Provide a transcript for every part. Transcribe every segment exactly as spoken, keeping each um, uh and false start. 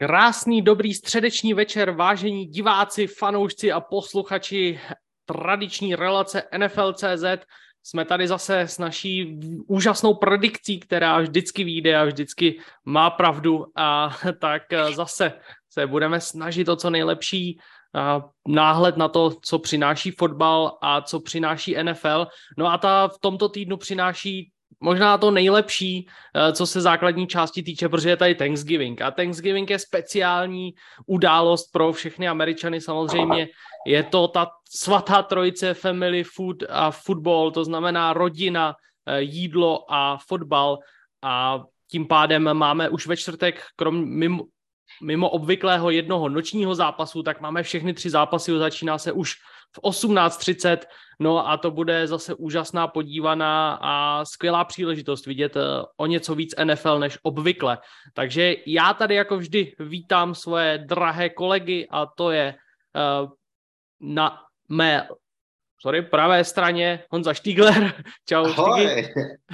Krásný, dobrý středeční večer, vážení diváci, fanoušci a posluchači tradiční relace N F L tečka cé zet. Jsme tady zase s naší úžasnou predikcí, která vždycky vyjde a vždycky má pravdu. A tak zase se budeme snažit o co nejlepší náhled na to, co přináší fotbal a co přináší N F L. No a ta v tomto týdnu přináší možná to nejlepší, co se základní části týče, protože je tady Thanksgiving. A Thanksgiving je speciální událost pro všechny Američany samozřejmě. Je to ta svatá trojice family food a football, to znamená rodina, jídlo a fotbal. A tím pádem máme už ve čtvrtek, krom mimo, mimo obvyklého jednoho nočního zápasu, tak máme všechny tři zápasy, začíná se už v osmnáct třicet, no a to bude zase úžasná podívaná a skvělá příležitost vidět o něco víc N F L než obvykle. Takže já tady jako vždy vítám svoje drahé kolegy a to je uh, na mé sorry, pravé straně Honza Štígler. Čau. Ahoj.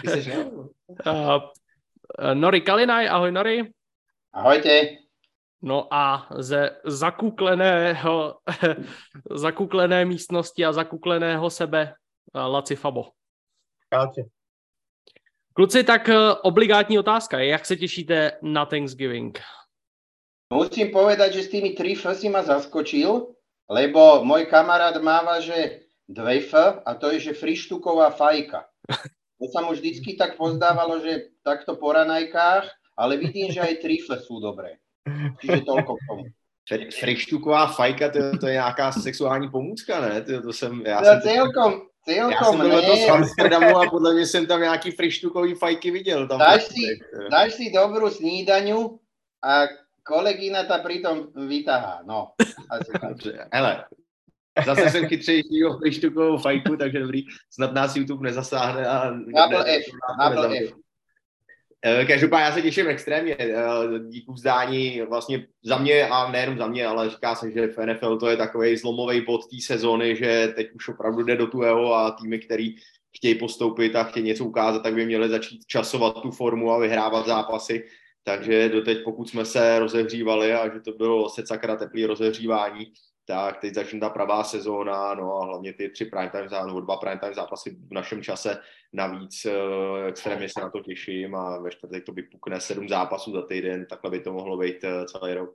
uh, Nori Kalinaj, ahoj Nori. Ahojte. No a ze zakukleného, zakuklené místnosti a zakukleného sebe Laci Fabo. Čaute. Kluci, tak obligátní otázka. Jak se těšíte na Thanksgiving? Musím povedať, že s tými tri F si ma zaskočil, lebo môj kamarát máva, že dve F a to je, že frištuková fajka. To sa mu vždycky tak pozdávalo, že takto po ranajkách, ale vidím, že aj tri F sú dobré. Čiže toľko k tomu. Frištuková fajka, to, to je nějaká sexuální pomůcka, ne? To, to jsem, já no, jsem, celkom, celkom, já jsem to z Amsterdamu a podle mě jsem tam nějaký frištukový fajky viděl. Tam dáš, si, dáš si dobrú snídaňu a kolegina ta pritom vytahá. No, asi dobře, hele, zase jsem chytřejší o frištukovou fajku, takže dobrý, snad nás YouTube nezasáhne. A Double F, double F. Každopádně já se těším extrémně, díky vzdání vlastně za mě a nejenom za mě, ale říká se, že v N F L to je takovej zlomový bod té sezóny, že teď už opravdu jde do tuého a týmy, který chtějí postoupit a chtějí něco ukázat, tak by měli začít časovat tu formu a vyhrávat zápasy. Takže doteď, pokud jsme se rozehřívali a že to bylo se sakra teplý rozehřívání, tak teď začne ta pravá sezóna, no a hlavně ty tři primetime zápasy, nebo dva primetime zápasy v našem čase navíc, extrémně se na to těším a ve čtvrtek to vypukne sedm zápasů za týden, takhle by to mohlo být celý rok.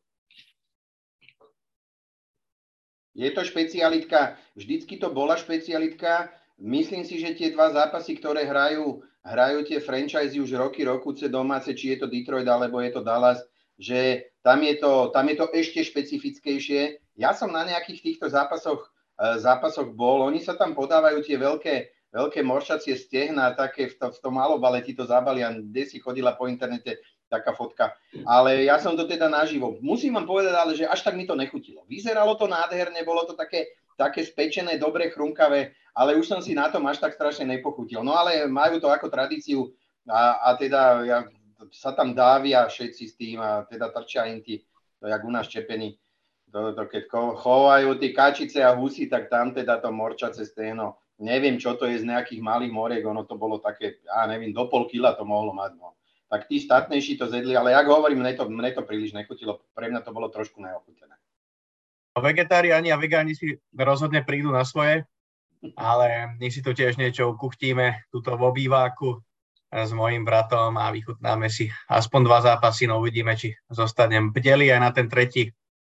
Je to špecialitka, vždycky to bola špecialitka, myslím si, že tie dva zápasy, ktoré hrajú, hrajú tie franchise už roky, rokuce domáce, či je to Detroit alebo je to Dallas, že tam je to, tam je to ešte špecifickejšie. Ja som na nejakých týchto zápasoch, zápasoch bol, oni sa tam podávajú tie veľké, veľké moršacie stehna, také v, to, v tom malobale ti to zabalia, kde si chodila po internete taká fotka. Ale ja som to teda naživo. Musím vám povedať, ale že až tak mi to nechutilo. Vyzeralo to nádherne, bolo to také, také spečené, dobre chrumkavé, ale už som si na tom až tak strašne nepochutil. No ale majú to ako tradíciu a, a teda ja, sa tam dávia všetci s tým a teda trčia im tí, to jak u nás čepení. To, to keď chovajú tí kačice a husy, tak tam teda to morčace stehno. Neviem, čo to je z nejakých malých moriek, ono to bolo také, ja neviem, do pol kila to mohlo mať. No. Tak tí statnejší to zjedli, ale jak hovorím, mne to, mne to príliš nechutilo. Pre mňa to bolo trošku neochutené. Vegetáriáni a vegáni si rozhodne prídu na svoje, ale my si to tiež niečo ukuchtíme tuto v obýváku s mojím bratom a vychutnáme si aspoň dva zápasy, no uvidíme, či zostanem bdeli aj na ten tretí.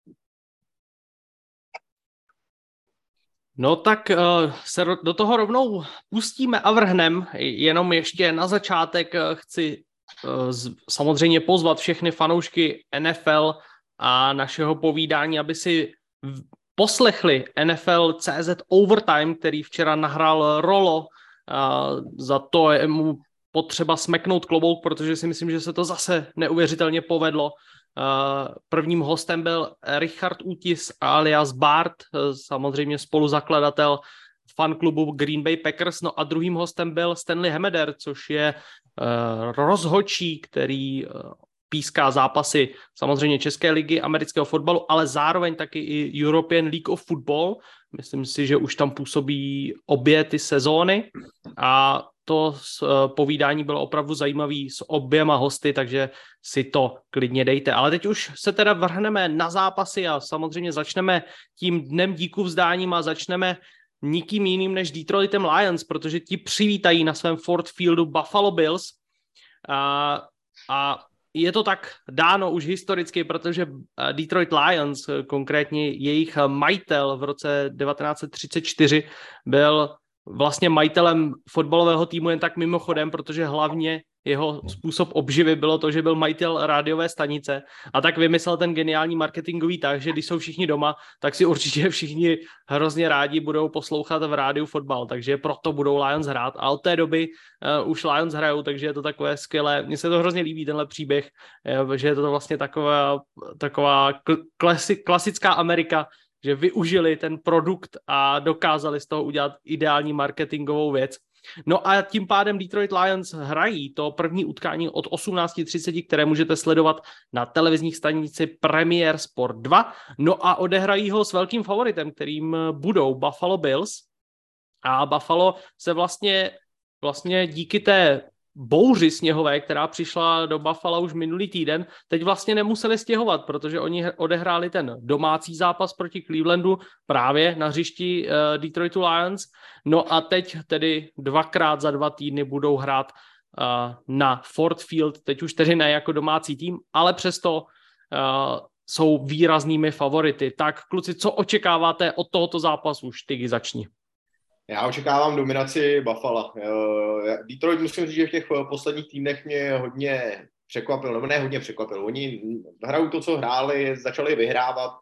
No tak uh, se do toho rovnou pustíme a vrhnem, jenom ještě na začátek uh, chci uh, z, samozřejmě pozvat všechny fanoušky N F L a našeho povídání, aby si v, poslechli N F L tečka cé zet Overtime, který včera nahrál Rolo, uh, za to je mu potřeba smeknout klobouk, protože si myslím, že se to zase neuvěřitelně povedlo. Prvním hostem byl Richard Útis alias Bart, samozřejmě spoluzakladatel fanklubu Green Bay Packers, no a druhým hostem byl Stanley Hemeder, což je rozhodčí, který píská zápasy samozřejmě České ligy amerického fotbalu, ale zároveň taky i European League of Football. Myslím si, že už tam působí obě ty sezóny a to povídání bylo opravdu zajímavý s oběma hosty, takže si to klidně dejte. Ale teď už se teda vrhneme na zápasy a samozřejmě začneme tím dnem díku vzdáním a začneme nikým jiným než Detroitem Lions, protože ti přivítají na svém Ford Fieldu Buffalo Bills. A, a je to tak dáno už historicky, protože Detroit Lions, konkrétně jejich majitel v roce devatenáct set třicet čtyři, byl vlastně majitelem fotbalového týmu jen tak mimochodem, protože hlavně jeho způsob obživy bylo to, že byl majitel rádiové stanice a tak vymyslel ten geniální marketingový tak, že když jsou všichni doma, tak si určitě všichni hrozně rádi budou poslouchat v rádiu fotbal, takže proto budou Lions hrát a od té doby uh, už Lions hrajou, takže je to takové skvělé. Mně se to hrozně líbí, tenhle příběh, že je to vlastně taková, taková klasi, klasická Amerika, že využili ten produkt a dokázali z toho udělat ideální marketingovou věc. No a tím pádem Detroit Lions hrají to první utkání od osmnáct třicet, které můžete sledovat na televizních stanici Premier Sport dva. No a odehrají ho s velkým favoritem, kterým budou Buffalo Bills. A Buffalo se vlastně, vlastně díky té bouři sněhové, která přišla do Buffalo už minulý týden, teď vlastně nemuseli stěhovat, protože oni odehráli ten domácí zápas proti Clevelandu právě na hřišti uh, Detroitu Lions. No a teď tedy dvakrát za dva týdny budou hrát uh, na Ford Field, teď už tedy ne jako domácí tým, ale přesto uh, jsou výraznými favority. Tak kluci, co očekáváte od tohoto zápasu? Už Tygy začni. Já očekávám dominaci Buffalo. Detroit, musím říct, že v těch posledních týdnech mě hodně překvapil, nebo ne hodně překvapil. Oni hrajou to, co hráli, začali vyhrávat,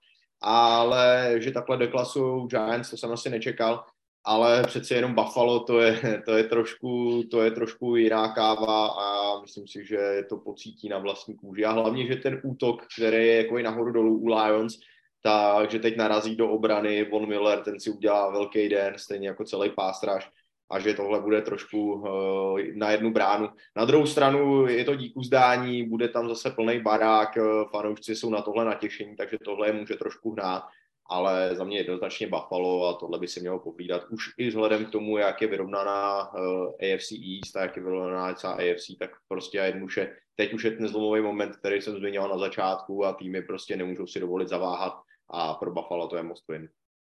ale že takhle deklasují Giants, to jsem asi nečekal, ale přeci jenom Buffalo, to je, to je, trošku, to je trošku jiná káva a myslím si, že to pocítí na vlastní kůži. A hlavně, že ten útok, který je jako i nahoru dolů u Lions, takže teď narazí do obrany Von Miller, ten si udělá velký den, stejně jako celý pástraž, a že tohle bude trošku uh, na jednu bránu. Na druhou stranu je to díku zdání, bude tam zase plný barák, uh, fanoušci jsou na tohle natěšení, takže tohle je může trošku hnát, ale za mě jednoznačně Buffalo a tohle by se mělo pohlídat. Už i vzhledem k tomu, jak je vyrovnaná uh, A F C East a jak je vyrovnaná celá A F C, tak prostě jednoduše, teď už je ten zlomový moment, který jsem zmiňoval na začátku a týmy prostě nemůžou si dovolit zaváhat. A pro Buffalo to je must win.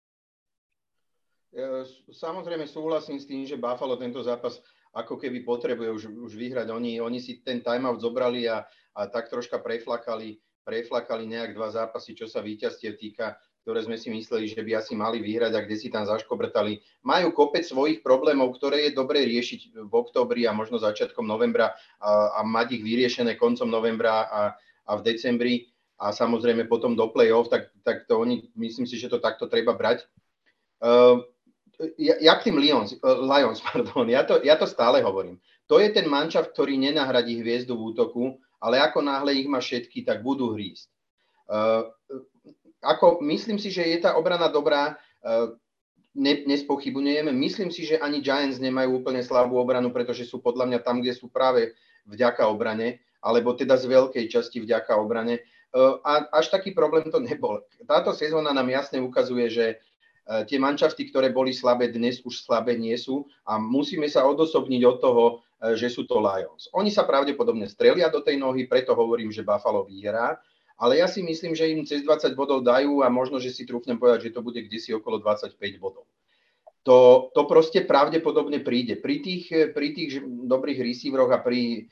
Samozrejme súhlasím s tým, že Buffalo tento zápas ako keby potrebuje už, už vyhrať. Oni, oni si ten timeout zobrali a, a tak troška preflakali, preflakali nejak dva zápasy, čo sa víťazstiev týka, ktoré sme si mysleli, že by asi mali vyhrať a kde si tam zaškobrtali. Majú kopec svojich problémov, ktoré je dobre riešiť v októbri a možno začiatkom novembra a, a mať ich vyriešené koncom novembra a, a v decembri. A samozrejme potom do play-off, tak, tak to oni, myslím si, že to takto treba brať. Uh, ja, ja k tým Lions, uh, Lions pardon, ja, to, ja to stále hovorím. To je ten mančaft, ktorý nenahradí hviezdu v útoku, ale ako náhle ich má všetky, tak budú hrísť. Uh, ako, myslím si, že je tá obrana dobrá, uh, ne, nespochybujeme. Myslím si, že ani Giants nemajú úplne slabú obranu, pretože sú podľa mňa tam, kde sú práve vďaka obrane, alebo teda z veľkej časti vďaka obrane. A až taký problém to nebol. Táto sezóna nám jasne ukazuje, že tie manšafty, ktoré boli slabé, dnes už slabé nie sú a musíme sa odosobniť od toho, že sú to Lions. Oni sa pravdepodobne strelia do tej nohy, preto hovorím, že Buffalo vyhrá, ale ja si myslím, že im cez dvadsať bodov dajú a možno, že si trúfnem povedať, že to bude kdesi okolo dvadsaťpäť bodov. To, to proste pravdepodobne príde. Pri tých, pri tých dobrých receiveroch a pri...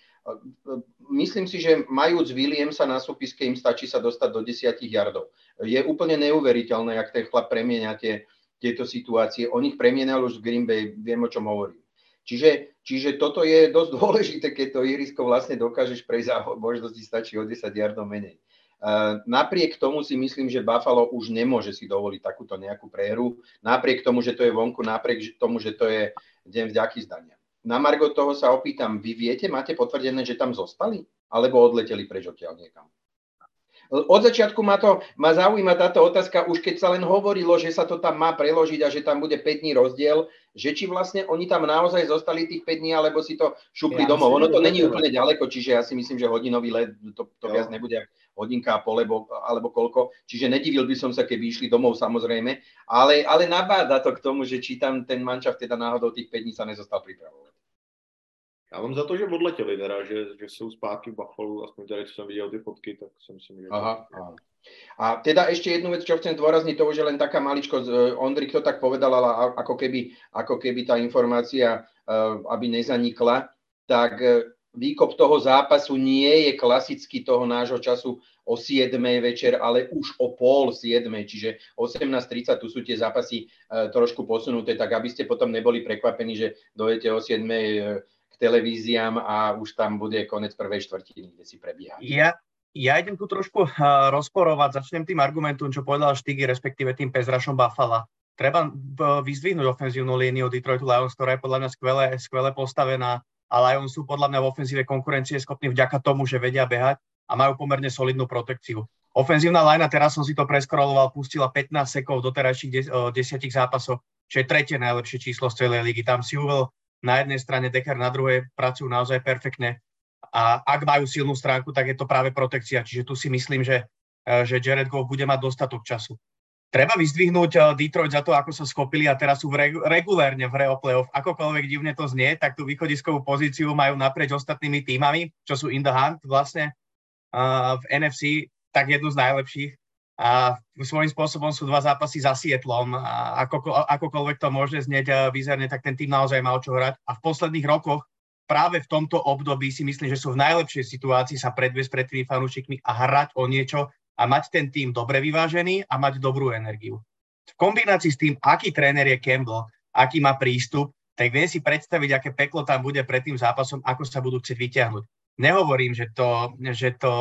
Myslím si, že majúc Williamsa na súpiske, im stačí sa dostať do desiatich yardov. Je úplne neuveriteľné, jak ten chlap premieňa tie, tieto situácie. On ich premienal už v Green Bay, viem, o čom hovorím. Čiže, čiže toto je dosť dôležité, keď to ihrisko vlastne dokážeš prejsť a možno ti stačí o desať yardov menej. Uh, napriek tomu si myslím, že Buffalo už nemôže si dovoliť takúto nejakú prehru. Napriek tomu, že to je vonku, napriek tomu, že to je deň vďaky zdania. Na margo toho sa opýtam, vy viete, máte potvrdené, že tam zostali? Alebo odleteli preč odtiaľ niekam? Od začiatku ma, to, ma zaujíma táto otázka, už keď sa len hovorilo, že sa to tam má preložiť a že tam bude päť dní rozdiel, že či vlastne oni tam naozaj zostali tých päť dní, alebo si to šupli ja domov. Ono to není úplne ďaleko, čiže ja si myslím, že hodinový let, to, to viac nebude hodinka a pol, alebo, alebo koľko. Čiže nedivil by som sa, keby išli domov, samozrejme. Ale, ale nabáda to k tomu, že či tam ten manšaft teda náhodou tých päť dní sa nezostal pripravovať. Já mám za to, že odletěli teda, že, že jsou zpátky v Buffalo, aspoň tady, co jsem viděl ty fotky, tak si myslím, že... Aha, aha. A teda ešte jednu vec, čo chcem zdôrazniť, toho, že len taká maličkosť, Ondrik to tak povedal, ale ako keby, ako keby tá informácia, aby nezanikla, tak výkop toho zápasu nie je klasicky toho nášho času o siedmej večer, ale už o pol siedmej, čiže osemnásť tridsať, tu sú tie zápasy trošku posunuté, tak aby ste potom neboli prekvapení, že dojete o siedmej k televíziám a už tam bude konec prvej štvrtiny, kde si prebieha. Ja Ja idem tu trošku uh, rozporovať, začnem tým argumentom, čo povedal Štigy, respektíve tým pezrašom Buffalo. Treba uh, vyzdvihnúť ofenzívnu líniu Detroitu Lions, ktorá je podľa mňa skvele, skvele postavená a Lions sú podľa mňa v ofenzíve konkurencie schopní vďaka tomu, že vedia behať a majú pomerne solidnú protekciu. Ofenzívna linea, teraz som si to preskroloval, pustila pätnásť sekov v doterajších des, uh, desiatich zápasoch, čo je tretie najlepšie číslo z celej ligy. Tam si uvel na jednej strane, Decker na druhej, pracujú naozaj perfektne. A ak majú silnú stránku, tak je to práve protekcia. Čiže tu si myslím, že, že Jared Goff bude mať dostatok času. Treba vyzdvihnúť Detroit za to, ako sa schopili a teraz sú regu- regulérne v hre o playoff. Akokoľvek divne to znie, tak tú východiskovú pozíciu majú naprieč ostatnými týmami, čo sú in the hunt vlastne uh, v en ef cé, tak jednu z najlepších. A svojím spôsobom sú dva zápasy za Seattlom. A ako, akokoľvek to môže znieť bizarne, tak ten tým naozaj mal čo hrať. A v posledných rokoch práve v tomto období si myslím, že sú v najlepšej situácii sa predviesť pred tými fanúšikmi a hrať o niečo a mať ten tým dobre vyvážený a mať dobrú energiu. V kombinácii s tým, aký tréner je Campbell, aký má prístup, tak viem si predstaviť, aké peklo tam bude pred tým zápasom, ako sa budú chcieť vyťahnuť. Nehovorím, že, to, že, to,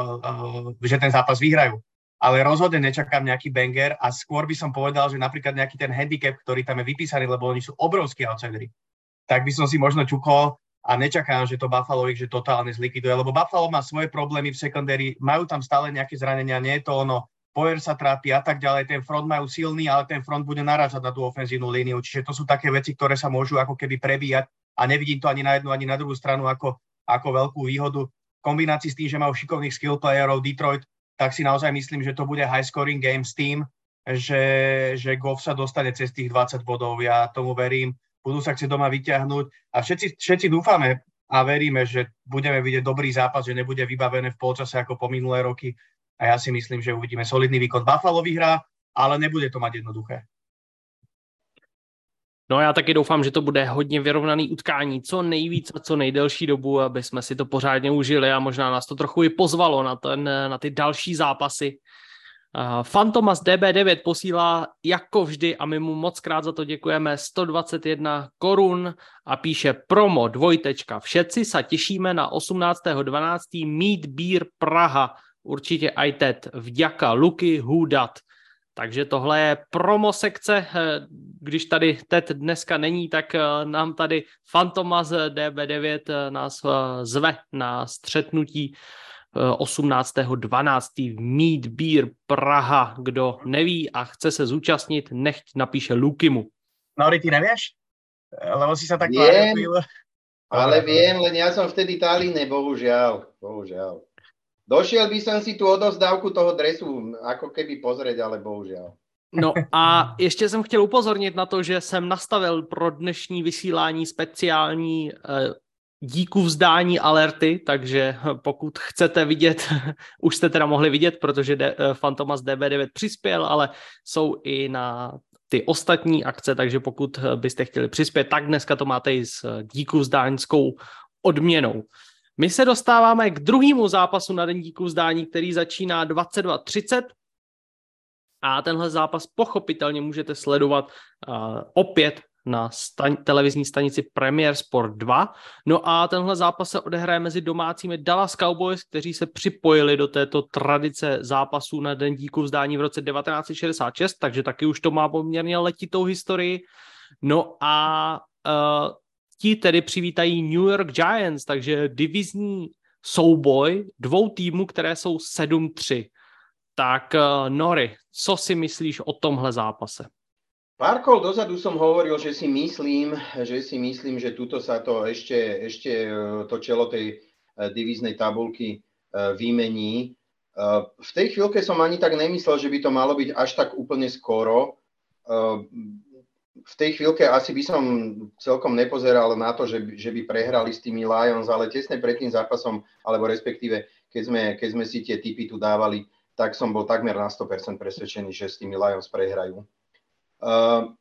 že ten zápas vyhrajú, ale rozhodne nečakám nejaký banger a skôr by som povedal, že napríklad nejaký ten handicap, ktorý tam je vypísaný, lebo oni sú obrovskí outsideri, tak by som si možno čukol a nečakám, že to Buffalo ich že totálne zlikviduje, lebo Buffalo má svoje problémy v secondary, majú tam stále nejaké zranenia, nie je to ono, Poyer sa trápi a tak ďalej, ten front majú silný, ale ten front bude narážať na tú ofenzívnu líniu, čiže to sú také veci, ktoré sa môžu ako keby prebíjať a nevidím to ani na jednu, ani na druhú stranu ako, ako veľkú výhodu. V kombinácii s tým, že majú šikovných skill playerov Detroit, tak si naozaj myslím, že to bude high scoring game s tým, že, že Goff sa dostane cez tých dvadsať bodov, ja tomu verím. Budú sa chcieť doma vyťahnuť a všetci, všetci dúfame a veríme, že budeme vidieť dobrý zápas, že nebude vybavené v polčase ako po minulé roky a ja si myslím, že uvidíme solidný výkon. Buffalo vyhrá, ale nebude to mať jednoduché. No já taky doufám, že to bude hodně vyrovnaný utkání, co nejvíc a co nejdelší dobu, aby jsme si to pořádně užili a možná nás to trochu i pozvalo na, ten, na ty další zápasy. Uh, Fantomas D B devět posílá jako vždy a my mu moc krát za to děkujeme sto dvacet jedna korun a píše promo dvojtečka. Všetci sa těšíme na osmnáctého dvanáctého Meat Beer Praha. Určitě aj Ted. Vďaka Luky Hudat. Takže tohle je promo sekce. Když tady Ted dneska není, tak nám tady Fantomas D B devět nás zve na střetnutí osmnáctého dvanáctého Meat Beer Praha. Kdo neví a chce se zúčastnit, nechť napíše Lukimu. Nori, ty nevieš? Lebo si sa tak Viem, ale viem, len ja som vtedy Talíne, bohužiaľ. Bohužiaľ. Došiel by som si tú odozdávku toho dresu ako keby pozrieť, ale bohužiaľ. No a ještě jsem chtěl upozornit na to, že jsem nastavil pro dnešní vysílání speciální eh, díku vzdání alerty, takže pokud chcete vidět, už jste teda mohli vidět, protože de, Fantomas D B devět přispěl, ale jsou i na ty ostatní akce, takže pokud byste chtěli přispět, tak dneska to máte i s díku vzdáňskou odměnou. My se dostáváme k druhému zápasu na den díku vzdání, který začíná dvacet dva třicet a tenhle zápas pochopitelně můžete sledovat uh, opět na stan- televizní stanici Premier Sport dva. No a tenhle zápas se odehraje mezi domácími Dallas Cowboys, kteří se připojili do této tradice zápasů na den díku vzdání v roce devatenáct set šedesát šest, takže taky už to má poměrně letitou historii. No a uh, ti tedy přivítají New York Giants, takže divizní souboj dvou týmů, které jsou sedm tři. Tak uh, Nori, co si myslíš o tomhle zápase? Pár kol dozadu som hovoril, že si myslím, že si myslím, že tuto sa to ešte, ešte to čelo tej divíznej tabulky vymení. V tej chvíľke som ani tak nemyslel, že by to malo byť až tak úplne skoro. v tej chvíľke asi by som celkom nepozeral na to, že by, že by prehrali s tými Lions, ale tesne pred tým zápasom, alebo respektíve, keď sme, keď sme si tie tipy tu dávali, tak som bol takmer na sto percent presvedčený, že s tými Lions prehrajú. Uh,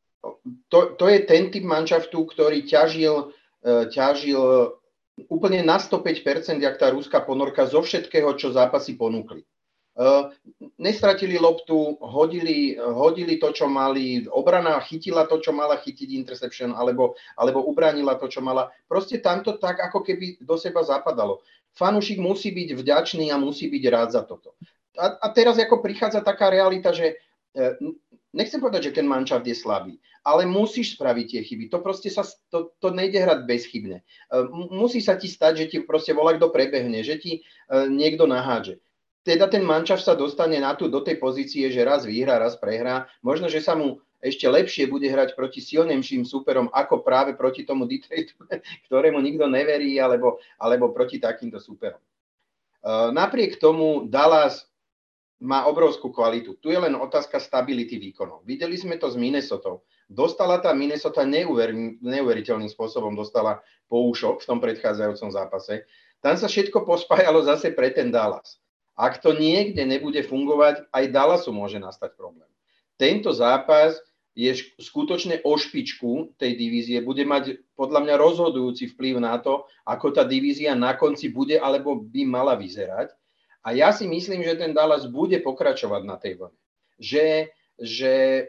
to, to je ten typ manšaftu, ktorý ťažil, uh, ťažil úplne na sto päť percent, jak tá ruská ponorka zo všetkého, čo zápasy ponúkli. Uh, nestratili loptu, hodili, hodili to, čo mali, obrana chytila to, čo mala chytiť interception, alebo, alebo ubránila to, čo mala. Proste tamto tak, ako keby do seba zapadalo. Fanúšik musí byť vďačný a musí byť rád za toto. A, a teraz ako prichádza taká realita, že uh, nechcem povedať, že ten manšaft je slabý, ale musíš spraviť tie chyby. To proste sa, to, to nejde hrať bezchybne. Uh, musí sa ti stať, že ti proste volá kto prebehne, že ti uh, niekto nahádže. Teda ten manšaft sa dostane na tú, do tej pozície, že raz vyhrá, raz prehrá. Možno, že sa mu ešte lepšie bude hrať proti silnejším súperom, ako práve proti tomu Detroitu, ktorému nikto neverí, alebo, alebo proti takýmto súperom. Uh, napriek tomu Dallas má obrovskú kvalitu. Tu je len otázka stability výkonov. Videli sme to s Minnesotou. Dostala tá Minnesota neuver, neuveriteľným spôsobom, dostala poušok v tom predchádzajúcom zápase. Tam sa všetko pospájalo zase pre ten Dallas. Ak to niekde nebude fungovať, aj Dallasu môže nastať problém. Tento zápas je skutočne o špičku tej divízie, bude mať podľa mňa rozhodujúci vplyv na to, ako tá divízia na konci bude alebo by mala vyzerať. A ja si myslím, že ten Dallas bude pokračovať na tej vlne. Že, že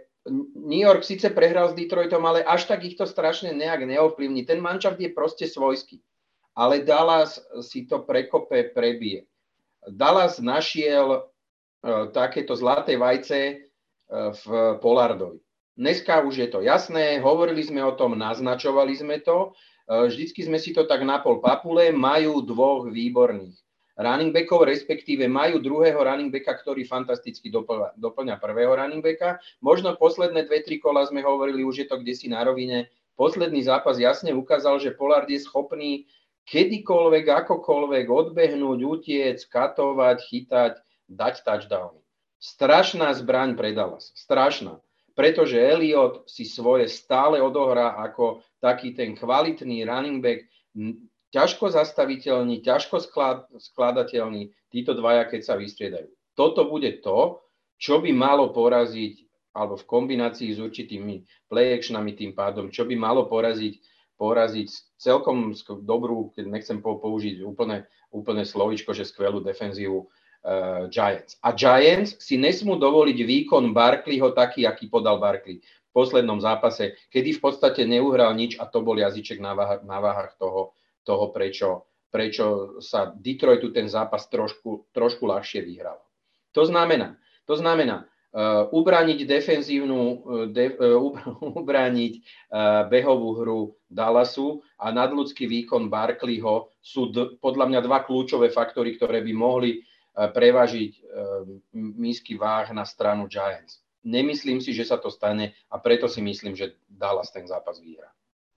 New York síce prehral s Detroitom, ale až tak ich to strašne nejak neovplyvní. Ten manšaft je proste svojský. Ale Dallas si to prekope, prebije. Dallas našiel uh, takéto zlaté vajce uh, v Pollardovi. Dneska už je to jasné, hovorili sme o tom, naznačovali sme to, uh, vždycky sme si to tak napol papule, majú dvoch výborných running backov, respektíve majú druhého running backa, ktorý fantasticky doplňa, doplňa prvého running backa. Možno posledné dve, tri kola sme hovorili, už je to kdesi na rovine. Posledný zápas jasne ukázal, že Pollard je schopný kedykoľvek, akokoľvek odbehnúť, utiec, katovať, chytať, dať touchdowny. Strašná zbraň pre Dallas. Strašná. Pretože Elliott si svoje stále odohrá ako taký ten kvalitný running back, ťažko zastaviteľný, ťažko skladateľný, títo dvaja, keď sa vystriedajú. Toto bude to, čo by malo poraziť, alebo v kombinácii s určitými play-actionami tým pádom, čo by malo poraziť poraziť celkom dobrú, keď nechcem použiť úplne, úplne slovičko, že skvelú defenzívu uh, Giants. A Giants si nesmú dovoliť výkon Barkleyho taký, aký podal Barkley v poslednom zápase, kedy v podstate neuhral nič a to bol jazyček na váhach, na váhach toho, toho prečo, prečo sa Detroitu ten zápas trošku, trošku ľahšie vyhral. To znamená, to znamená, Uh, ubrániť defenzívnu, uh, de, uh, ubrániť uh, behovú hru Dallasu a nadľudský výkon Barkleyho sú d- podľa mňa dva kľúčové faktory, ktoré by mohli uh, prevažiť uh, misky váh na stranu Giants. Nemyslím si, že sa to stane a preto si myslím, že Dallas ten zápas vyhrá.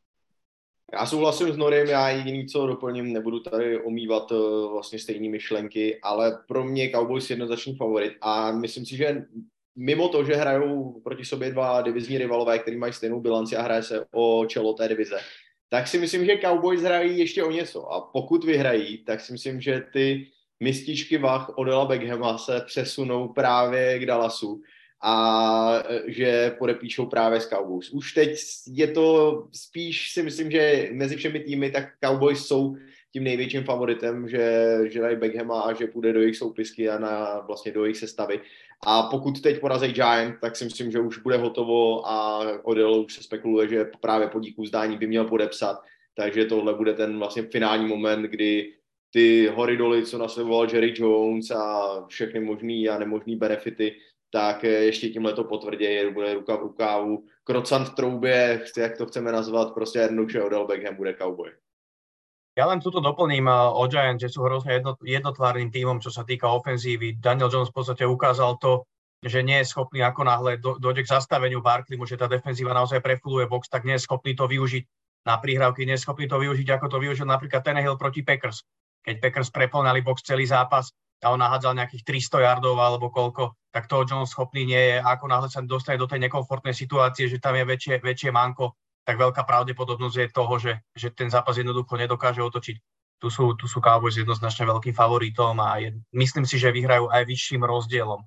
Já souhlasím s Norem, já jediný, co doplním, nebudu tady omývat uh, vlastně stejné myšlenky, ale pro mě Cowboys jednoznačný favorit a myslím si, že mimo to, že hrajou proti sobě dva divizní rivalové, který mají stejnou bilanci a hraje se o čelo té divize, tak si myslím, že Cowboys hrají ještě o něco. A pokud vyhrají, tak si myslím, že ty mističky vah Odella Beckhama se přesunou právě k Dallasu a že podepíšou právě s Cowboys. Už teď je to spíš, si myslím, že mezi všemi týmy, tak Cowboys jsou tím největším favoritem, že, že dají Beckhama a že půjde do jejich soupisky a na, vlastně do jejich sestavy. A pokud teď porazí Giant, tak si myslím, že už bude hotovo a Odell už se spekuluje, že právě po díku vzdání by měl podepsat. Takže tohle bude ten vlastně finální moment, kdy ty horidoly, co nasledoval Jerry Jones a všechny možný a nemožný benefity, tak ještě tímhle to potvrdí, bude ruka v rukávu. Krocant v troubě, jak to chceme nazvat, prostě jednoduše Odell Beckham bude Cowboy. Ja len túto doplním o Giants, že sú hrozne jedno, jednotvárnym tímom, čo sa týka ofenzívy. Daniel Jones v podstate ukázal to, že nie je schopný, ako náhle do, dojde k zastaveniu Barkleymu, že tá defenzíva naozaj prefuluje box, tak nie je schopný to využiť na prihrávky, nie je schopný to využiť, ako to využil napríklad Tannehill proti Packers. Keď Packers preplňali box celý zápas a on nahádzal nejakých tristo yardov alebo koľko, tak toho John schopný nie je. A ako náhle sa dostane do tej nekomfortnej situácie, že tam je väčšie, väčšie manko, tak veľká pravdepodobnosť je toho, že, že ten zápas jednoducho nedokáže otočiť. Tu sú, tu sú Cowboys jednoznačne veľkým favoritom a je, myslím si, že vyhrajú aj vyšším rozdielom.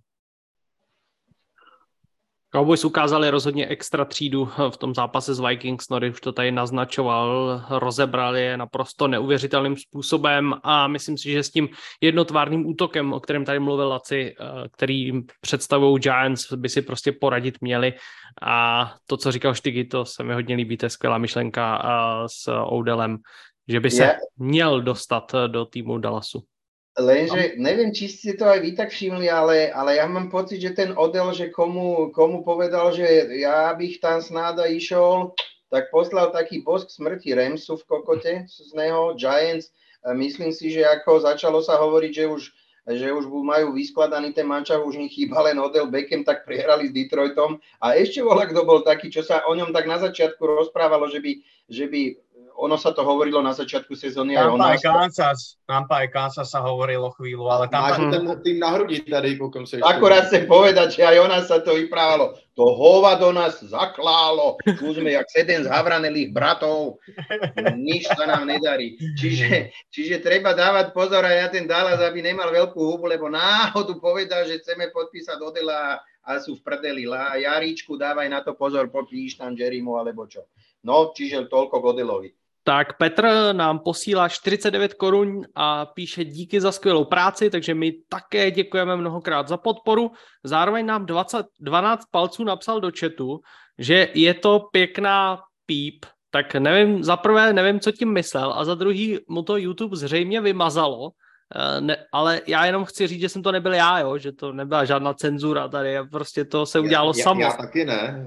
Cowboys ukázali rozhodně extra třídu v tom zápase s Vikings, Nory už to tady naznačoval, rozebrali je naprosto neuvěřitelným způsobem a myslím si, že s tím jednotvárným útokem, o kterém tady mluvil Laci, který představují Giants, by si prostě poradit měli a to, co říkal Štygy, to se mi hodně líbí, to je skvělá myšlenka s Odelem, že by se ja. měl dostat do týmu Dallasu. Lenže neviem, či ste to aj vy tak všimli, ale, ale ja mám pocit, že ten Odell, že komu, komu povedal, že ja bych tam snáda išol, tak poslal taký bosk smrti Ramsu v kokote z neho, Giants. Myslím si, že ako začalo sa hovoriť, že už, že už majú vyskladaný ten mančav, už nich chýba len Odell Beckham, tak prehrali s Detroitom. A ešte voľa, kto bol taký, čo sa o ňom tak na začiatku rozprávalo, že by, že by ono sa to hovorilo na začiatku sezóny. Tampa aj Kansas, Tampa aj Kansas sa hovorilo chvíľu, ale Tampa... Máš ten tým na hrudi tady, koľkom sa ešte... Akurát chcem povedať, že aj o nás sa to vyprávalo. To hovado nás zaklálo, tu sme jak sedem z Havranelých bratov, nič sa nám nedarí. Čiže, čiže treba dávať pozor aj na ten Dallas, aby nemal veľkú hubu, lebo náhodu povedal, že chceme podpísať Odela a sú v prdeli. A Jaríčku, dávaj na to pozor, popíš tam Jerrymu alebo čo. No, čiže toľko k Odelovi. Tak Petr nám posílá čtyřicet devět korun a píše díky za skvělou práci, takže my také děkujeme mnohokrát za podporu. Zároveň nám dvacet, dvanáct palců napsal do chatu, že je to pěkná píp, tak nevím, za prvé nevím, co tím myslel a za druhý mu to YouTube zřejmě vymazalo, ne, ale já jenom chci říct, že jsem to nebyl já, jo, že to nebyla žádná cenzura tady, prostě to se udělalo já, samo. Já taky ne.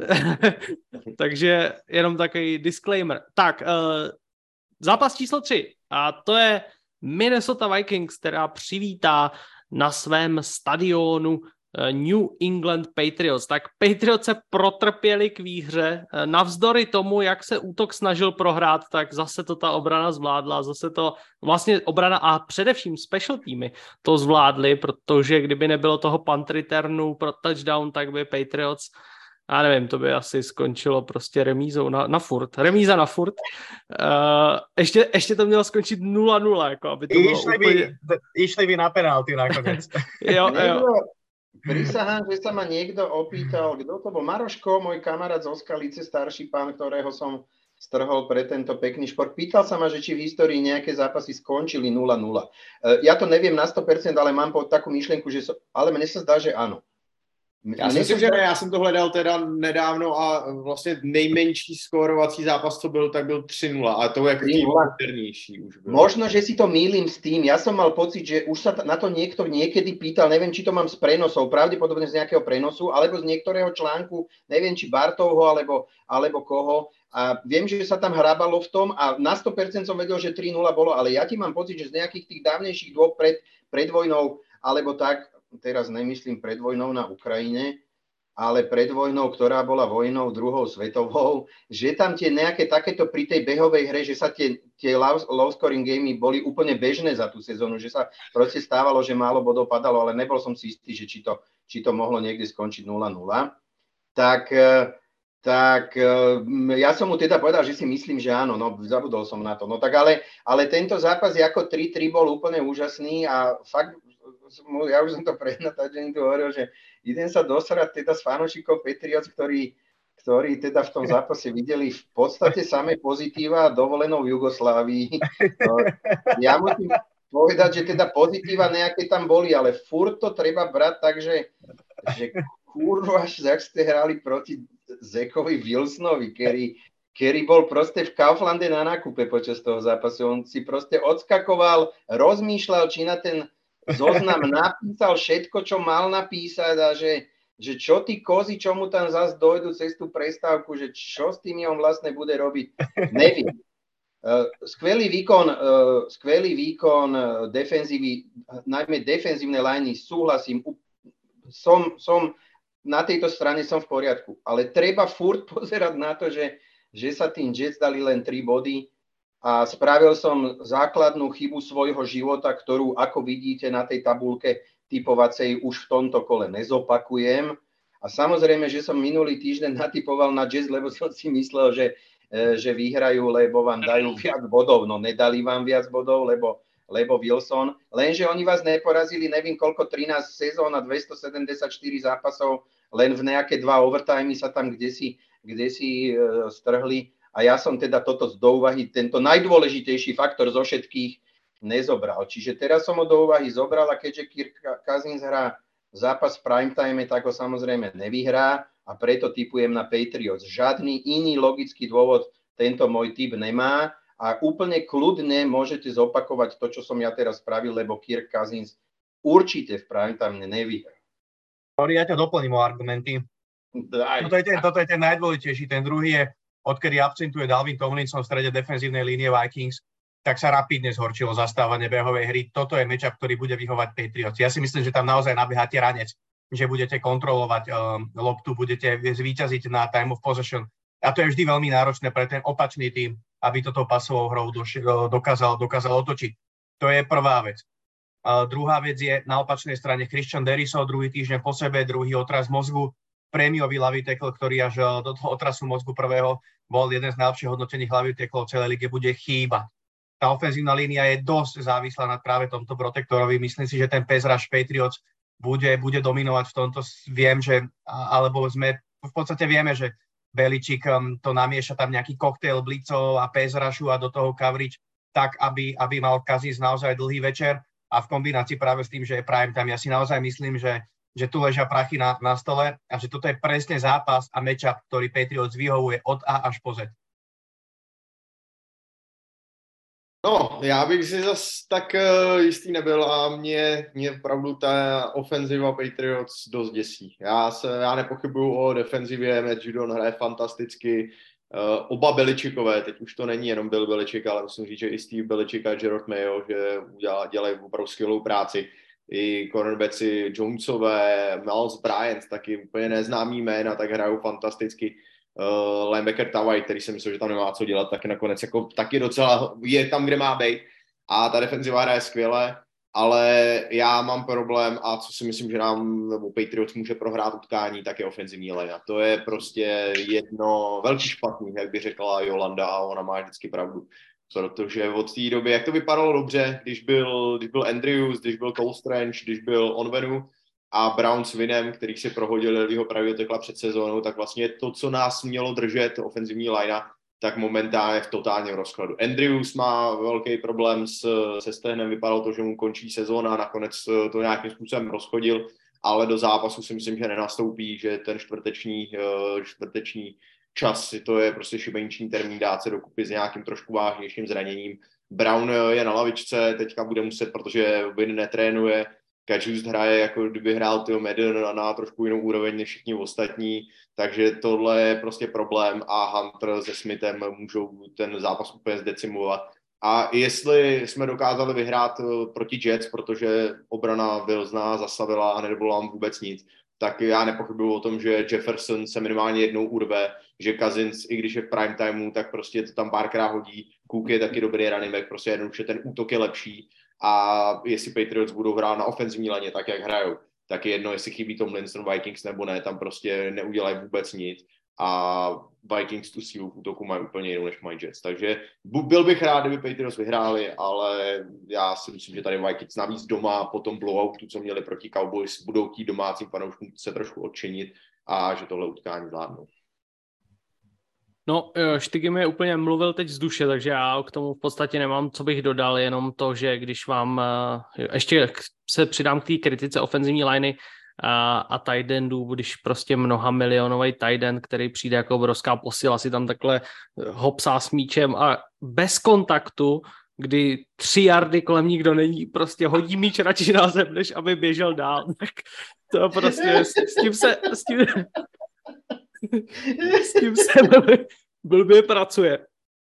Takže jenom takový disclaimer. Tak, uh, zápas číslo tři a to je Minnesota Vikings, která přivítá na svém stadionu New England Patriots. Tak Patriots se protrpěli k výhře. Navzdory tomu, jak se útok snažil prohrát, tak zase to ta obrana zvládla. Zase to vlastně obrana a především special týmy to zvládli, protože kdyby nebylo toho punt returnu pro touchdown, tak by Patriots, já nevím, to by asi skončilo prostě remízou na, na furt. Remíza na furt. Uh, ještě, ještě to mělo skončit nula nula, jako aby to bylo išli úplně... By, išli by na penalty nakoniec. jo, jo. Prisahám, že sa ma niekto opýtal, kto to bol? Maroško, môj kamarát z Oskalice, starší pán, ktorého som strhol pre tento pekný šport. Pýtal sa ma, že či v histórii nejaké zápasy skončili nula nula. Ja to neviem na sto percent, ale mám takú myšlienku, že so, ale mne sa zdá, že áno. Já si myslím, že ne, já jsem to hledal teda nedávno a vlastně nejmenší skórovací zápas, co byl, tak byl tři nula a to je tým modernější už bylo. Možno, že si to mýlim s tým. Ja som mal pocit, že už sa na to niekto niekedy pýtal, neviem, či to mám z prenosov, pravdepodobne z nejakého prenosu, alebo z niektorého článku, neviem, či Bartovho, alebo, alebo koho. A viem, že sa tam hrábalo v tom a na sto percent som vedel, že tri nula bolo, ale ja ti mám pocit, že z nejakých tých dávnejších dôb pred, pred vojnou, alebo tak, teraz nemyslím pred vojnou na Ukrajine, ale pred vojnou, ktorá bola vojnou druhou svetovou, že tam tie nejaké takéto pri tej behovej hre, že sa tie, tie low, low scoring gamey boli úplne bežné za tú sezónu, že sa proste stávalo, že málo bodov padalo, ale nebol som si istý, že či to, či to mohlo niekde skončiť nula nula. Tak, tak ja som mu teda povedal, že si myslím, že áno, no zabudol som na to. No tak ale, ale tento zápas ako tri tri bol úplne úžasný a fakt ja už som to pred natáčením tu hovoril, že idem sa dosrať teda s fanúšikov Patriots, ktorí, ktorí teda v tom zápase videli v podstate samé pozitíva dovolenou v Jugoslávii. No, ja musím povedať, že teda pozitíva nejaké tam boli, ale furt to treba brať tak, že, že kurva, jak ste hrali proti Zackovi Wilsonovi, ktorý, ktorý bol proste v Kauflande na nákupe počas toho zápasu. On si proste odskakoval, rozmýšľal, či na ten zoznam napísal všetko, čo mal napísať a že, že čo tí kozy, čo mu tam zase dojdu cez tú prestávku, že čo s tým on vlastne bude robiť, neviem. Uh, skvelý výkon, uh, skvelý výkon uh, defenzívy, najmä defenzívne liney, súhlasím, som, som na tejto strane som v poriadku, ale treba furt pozerať na to, že, že sa tým Jets dali len tri body. A spravil som základnú chybu svojho života, ktorú, ako vidíte na tej tabulke, typovacej už v tomto kole nezopakujem. A samozrejme, že som minulý týždeň natypoval na Jazz, lebo som si myslel, že, že vyhrajú, lebo vám dajú viac bodov. No nedali vám viac bodov, lebo, lebo Wilson. Lenže oni vás neporazili, neviem koľko, trinásť sezón a dvestosedemdesiatštyri zápasov, len v nejaké dva overtimey sa tam kdesi, kdesi strhli. A ja som teda toto do úvahy, tento najdôležitejší faktor zo všetkých nezobral. Čiže teraz som ho do úvahy zobral a keďže Kirk Cousins hrá zápas v primetime, tak ho samozrejme nevyhrá a preto tipujem na Patriots. Žiadny iný logický dôvod tento môj tip nemá a úplne kľudne môžete zopakovať to, čo som ja teraz spravil, lebo Kirk Cousins určite v primetime nevyhrá. Ja ťa doplním o argumenty. Toto je, ten, toto je ten najdôležitejší. Ten druhý je, odkedy absentuje Dalvin Tomlinson v strede defenzívnej línie Vikings, tak sa rapidne zhorčilo zastávanie behovej hry. Toto je matchup, ktorý bude vyhovať Patriots. Ja si myslím, že tam naozaj nabieháte ranec, že budete kontrolovať um, loptu, budete zvíťaziť na time of possession. A to je vždy veľmi náročné pre ten opačný tým, aby toto pasovou hrou doš- dokázal, dokázal otočiť. To je prvá vec. Uh, druhá vec je na opačnej strane Christian Darrisaw, druhý týždeň po sebe, druhý otras mozgu, prémiový ľavý tackle, ktorý až do toho otrasu mozgu prvého bol jeden z najlepších hodnotených ľavých tacklov v celej lige, bude chýba. Tá ofenzívna línia je dosť závislá nad práve tomto protektorovi. Myslím si, že ten pass rush Patriots bude, bude dominovať v tomto. Viem, že, alebo sme, v podstate vieme, že Beličík um, to namieša tam nejaký koktail blitzov a pass rushu a do toho coverage, tak, aby, aby mal Cousins naozaj dlhý večer a v kombinácii práve s tým, že je prime time. Ja si naozaj myslím, že že tu ležia prachy na, na stole a že toto je presne zápas a matchup, ktorý Patriots vyhovuje od A až po Z. No, já bych si zas tak uh, jistý nebyl a mě, mě opravdu ta ofenziva Patriots dost děsí. Já, se, já nepochybuju o defenzivě, Matt Judon hraje fantasticky, uh, oba Belichickové, teď už to není jenom Bill Belichick, ale musím říct, že i Steve Belichick a Gerard Mayo, že udělá, dělají opravdu skvělou práci. I cornerbacki Jonesové, Miles Bryant, taky úplně neznámý jména, tak hrajou fantasticky. Uh, linebacker Tawai, který si myslel, že tam nemá co dělat, taky nakonec jako, taky docela je tam, kde má být. A ta defenziva hraje skvěle, ale já mám problém a co si myslím, že nám nebo Patriots může prohrát utkání, tak je ofenzivní linea. To je prostě jedno velký špatný, jak by řekla Jolanda a ona má vždycky pravdu. Protože od té doby, jak to vypadalo dobře, když byl, když byl Andrews, když byl Cole Strange, když byl Onwenu a Brown s Vinem, který si prohodil jeho pravého tekla před sezónou, tak vlastně to, co nás mělo držet, ofenzivní linea, tak momentálně v totálním rozkladu. Andrews má velký problém s, se stehnem, vypadalo to, že mu končí sezóna a nakonec to nějakým způsobem rozchodil, ale do zápasu si myslím, že nenastoupí, že ten čtvrteční, čtvrteční čas, to je prostě šibeniční termín, dát se dokupy s nějakým trošku vážnějším zraněním. Brown je na lavičce, teďka bude muset, protože Win netrénuje, Kajust hraje, jako kdyby hrál Theo Madden na, na trošku jinou úroveň než všichni ostatní, takže tohle je prostě problém a Hunter se Smithem můžou ten zápas úplně zdecimovat. A jestli jsme dokázali vyhrát proti Jets, protože obrana Wilsona zastavila a nedovolila vám vůbec nic, tak já nepochybuju o tom, že Jefferson se minimálně jednou urve, že Cousins, i když je v prime timeu, tak prostě to tam párkrát hodí. Cook je taky dobrý running back, prostě jednoduše ten útok je lepší a jestli Patriots budou hrát na ofenzivní laně tak, jak hrajou, tak je jedno, jestli chybí Tomlinson Vikings nebo ne, tam prostě neudělají vůbec nic a Vikings tu sílu v útoku mají úplně jinou, než mají Jets. Takže byl bych rád, kdyby Patriots vyhráli, ale já si myslím, že tady Vikings navíc doma po tom blowoutu, co měli proti Cowboys, budou chtít domácím fanouškům se trošku odčinit a že tohle utkání zvládnou. No, Štygy mi úplně mluvil teď z duše, takže já k tomu v podstatě nemám, co bych dodal, jenom to, že když vám, ještě se přidám k té kritice ofenzivní liney a, a tight endů, když prostě mnoha milionový tight end, který přijde jako obrovská posila, si tam takhle hopsá s míčem a bez kontaktu, kdy tři jardy kolem nikdo není, prostě hodí míč radši na zem, než aby běžel dál, tak to prostě s, s tím se... S tím, S tím se blbě pracuje.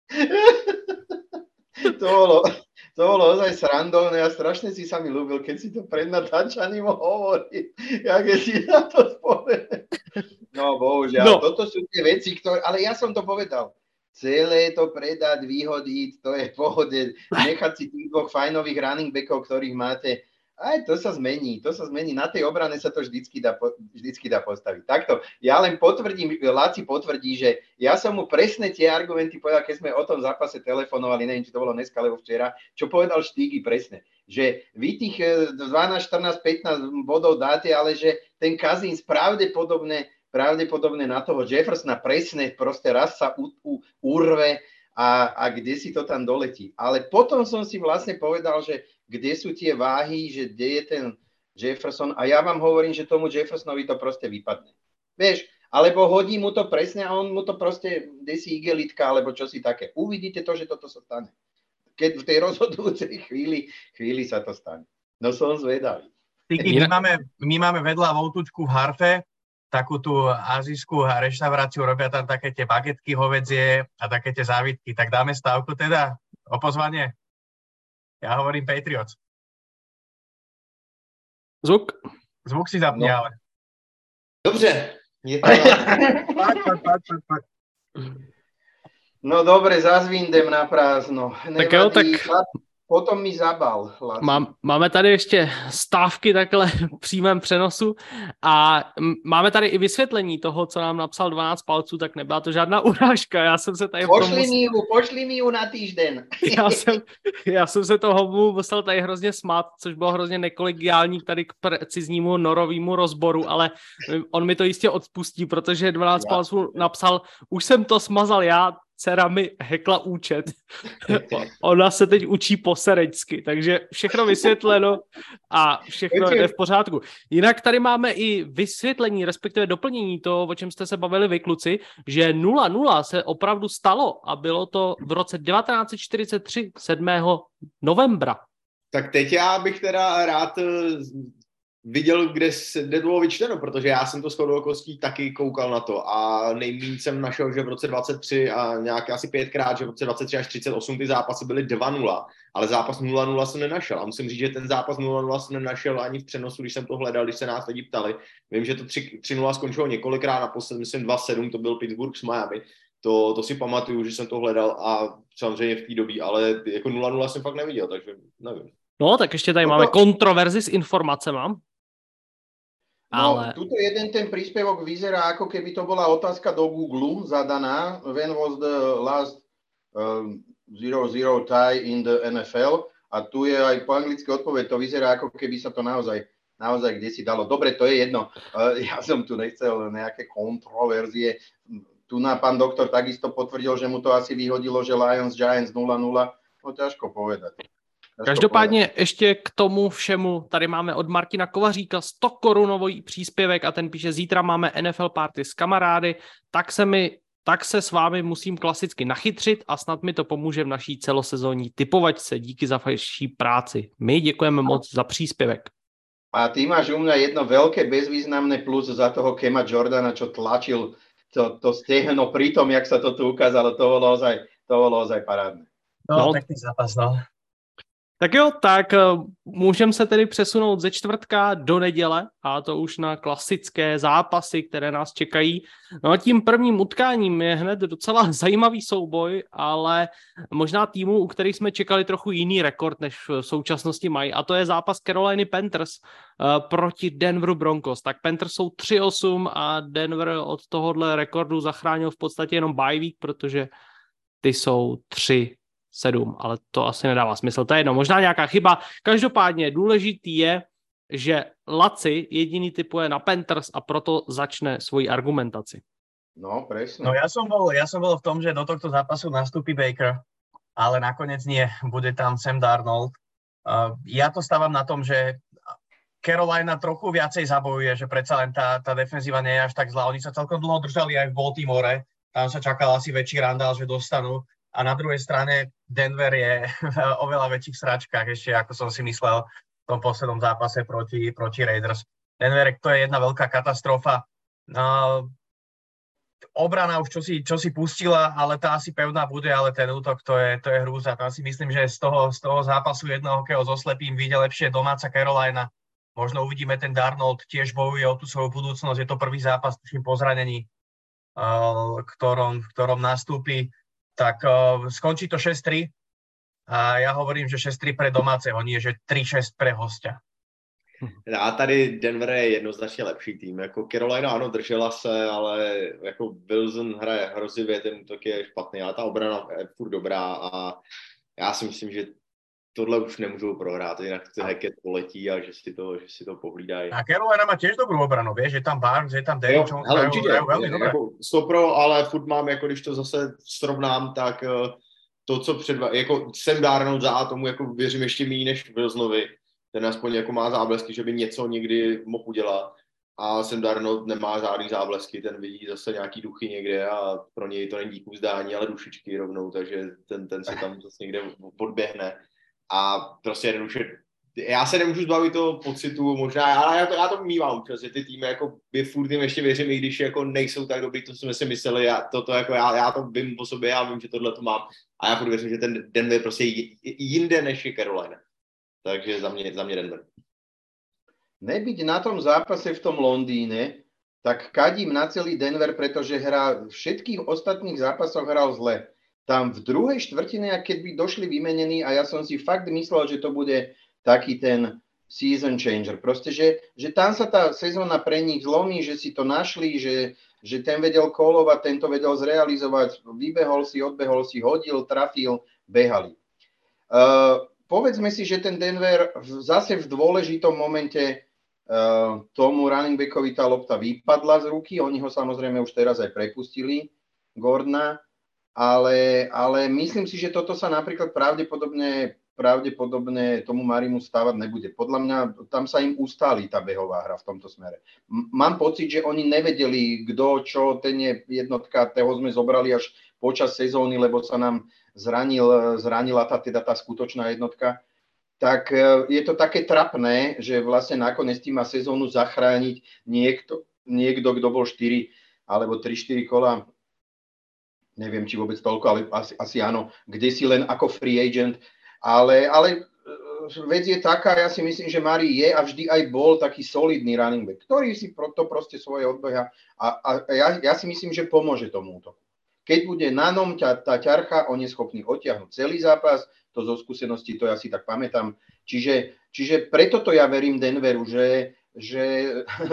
To bolo, to bolo ozaj srandovné a strašne si sa mi ľúbil, keď si to pred natáčaním hovorí, jak je si na to spomenul. No bohužiaľ, no. Toto sú tie veci, ktoré, ale ja som to povedal. Celé to predať, vyhodiť, to je v pohode. Nechať si tých dvoch fajnových running backov, ktorých máte Aj to sa zmení, to sa zmení. Na tej obrane sa to vždycky dá, vždycky dá postaviť. Takto, ja len potvrdím, Laci potvrdí, že ja som mu presne tie argumenty povedal, keď sme o tom zápase telefonovali, neviem, či to bolo dneska, alebo včera, čo povedal Štígy presne, že vy tých dvanásť, štrnásť, pätnásť bodov dáte, ale že ten Cousins pravdepodobne, pravdepodobne na toho Jeffersona presne proste raz sa u, u, urve a, a kde si to tam doletí. Ale potom som si vlastne povedal, že kde sú tie váhy, že kde je ten Jefferson a ja vám hovorím, že tomu Jeffersonovi to proste vypadne. Vieš, alebo hodí mu to presne a on mu to proste desí igelitka, alebo čo si také. Uvidíte to, že toto sa stane. Keď v tej rozhodujúcej chvíli, chvíli sa to stane. No som zvedavý. Tyky, my, máme, my máme vedľa Voltučku v Harfe, takú tú azijskú reštauráciu, robia tam také tie bagetky hovädzie a také tie závitky. Tak dáme stávku teda o pozvanie? Ja hovorím Patriots. Zvuk? Zvuk si zapni, no. Ale. Dobře. Je to... No dobre, zazvindem na prázdno. Tak jo, tak... Potom mi zabal. Mám, máme tady ještě stávky takhle v přímém přenosu a máme tady i vysvětlení toho, co nám napsal dvanáct palců, tak nebyla to žádná urážka. Já jsem se tady... Pošli mus... mi ju, pošli mi ju na týžden. Já jsem, já jsem se toho musel tady hrozně smát, což bylo hrozně nekolegiální tady k preciznímu norovému rozboru, ale on mi to jistě odpustí, protože dvanáct já. palců napsal, už jsem to smazal já, dcera mi hekla účet. Ona se teď učí posereďsky, takže všechno vysvětleno a všechno jde v pořádku. Jinak tady máme i vysvětlení, respektive doplnění toho, o čem jste se bavili vy, kluci, že nula nula se opravdu stalo a bylo to v roce devatenáct set čtyřicet tři, sedmého novembra. Tak teď já bych teda rád viděl, kde, se, kde bylo vyčteno, protože já jsem to shodou okolností taky koukal na to a nejméně jsem našel, že v roce dvacet tři a nějak asi pětkrát, že v roce dvacet tři až třicet osm ty zápasy byly dva nula, ale zápas nula nula jsem nenašel a musím říct, že ten zápas nula nula jsem nenašel ani v přenosu, když jsem to hledal, když se nás lidi ptali. Vím, že to tři nula skončilo několikrát, naposled myslím dva sedm, to byl Pittsburgh s Miami. To, to si pamatuju, že jsem to hledal a samozřejmě v té době, ale jako nula nula jsem fakt neviděl, takže nevím. No, tak ještě tady no, máme kontroverzi s informacemi. No, ale... tuto jeden ten príspevok vyzerá, ako keby to bola otázka do Google zadaná. When was the last um, zero zero tie in the N F L? A tu je aj po anglicky odpoveď. To vyzerá, ako keby sa to naozaj, naozaj kde si dalo. Dobre, to je jedno. Uh, ja som tu nechcel nejaké kontroverzie. Tu na pán doktor takisto potvrdil, že mu to asi vyhodilo, že Lions Giants nula nula. No ťažko povedať. Každopádně ještě k tomu všemu, tady máme od Martina Kovaříka sto korunový příspěvek a ten píše, zítra máme N F L party s kamarády, tak se, mi, tak se s vámi musím klasicky nachytřit a snad mi to pomůže v naší celosezónní typovačce. Díky za vaší práci. My děkujeme moc za příspěvek. A ty máš u mňa jedno veľké bezvýznamné plus za toho Kema Jordana, čo tlačil to, to stehno pri tom, jak sa to tu ukázalo, to bolo ozaj, to bolo ozaj parádne. No, no. Pekný zápas, no. Tak jo, tak můžeme se tedy přesunout ze čtvrtka do neděle a to už na klasické zápasy, které nás čekají. No a tím prvním utkáním je hned docela zajímavý souboj, ale možná týmu, u kterých jsme čekali trochu jiný rekord, než v současnosti mají, a to je zápas Caroliny Panthers uh, proti Denveru Broncos. Tak Panthers jsou tři osm a Denver od tohohle rekordu zachránil v podstatě jenom bye week, protože ty jsou tři sedm, ale to asi nedává smysl. To je jedno, možná nějaká chyba. Každopádně důležitý je, že Laci jediný typuje na Panthers a proto začne svoji argumentaci. No, presne. No ja som bol, ja som bol v tom, že do tohto zápasu nastúpi Baker, ale nakoniec nie, bude tam Sam Darnold. Uh, ja to stávam na tom, že Carolina trochu viacej zabojuje, že predsa len tá, tá defenzíva nie je až tak zlá. Oni sa celkom dlho držali aj v Baltimore, tam sa čakal asi väčší randál, že dostanú. A na druhej strane Denver je v oveľa väčších sračkách, ešte ako som si myslel v tom poslednom zápase proti, proti Raiders. Denver, to je jedna veľká katastrofa. Uh, obrana už čo si, čo si pustila, ale tá asi pevná bude, ale ten útok, to je, to je hrúza. Tam si myslím, že z toho, z toho zápasu jedného hokejho so slepým vyjde lepšie domáca Carolina. Možno uvidíme, ten Darnold tiež bojuje o tú svoju budúcnosť. Je to prvý zápas, tuším, po zranení, uh, ktorom, v ktorom nastúpi. Tak uh, skončí to šesť tri a ja hovorím, že šesť tri pre domáceho, nie že tri šesť pre hostia. A tady Denver je jednoznačně lepší tým. Jako Carolina, ano, držela se, ale jako Wilson hraje hrozivě, ten útok je špatný, ale ta obrana je furt dobrá a já si myslím, že tohle už nemůžou prohrát, jinak to Hackett poletí a že si to, že si to pohlídají. A Carolina má tiež dobrú obranu, vieš, že tam Barnes, že tam Derrick Jones hrajú, hrajú veľmi dobré. Jako stopro, ale furt mám, jako když to zase srovnám, tak to, co předva... jako Sam Darnold za tomu jako věřím ještě méně než Wilsonovi. Ten aspoň jako má záblesky, že by něco někdy mohl udělat. A Sam Darnold nemá žádný záblesky, ten vidí zase nějaký duchy někde a pro něj to není díku vzdání, ale dušičky rovnou, takže ten, ten se tam zase někde podběhne. A prostě jednoduše, já se nemůžu zbavit toho pocitu, možná, ale já to, já to mývám občas, že ty týmy jako by furt jim ještě věřím, i když jako nejsou tak dobrý, to jsme si mysleli, já, to, to jako já, já to vím po sobě, já vím, že tohle to mám a já furt věřím, že ten Denver prostě jinde než je Carolina. Takže za mě, za mě Denver. Nebyť na tom zápase v tom Londýne, tak kadím na celý Denver, pretože hrá v všetkých ostatných zápasoch hral zle. Tam v druhej štvrtine, keď by došli vymenení a ja som si fakt myslel, že to bude taký ten season changer. Proste, že, že tam sa tá sezóna pre nich zlomí, že si to našli, že, že ten vedel kolovať, ten to vedel zrealizovať, vybehol si, odbehol si, hodil, trafil, behali. Uh, povedzme si, že ten Denver zase v dôležitom momente uh, tomu running backovi tá lopta vypadla z ruky, oni ho samozrejme už teraz aj prepustili, Gordona, ale, ale myslím si, že toto sa napríklad pravdepodobne, pravdepodobne tomu Marimu stávať nebude. Podľa mňa tam sa im ustáli tá behová hra v tomto smere. M- mám pocit, že oni nevedeli, kto, čo, ten je jednotka, toho sme zobrali až počas sezóny, lebo sa nám zranil, zranila tá, teda tá skutočná jednotka. Tak je to také trapné, že vlastne nakoniec tým má sezónu zachrániť niekto, niekto, kto bol štyri alebo tri štyri kola, neviem, či vôbec toľko, ale asi, asi áno, kde si len ako free agent, ale, ale vec je taká, ja si myslím, že Mari je a vždy aj bol taký solidný running back, ktorý si to proste svoje odbeha a, a ja, ja si myslím, že pomôže tomu útoku. Keď bude na nom ťa, tá ťarcha, on je schopný odtiahnuť celý zápas, to zo skúseností, to ja si tak pamätám, čiže, čiže preto to ja verím Denveru, že, že,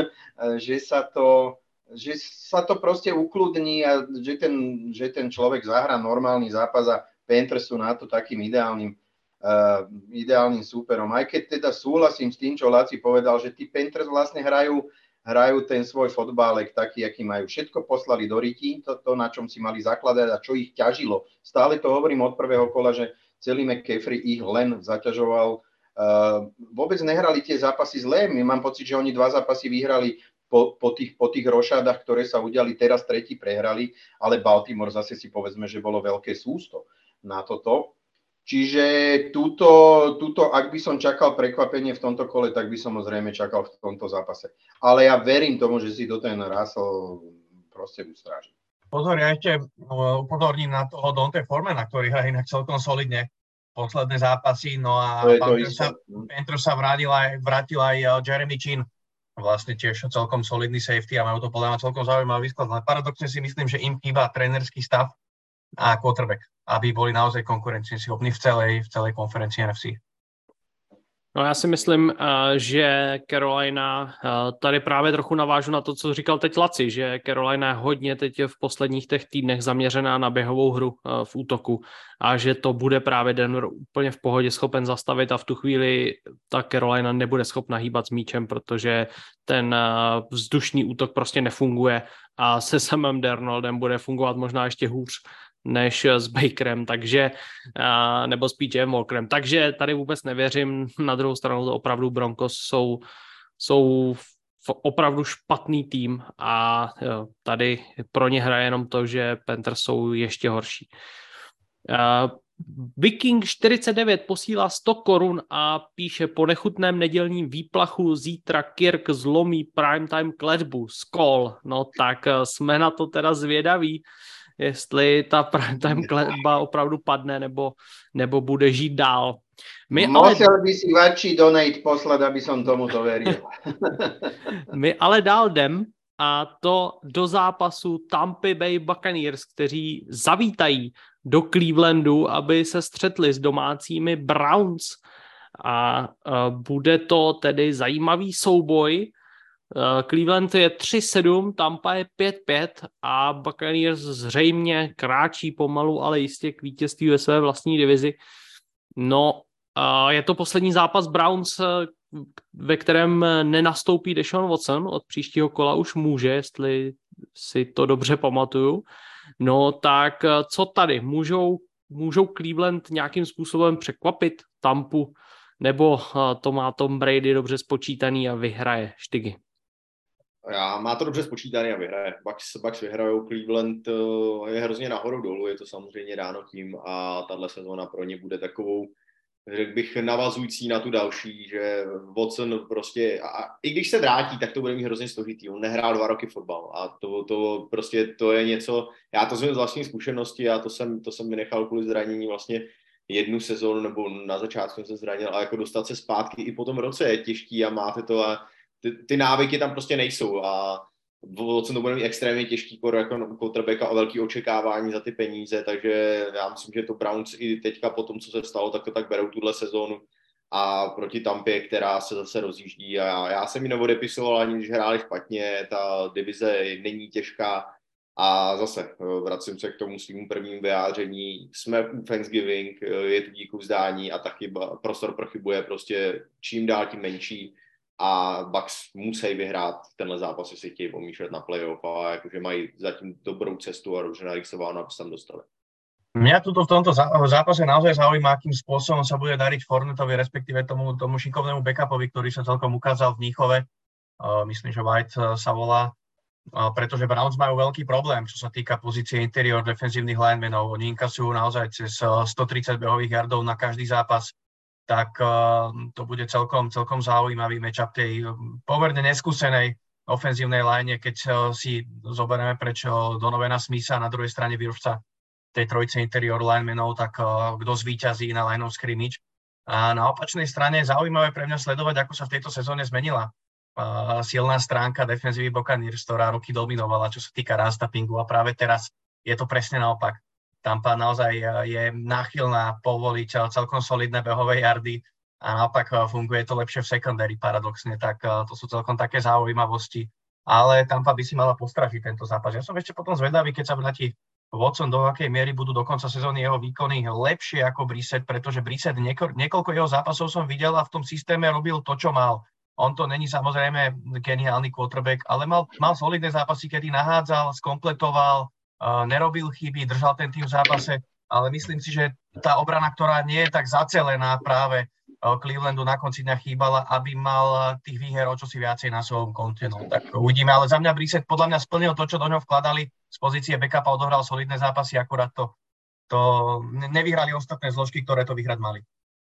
že sa to že sa to proste ukludní a že ten, že ten človek zahrá normálny zápas a Panthers sú na to takým ideálnym, uh, ideálnym súperom. Aj keď teda súhlasím s tým, čo Laci povedal, že tí Panthers vlastne hrajú, hrajú ten svoj fotbálek taký, aký majú. Všetko poslali do ryti, to, to, na čom si mali zakladať a čo ich ťažilo. Stále to hovorím od prvého kola, že celý McCaffrey ich len zaťažoval. Uh, vôbec nehrali tie zápasy zlé. Mám pocit, že oni dva zápasy vyhrali Po, po, tých, po tých rošádach, ktoré sa udiali, teraz tretí prehrali, ale Baltimore zase si povedzme, že bolo veľké sústo na toto. Čiže túto, túto, ak by som čakal prekvapenie v tomto kole, tak by som ho zrejme čakal v tomto zápase. Ale ja verím tomu, že si to ten Russell proste ustráži. Pozor, ja ešte upozorním na toho Dante Formana, ktorý hrá inak celkom solidne posledné zápasy, no a Panthers sa vrátil aj, vrátil aj Jeremy Chin, vlastne tiež celkom solidný safety a majú to podľa mňa celkom zaujímavý výsklad. Ale paradoxne si myslím, že im chýba trénerský stav a quarterback, aby boli naozaj konkurencieschopní v celej, v celej konferencii N F C. No já si myslím, že Carolina, tady právě trochu navážu na to, co říkal teď Laci, že Carolina je hodně teď v posledních těch týdnech zaměřená na běhovou hru v útoku a že to bude právě Denver úplně v pohodě schopen zastavit a v tu chvíli ta Carolina nebude schopna hýbat s míčem, protože ten vzdušný útok prostě nefunguje a se Samem Darnoldem bude fungovat možná ještě hůř než s Bakerem, takže, nebo s P J Walkerem. Takže tady vůbec nevěřím. Na druhou stranu to opravdu Broncos jsou, jsou opravdu špatný tým a jo, tady pro ně hraje jenom to, že Panthers jsou ještě horší. Uh, Viking čtyřicet devět posílá sto korun a píše: po nechutném nedělním výplachu zítra Kirk zlomí primetime kletbu. Skol. No tak jsme na to teda zvědaví, jestli ta primetime kletba opravdu padne, nebo, nebo bude žít dál. My Musel ale... by si väčší donate poslať, aby som tomu to veril. My ale dál jdem, a to do zápasu Tampa Bay Buccaneers, kteří zavítají do Clevelandu, aby se střetli s domácími Browns. a bude to tedy zajímavý souboj. Cleveland je tři sedm, Tampa je pět pět a Buccaneers zřejmě kráčí pomalu, ale jistě k vítězství ve své vlastní divizi. No, je to poslední zápas Browns, ve kterém nenastoupí Deshaun Watson, od příštího kola už může, jestli si to dobře pamatuju. No tak co tady? Můžou, můžou Cleveland nějakým způsobem překvapit Tampu, nebo to má Tom Brady dobře spočítaný a vyhraje Štygy? Já, má to dobře spočítaný a vyhraje. Bucks, Bucks vyhrajou, Cleveland je hrozně nahoru dolů, je to samozřejmě dáno tím a tahle sezóna pro ně bude takovou, řekl bych, navazující na tu další, že Watson prostě, a i když se vrátí, tak to bude mít hrozně složitý. On nehrál dva roky fotbal a to, to prostě to je něco, já to znám z vlastní zkušenosti, já to jsem, to jsem vynechal kvůli zranění vlastně jednu sezónu, nebo na začátku jsem se zranil, a jako dostat se zpátky i po tom roce je těžký a máte to a ty, ty návyky tam prostě nejsou a Watson to bude mít extrémně těžký kor jako quarterbacka a velký očekávání za ty peníze, takže já myslím, že to Browns i teďka po tom, co se stalo, tak to tak berou tuhle sezónu a proti Tampě, která se zase rozjíždí a já, já jsem ji neodepisoval ani když hráli špatně, ta divize není těžká a zase vracím se k tomu svým prvním vyjádření, jsme u Thanksgiving, je tu díku vzdání a taky prostor pro chybu je prostě čím dál tím menší. A Bucks musí vyhrát tenhle zápas, jestli chtějí pomýšlet na playoff a jakože mají zatím dobrou cestu a dobře narýsováno, aby se tam dostali. Mňa tuto v tomto zápase naozaj zaujíma, akým spôsobom sa bude dariť Fournettovi, respektíve tomu, tomu šikovnému backupovi, ktorý sa celkom ukázal v Mníchove. Uh, myslím, že White uh, sa volá, uh, pretože Browns majú veľký problém, čo sa týka pozície interior defenzívnych linemenov. Oni inkasujú naozaj cez uh, stotridsať behových yardov na každý zápas. Tak uh, to bude celkom, celkom zaujímavý matchup tej pomerne neskúsenej ofenzívnej line, keď uh, si zoberieme preč Donovana Smitha, na druhej strane výrobca tej trojice interior linemenov, tak uh, kto zvíťazí na line of scrimmage. A na opačnej strane zaujímavé pre mňa sledovať, ako sa v tejto sezóne zmenila uh, silná stránka defenzívy Buccaneers, ktorá roky dominovala, čo sa týka run-stoppingu a práve teraz je to presne naopak. Tampa naozaj je náchylná povoliť celkom solidné behové yardy a naopak funguje to lepšie v secondary paradoxne, tak to sú celkom také zaujímavosti. Ale Tampa by si mala postražiť tento zápas. Ja som ešte potom zvedavý, keď sa vráti Watson, do akej miery budú do konca sezóny jeho výkony lepšie ako Brissett, pretože Brissett nieko, niekoľko jeho zápasov som videl a v tom systéme robil to, čo mal. On to není samozrejme geniálny quarterback, ale mal, mal solidné zápasy, kedy nahádzal, skompletoval, Uh, nerobil chyby, držal ten tým v zápase, ale myslím si, že tá obrana, ktorá nie je tak zacelená práve uh, Clevelandu na konci dňa chýbala, aby mal tých výher o čosi viacej na svojom konte. No, tak uvidíme, ale za mňa Brissett podľa mňa splnil to, čo do ňoho vkladali. Z pozície backupa odohral solidné zápasy, akurát to, to nevyhrali ostatné zložky, ktoré to vyhrať mali.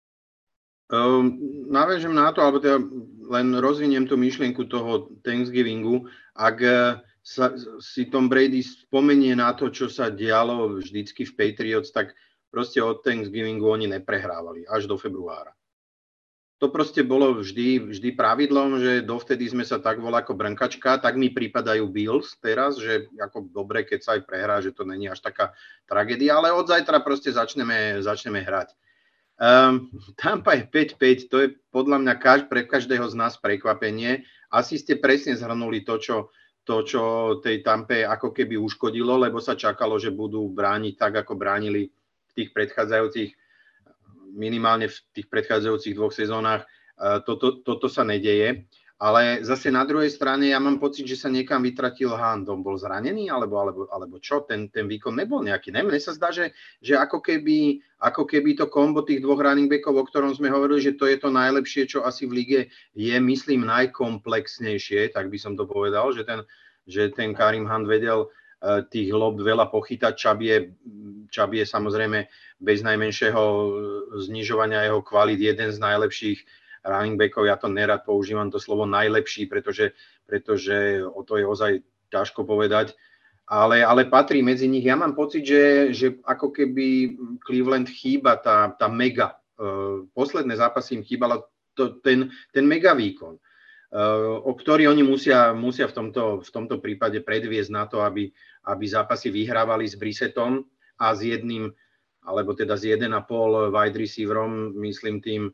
Um, naviažem na to, alebo teda len rozviniem tú myšlienku toho Thanksgivingu. Ak sa, si Tom Brady spomenie na to, čo sa dialo vždycky v Patriots, tak proste od Thanksgivingu oni neprehrávali až do februára. To proste bolo vždy, vždy pravidlom, že dovtedy sme sa tak volali ako brnkačka, tak mi pripadajú Bills teraz, že ako dobre, keď sa aj prehrá, že to není až taká tragédia, ale od zajtra proste začneme, začneme hrať. Um, Tampa je päť päť, to je podľa mňa kaž, pre každého z nás prekvapenie. Asi ste presne zhrnuli to, čo to, čo tej Tampe ako keby uškodilo, lebo sa čakalo, že budú brániť tak, ako bránili v tých predchádzajúcich, minimálne v tých predchádzajúcich dvoch sezónach. Toto, toto sa nedeje. Ale zase na druhej strane ja mám pocit, že sa niekam vytratil Hunt. On bol zranený, alebo, alebo, alebo čo? Ten, ten výkon nebol nejaký. Ne? Mne sa zdá, že, že ako, keby, ako keby to kombo tých dvoch running backov, o ktorom sme hovorili, že to je to najlepšie, čo asi v lige je, myslím, najkomplexnejšie, tak by som to povedal, že ten, že ten Kareem Hunt vedel uh, tých lob veľa pochytať. Chubb je, Chubb je samozrejme bez najmenšieho znižovania jeho kvalít jeden z najlepších running backov, ja to nerad používam to slovo najlepší, pretože, pretože o to je ozaj ťažko povedať, ale, ale patrí medzi nich. Ja mám pocit, že, že ako keby Cleveland chýba tá, tá mega. Uh, posledné zápasy im chýbala to, ten, ten mega výkon, uh, o ktorý oni musia, musia v, tomto, v tomto prípade predviesť na to, aby, aby zápasy vyhrávali s Brissettom a s jedným, alebo teda s jeden a pol wide receiverom, myslím tým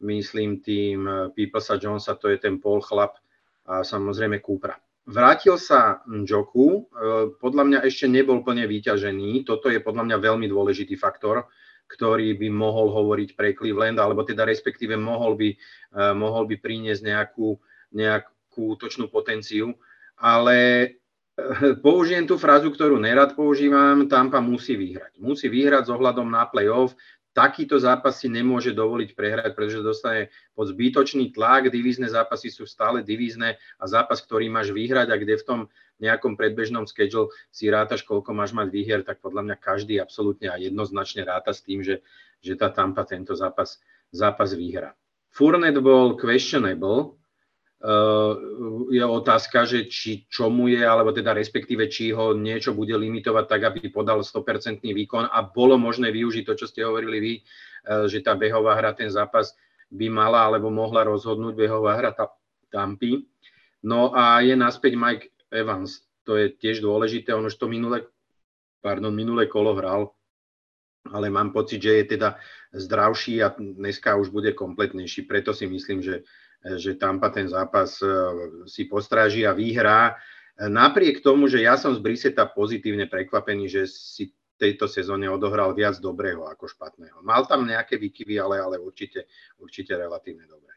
myslím tým Peoplesa Jonesa, to je ten Paul chlap a samozrejme Coopera. Vrátil sa Njoku, podľa mňa ešte nebol plne vyťažený, toto je podľa mňa veľmi dôležitý faktor, ktorý by mohol hovoriť pre Cleveland, alebo teda respektíve mohol by, mohol by priniesť nejakú, nejakú útočnú potenciu, ale použijem tú frázu, ktorú nerad používam, Tampa musí vyhrať. Musí vyhrať s ohľadom na play-off. Takýto zápas si nemôže dovoliť prehrať, pretože dostane pod zbytočný tlak, divízne zápasy sú stále divízne a zápas, ktorý máš vyhrať a kde v tom nejakom predbežnom schedule si rátaš, koľko máš mať výhier, tak podľa mňa každý absolútne a jednoznačne ráta s tým, že, že tá Tampa tento zápas, zápas vyhrá. Fournette bol questionable, Uh, je otázka, že či čomu je, alebo teda respektíve, či ho niečo bude limitovať tak, aby podal sto percent výkon a bolo možné využiť to, čo ste hovorili vy, uh, že tá behová hra, ten zápas by mala alebo mohla rozhodnúť behová hra Tampy. No a je naspäť Mike Evans, to je tiež dôležité, on už to minulé, pardon, minulé kolo hral, ale mám pocit, že je teda zdravší a dneska už bude kompletnejší, preto si myslím, že že Tampa ten zápas si postráži a vyhrá. Napriek tomu, že ja som z Brissetta pozitívne prekvapený, že si tejto sezóne odohral viac dobrého ako špatného. Mal tam nejaké výkyvy, ale, ale určite, určite relatívne dobré.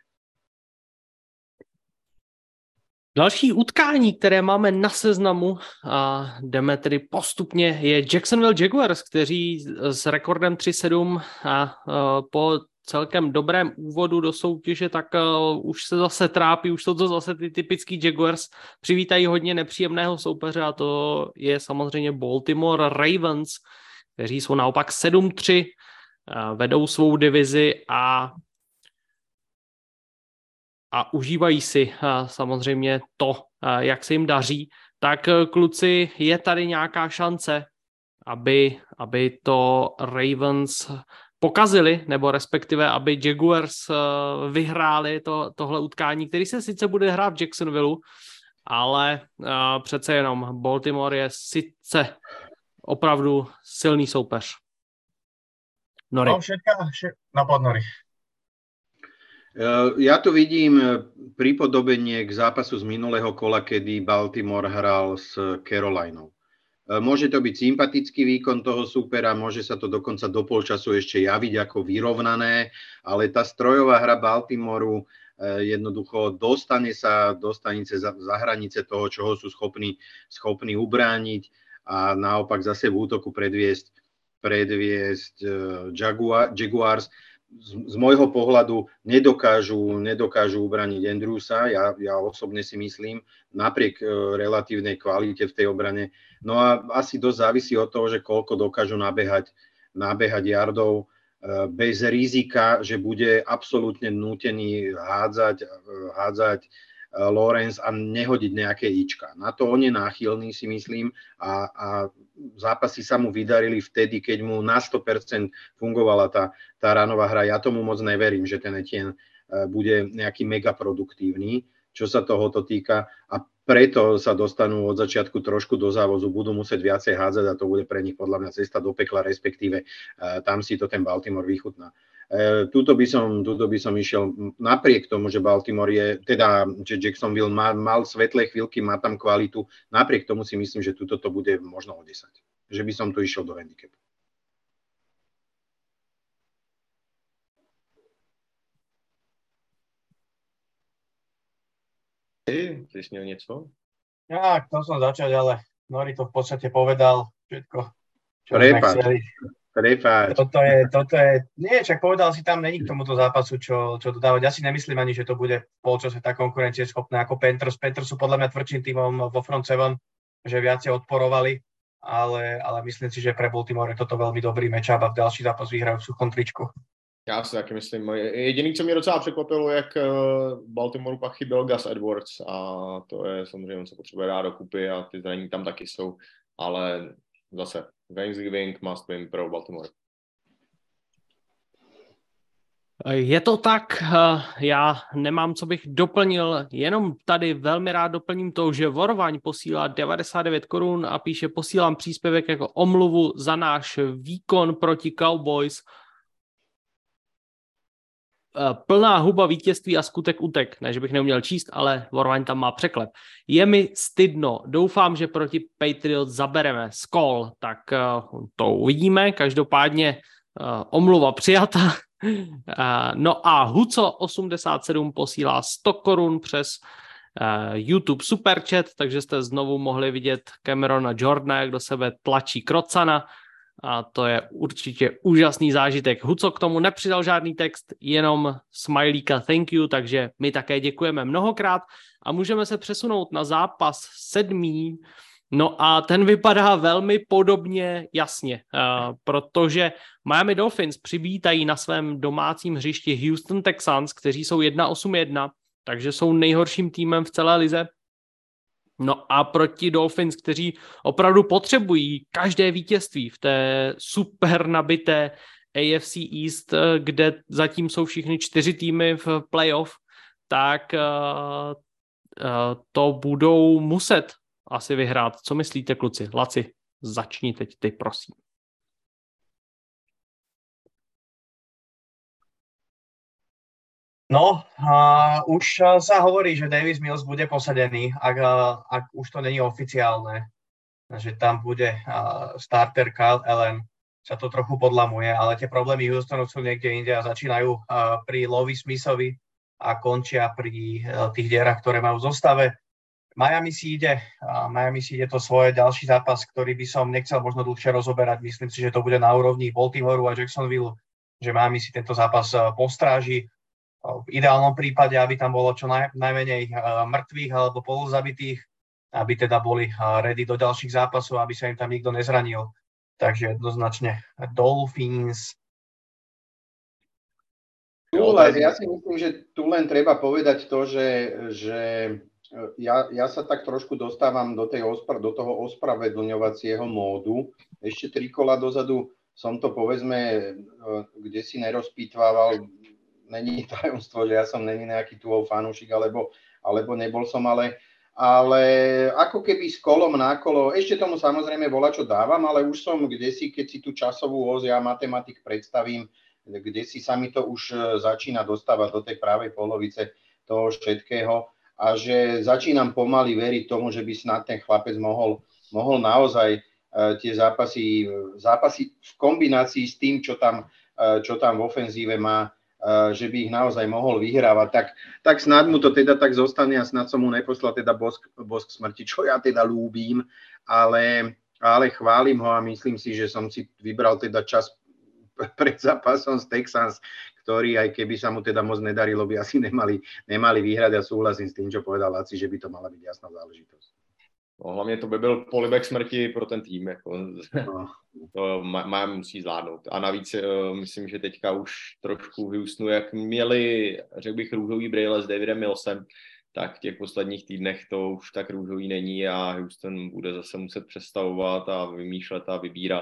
Další utkání, které máme na seznamu a jdeme tedy postupně, je Jacksonville Jaguars, kteří s rekordem tři sedm a po celkem dobrém úvodu do soutěže, tak uh, už se zase trápí, už jsou to zase ty typický Jaguars, přivítají hodně nepříjemného soupeře a to je samozřejmě Baltimore Ravens, kteří jsou naopak sedm tři, uh, vedou svou divizi a a užívají si uh, samozřejmě to, uh, jak se jim daří, tak uh, kluci, je tady nějaká šance, aby, aby to Ravens pokazili, nebo respektive, aby Jaguars vyhráli to, tohle utkání, který se sice bude hrát v Jacksonville, ale uh, přece jenom Baltimore je sice opravdu silný soupeř. Nori. No, všetka, všetka, no, Nori. Ja tu vidím pripodobenie k zápasu z minulého kola, kedy Baltimore hral s Carolinou. Môže to byť sympatický výkon toho súpera, môže sa to dokonca do polčasu ešte javiť ako vyrovnané, ale tá strojová hra Baltimoru jednoducho dostane sa, dostane sa za hranice toho, čoho sú schopní, schopní ubrániť a naopak zase v útoku predviesť, predviesť Jaguar, Jaguars. Z, z môjho pohľadu nedokážu, nedokážu ubraniť Andrewsa, ja, ja osobne si myslím, napriek e, relatívnej kvalite v tej obrane. No a asi dosť závisí od toho, že koľko dokážu nabehať, nabehať yardov e, bez rizika, že bude absolútne nútený hádzať, hádzať e, Lawrence a nehodiť nejaké ička. Na to on je náchylný, si myslím, a, a zápasy sa mu vydarili vtedy, keď mu na sto percent fungovala tá, tá ranová hra. Ja tomu moc neverím, že ten Etienne bude nejaký mega produktívny, čo sa tohoto týka a preto sa dostanú od začiatku trošku do závozu, budú musieť viacej hádzať a to bude pre nich podľa mňa cesta do pekla, respektíve tam si to ten Baltimore vychutná. Tuto by som, tuto by som išiel napriek tomu, že Baltimore je, teda, že Jacksonville má, mal svetlé chvíľky, má tam kvalitu, napriek tomu si myslím, že tuto to bude možno o desať. Že by som tu išiel do handicapu. Ty, ty si měl něco? Ja, chcel som začať, ale Nori to v podstate povedal všetko, čo sme chceli. Prepáč. Toto je, toto je, nie, čak povedal si tam, není k tomuto zápasu, čo, čo dodávať. Ja si nemyslím ani, že to bude v polčase tak konkurencieschopné ako Panthers. Panthers sú podľa mňa tvrdším tímom vo front seven, že viacej odporovali, ale, ale myslím si, že pre Baltimore je toto veľmi dobrý matchup a v ďalší zápas vyhrajú v suchom tričku. Já si taky myslím. Jediný, co mě docela překvapilo, jak Baltimoreu pak chyběl Gus Edwards a to je samozřejmě, on se potřebuje dát dokupy a ty zranění tam taky jsou, ale zase Thanksgiving must win pro Baltimore. Je to tak, já nemám, co bych doplnil, jenom tady velmi rád doplním to, že Vorvaň posílá devadesát devět korun a píše, posílám příspěvek jako omluvu za náš výkon proti Cowboys. plná huba vítězství a skutek utek. Ne, že bych neuměl číst, ale Vorvaň tam má překlep. Je mi stydno. Doufám, že proti Patriots zabereme skol. Tak uh, to uvidíme. Každopádně uh, omluva přijata. uh, no a Huco osmdesát sedm posílá sto korun přes uh, YouTube Superchat, takže jste znovu mohli vidět Camerona Jordana, jak do sebe tlačí Krocana. A to je určitě úžasný zážitek. Huco k tomu nepřidal žádný text, jenom smajlíka thank you, takže my také děkujeme mnohokrát a můžeme se přesunout na zápas sedmý. No a ten vypadá velmi podobně jasně, uh, protože Miami Dolphins přivítají na svém domácím hřišti Houston Texans, kteří jsou jedna osm jedna, takže jsou nejhorším týmem v celé lize. No a proti Dolphins, kteří opravdu potřebují každé vítězství v té super nabité A F C East, kde zatím jsou všichni čtyři týmy v playoff, tak uh, uh, to budou muset asi vyhrát. Co myslíte, kluci? Laci, začni teď ty, prosím. No, uh, už uh, sa hovorí, že Davis Mills bude posadený, ak, uh, ak už to není oficiálne, že tam bude uh, starter Kyle Allen, sa to trochu podlamuje, ale tie problémy Houstonu sú niekde inde a začínajú uh, pri Lovie Smithovi a končia pri uh, tých dierach, ktoré majú v zostave. Miami si ide, uh, Miami si ide to svoje ďalší zápas, ktorý by som nechcel možno dlhšie rozoberať. Myslím si, že to bude na úrovni Baltimoreu a Jacksonville, že Miami si tento zápas uh, postráži. V ideálnom prípade, aby tam bolo čo naj, najmenej uh, mŕtvych alebo polozabitých, aby teda boli uh, ready do ďalších zápasov, aby sa im tam nikto nezranil. Takže jednoznačne Dolphins. Tu len, ja si myslím, že tu len treba povedať to, že, že ja, ja sa tak trošku dostávam do, tej ospra, do toho ospravedlňovacieho módu. Ešte tri kola dozadu som to povedzme, kde si nerozpýtvával. Není tajomstvo, že ja som není nejaký túhov fanúšik, alebo, alebo nebol som, ale, ale ako keby s kolom na kolo, ešte tomu samozrejme volá, čo dávam, ale už som kdesi, keď si tú časovú os, ja matematik predstavím, kde si sa mi to už začína dostávať do tej pravej polovice toho všetkého a že začínam pomaly veriť tomu, že by snad ten chlapec mohol, mohol naozaj uh, tie zápasy, zápasy v kombinácii s tým, čo tam, uh, čo tam v ofenzíve má, že by ich naozaj mohol vyhrávať, tak, tak snad mu to teda tak zostane a snad som mu neposlal teda bosk, bosk smrti, čo ja teda ľúbim, ale, ale chválim ho a myslím si, že som si vybral teda čas pred zápasom s Texans, ktorý aj keby sa mu teda moc nedarilo, by asi nemali, nemali vyhrať a súhlasím s tým, čo povedal Laci, že by to mala byť jasná záležitosť. No, hlavně to by byl polibek smrti pro ten tým. Jako. No. To Miami musí zvládnout. A navíc uh, myslím, že teďka už trošku v Houstonu, jak měli, řekl bych, růžový brýle s Davidem Millsem, tak v těch posledních týdnech to už tak růžový není a Houston bude zase muset přestavovat a vymýšlet a vybírat.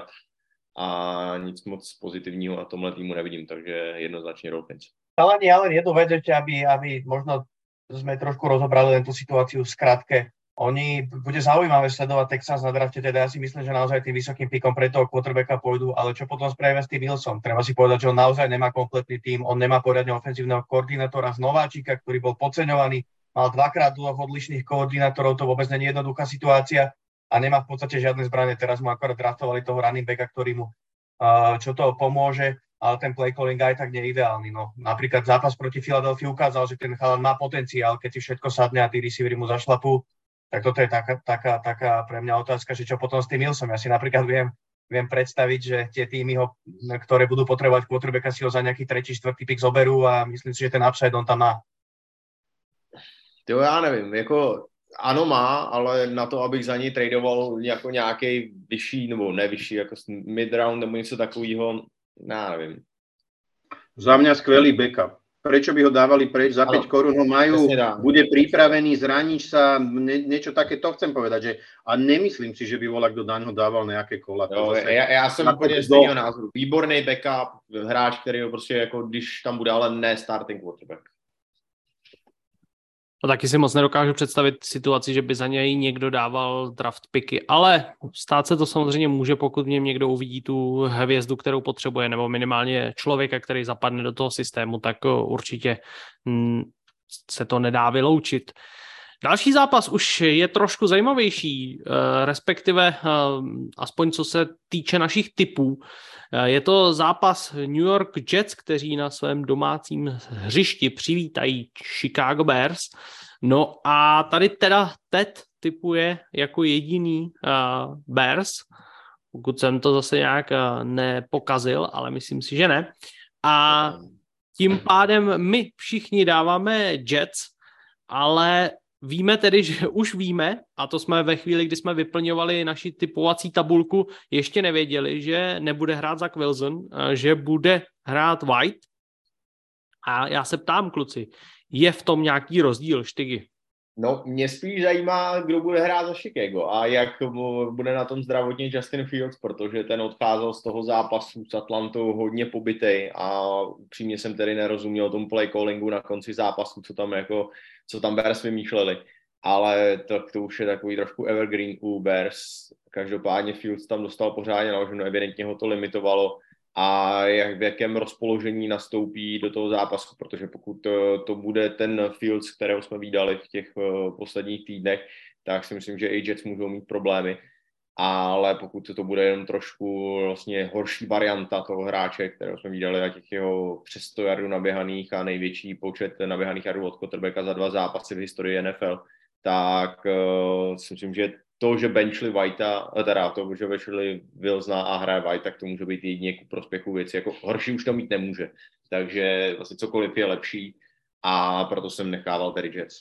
A nic moc pozitivního na tomhle týmu nevidím, takže jednoznačně Dolphins. Ale nie, ale jednu vec ešte, aby, aby možno sme trošku rozobrali len tú situáciu v skratke. Oni, bude zaujímavé sledovať Texans na drafte, teda ja si myslím, že naozaj tým vysokým píkom pre toho quarterbacka pôjdu, ale čo potom spravíme s tým Wilson? Treba si povedať, že on naozaj nemá kompletný tím, on nemá poriadne ofenzívneho koordinátora z nováčika, ktorý bol podceňovaný, mal dvakrát dvoch odlišných koordinátorov, to vôbec nie je jednoduchá situácia a nemá v podstate žiadne zbranie. Teraz mu akorát draftovali toho running backa, ktorý mu uh, čo to pomôže, ale ten play calling aj tak nie je ideálny. No, napríklad zápas proti Philadelphii ukázal, že ten chalan má potenciál, keď si všetko sadne a tí receivery mu zašlapú. Tak toto je taká, taká, taká pre mňa otázka, že čo potom s tým Millsom. Ja si napríklad viem, viem predstaviť, že tie týmy, ho, ktoré budú potrebovať quarterbacka, si ho za nejaký tretí, štvrtý pick zoberú a myslím si, že ten upside on tam má. Jo, já nevím, jako ano má, ale na to, abych za něj tradoval jako nějaký vyšší, nebo ne vyšší, jako mid-round nebo něco takového, já nevím. Za mňa skvelý backup. Prečo by ho dávali preč? Za päť korún ho majú, bude pripravený, zraníš sa, nie, niečo také, to chcem povedať, že a nemyslím si, že by volak do daňho dával nejaké kola. Jo, zase, já, já jsem úplně stejného názoru. Výborný backup, hráč, který ho prostě jako, když tam bude, ale ne starting quarterback. A taky si moc nedokážu představit situaci, že by za něj někdo dával draft picky, ale stát se to samozřejmě může, pokud v něm někdo uvidí tu hvězdu, kterou potřebuje, nebo minimálně člověka, který zapadne do toho systému, tak určitě se to nedá vyloučit. Další zápas už je trošku zajímavější, respektive aspoň co se týče našich tipů. Je to zápas New York Jets, kteří na svém domácím hřišti přivítají Chicago Bears. No a tady teda Ted tipuje jako jediný uh, Bears, pokud jsem to zase nějak uh, nepokazil, ale myslím si, že ne. A tím pádem my všichni dáváme Jets, ale víme tedy, že už víme, a to jsme ve chvíli, kdy jsme vyplňovali naši typovací tabulku, ještě nevěděli, že nebude hrát Zach Wilson, že bude hrát White. A já se ptám, kluci, je v tom nějaký rozdíl, Štygy? No, mě spíš zajímá, kdo bude hrát za Chicago a jak bude na tom zdravotně Justin Fields, protože ten odcházel z toho zápasu s Atlantou hodně pobytej a upřímně jsem tedy nerozuměl tomu play callingu na konci zápasu, co tam jako, co tam Bears vymýšleli. Ale to, to už je takový trošku evergreen u Bears. Každopádně Fields tam dostal pořádně naloženo, evidentně ho to limitovalo a jak, v jakém rozpoložení nastoupí do toho zápasu, protože pokud to, to bude ten Fields, kterého jsme viděli v těch uh, posledních týdnech, tak si myslím, že i Jets můžou mít problémy. Ale pokud to bude jenom trošku vlastně horší varianta toho hráče, kterého jsme viděli na těch jeho přes sto jardů naběhaných a největší počet naběhaných jardů od quarterbacka za dva zápasy v historii N F L, tak uh, si myslím, že to, že benchli Whitea, teda to, že benchli Wilsona a hraje White, tak to může být jedině ku prospěchu věci. Jako horší už to mít nemůže. Takže vlastně cokoliv je lepší a proto jsem nechával tedy Jets.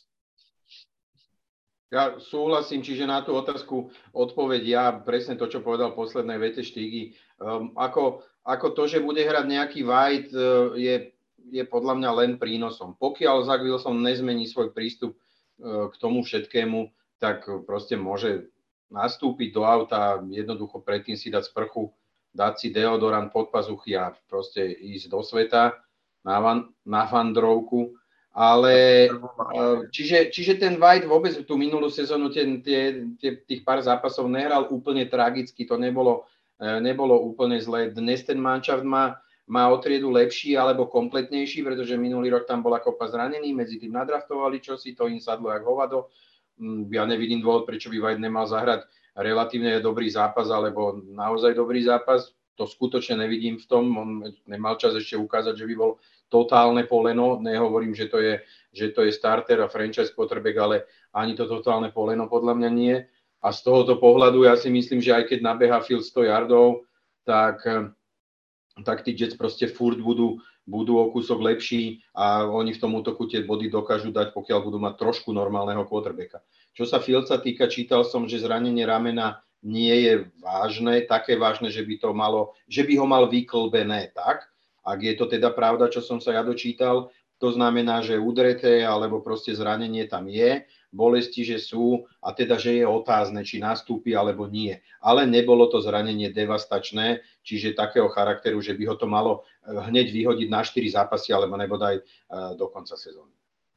Ja súhlasím, čiže na tú otázku odpoveď ja presne to, čo povedal v poslednej vete Štygy. Um, ako, ako to, že bude hrať nejaký White, uh, je, je podľa mňa len prínosom. Pokiaľ Zach Wilson nezmení svoj prístup uh, k tomu všetkému, tak proste môže nastúpiť do auta, jednoducho predtým si dať sprchu, dať si deodorant pod pazuchy a proste ísť do sveta na, van, na vandrovku. Ale čiže, čiže ten White vôbec tú minulú sezónu tie, tie, tie, tých pár zápasov nehral úplne tragicky, to nebolo, nebolo úplne zlé. Dnes ten manšaft má, má o triedu lepší alebo kompletnejší, pretože minulý rok tam bola kopa zranený, medzi tým nadraftovali čosi, to im sadlo jak hovado. Ja nevidím dôvod, prečo by White nemal zahrať relatívne dobrý zápas alebo naozaj dobrý zápas. To skutočne nevidím v tom, on nemal čas ešte ukázať, že by bol totálne poleno, nehovorím, že to je, že to je starter a franchise quarterback, ale ani to totálne poleno podľa mňa nie. A z tohoto pohľadu ja si myslím, že aj keď nabeha Field sto yardov, tak, tak tí Jets proste furt budú, budú o kúsok lepší a oni v tom útoku tie body dokážu dať, pokiaľ budú mať trošku normálneho quarterbacka. Čo sa Fieldsa týka, čítal som, že zranenie ramena nie je vážne, také vážne, že by to malo, že by ho mal vyklbené tak. Ak je to teda pravda, čo som sa ja dočítal, to znamená, že udreté alebo proste zranenie tam je, bolesti, že sú a teda, že je otázne, či nastúpi alebo nie. Ale nebolo to zranenie devastačné, čiže takého charakteru, že by ho to malo hneď vyhodiť na štyri zápasy alebo nebodaj do konca sezóny.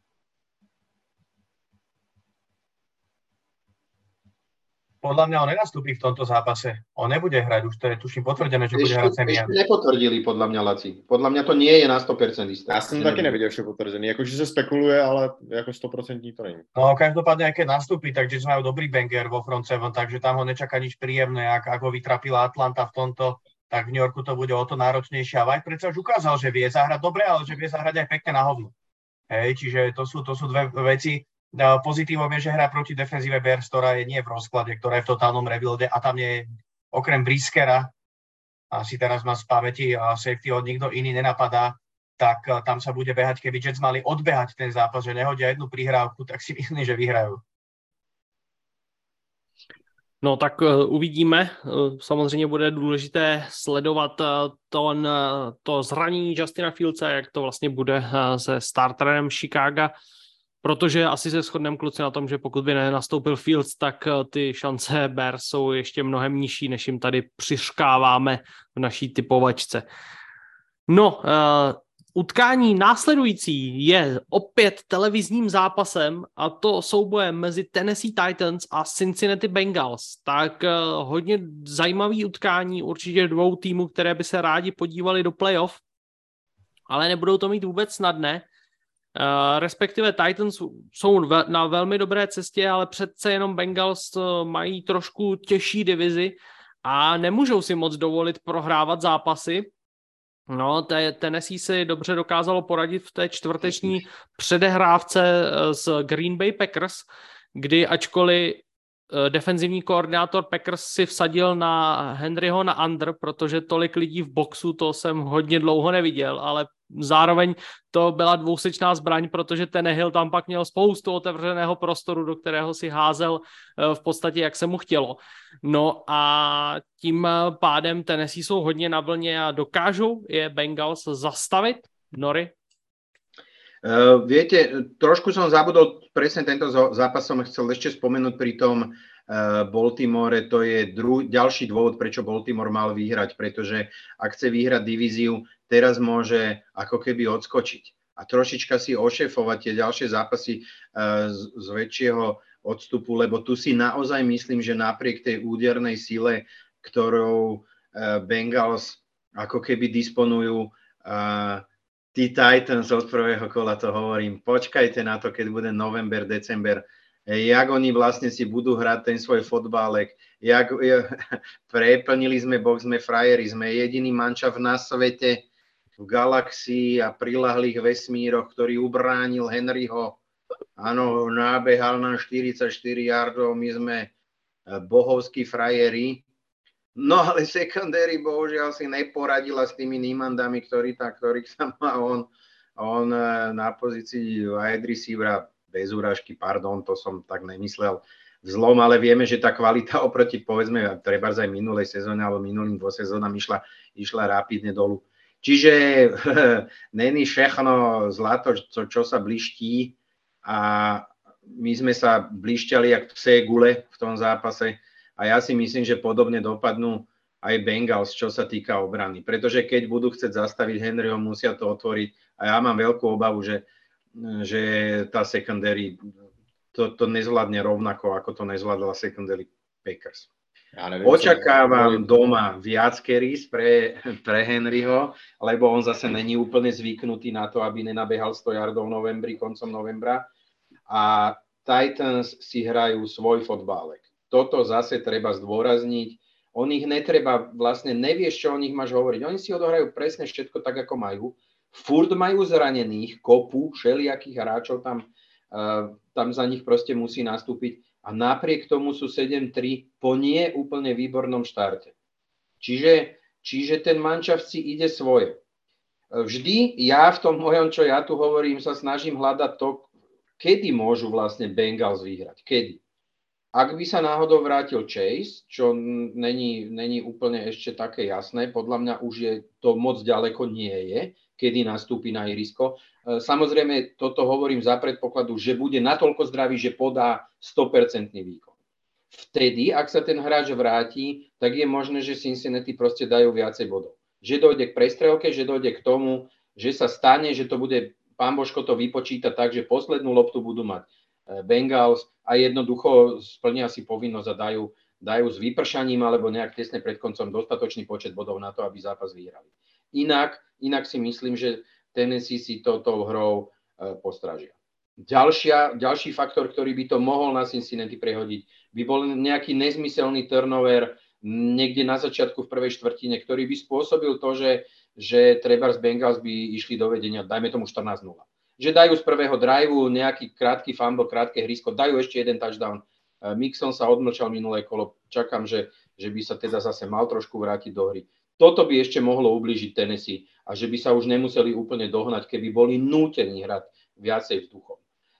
Podľa mňa on nenastúpi v tomto zápase. On nebude hrať, už to je tuším potvrdené, že bude ešte, hrať Semian. Ešte nepotvrdili podľa mňa, Laci. Podľa mňa to nie je na sto percent isté. Já jsem taky neviděl ještě potvrzený. Jakože se spekuluje, ale jako sto procent to není. No každopádne, aj keď nastúpi, tak Jets majú dobrý banger vo front seven, takže tam ho nečaká nič príjemné. Ak, ak ho vytrapila Atlanta v tomto, tak v New Yorku to bude o to náročnejšie. A White predsa už ukázal, že vie zahrať dobre, ale že vie zahrať aj pekne na hovno. Hej, čiže to sú, to sú dve veci. Pozitívom je, že hrá proti defenzíve Bears, ktorá je nie v rozklade, ktorá je v totálnom rebuilde a tam je okrem Briskera, asi teraz má z pamäti a safety od nikto iný nenapadá, tak tam sa bude behať, keby Jets mali odbehať ten zápas, že nehodia jednu prihrávku, tak si myslím, že vyhrajú. No tak uh, uvidíme. Uh, samozřejmě bude důležité sledovat uh, to, uh, to zranění Justina Fieldsa, jak to vlastně bude uh, se starterem Chicaga. Protože asi se shodneme, kluci, na tom, že pokud by nenastoupil Fields, tak ty šance Bears jsou ještě mnohem nižší, než jim tady přiškáváme v naší typovačce. No, Utkání následující je opět televizním zápasem a to soubojem mezi Tennessee Titans a Cincinnati Bengals. Tak uh, hodně zajímavý utkání, určitě dvou týmů, které by se rádi podívali do playoff, ale nebudou to mít vůbec snadné. Uh, respektive Titans jsou ve, na velmi dobré cestě, ale přece jenom Bengals uh, mají trošku těžší divizi a nemůžou si moc dovolit prohrávat zápasy. No, Tennessee si dobře dokázalo poradit v té čtvrteční předehrávce s Green Bay Packers, kdy ačkoliv defenzivní koordinátor Packers si vsadil na Henryho na under, protože tolik lidí v boxu, to jsem hodně dlouho neviděl, ale zároveň to byla dvousečná zbraň, protože Tannehill tam pak měl spoustu otevřeného prostoru, do kterého si házel v podstatě, jak se mu chtělo. No a tím pádem Tennessee jsou hodně na vlně a dokážou je Bengals zastavit. Nori? Uh, viete, trošku som zabudol, presne tento zápas som chcel ešte spomenúť pri tom uh, Baltimore, to je dru- ďalší dôvod, prečo Baltimore mal vyhrať, pretože ak chce vyhrať divíziu, teraz môže ako keby odskočiť a trošička si ošefovať tie ďalšie zápasy uh, z, z väčšieho odstupu, lebo tu si naozaj myslím, že napriek tej údernej sile, ktorou uh, Bengals ako keby disponujú, uh, tí Titans od prvého kola, to hovorím, počkajte na to, keď bude november, december, jak oni vlastne si budú hrať ten svoj fotbálek, jak preplnili sme box, sme frajeri, sme jediný mančaft na svete v galaxii a prilahlých vesmíroch, ktorý ubránil Henryho. Áno, nábehal nám štyridsaťštyri yardov, my sme bohovskí frajeri. No ale secondary bohužiaľ si neporadila s tými Niemandami, ktorý tá, ktorých sa má on, on na pozícii wide receivera, bez úražky, pardon, to som tak nemyslel vzlom, ale vieme, že tá kvalita oproti, povedzme, trebárs aj minulej sezóne alebo minulým dvo sezónam išla, išla rapidne dolu. Čiže není všechno zlato, čo, čo sa bliští a my sme sa blišťali jak psé gule v tom zápase. A ja si myslím, že podobne dopadnú aj Bengals, čo sa týka obrany. Pretože keď budú chcieť zastaviť Henryho, musia to otvoriť. A ja mám veľkú obavu, že, že tá secondary to, to nezvládne rovnako, ako to nezvládla secondary Packers. Ja neviem, očakávam doma viac carries pre, pre Henryho, lebo on zase není úplne zvyknutý na to, aby nenabehal sto yardov v novembri, koncom novembra. A Titans si hrajú svoj fotbálek. Toto zase treba zdôrazniť. O nich netreba, vlastne nevieš, čo o nich máš hovoriť. Oni si odohrajú presne všetko tak, ako majú. Furt majú zranených, kopu, všelijakých hráčov tam, uh, tam za nich proste musí nastúpiť. A napriek tomu sú sedem tri po nie úplne výbornom štarte. Čiže, čiže ten manšaft si ide svoje. Vždy ja v tom mojom, čo ja tu hovorím, sa snažím hľadať to, kedy môžu vlastne Bengals vyhrať. Kedy? Ak by sa náhodou vrátil Chase, čo není, není úplne ešte také jasné, podľa mňa už je to moc ďaleko nie je, kedy nastúpi na ihrisko. Samozrejme, toto hovorím za predpokladu, že bude natoľko zdravý, že podá sto percent výkon. Vtedy, ak sa ten hráč vráti, tak je možné, že Cincinnati proste dajú viacej bodov. Že dojde k prestrelke, že dojde k tomu, že sa stane, že to bude, pán Božko to vypočíta tak, že poslednú loptu budú mať Bengals a jednoducho splnia si povinnosť a dajú, dajú s vypršaním alebo nejak tesne pred koncom dostatočný počet bodov na to, aby zápas vyhrali. Inak, inak si myslím, že Tennessee si touto hrou e, postražia. Ďalšia, ďalší faktor, ktorý by to mohol na Cincinnati prehodiť, by bol nejaký nezmyselný turnover niekde na začiatku v prvej štvrtine, ktorý by spôsobil to, že, že trebárs Bengals by išli do vedenia, dajme tomu štrnásť nula. Že dajú z prvého driveu nejaký krátky fumble, krátke hrysko, dajú ešte jeden touchdown. Mixon sa odmlčal minulé kolo, čakám, že, že by sa teda zase mal trošku vrátiť do hry. Toto by ešte mohlo ublížiť Tennessee a že by sa už nemuseli úplne dohnať, keby boli nútení hrať viacej vzduchom.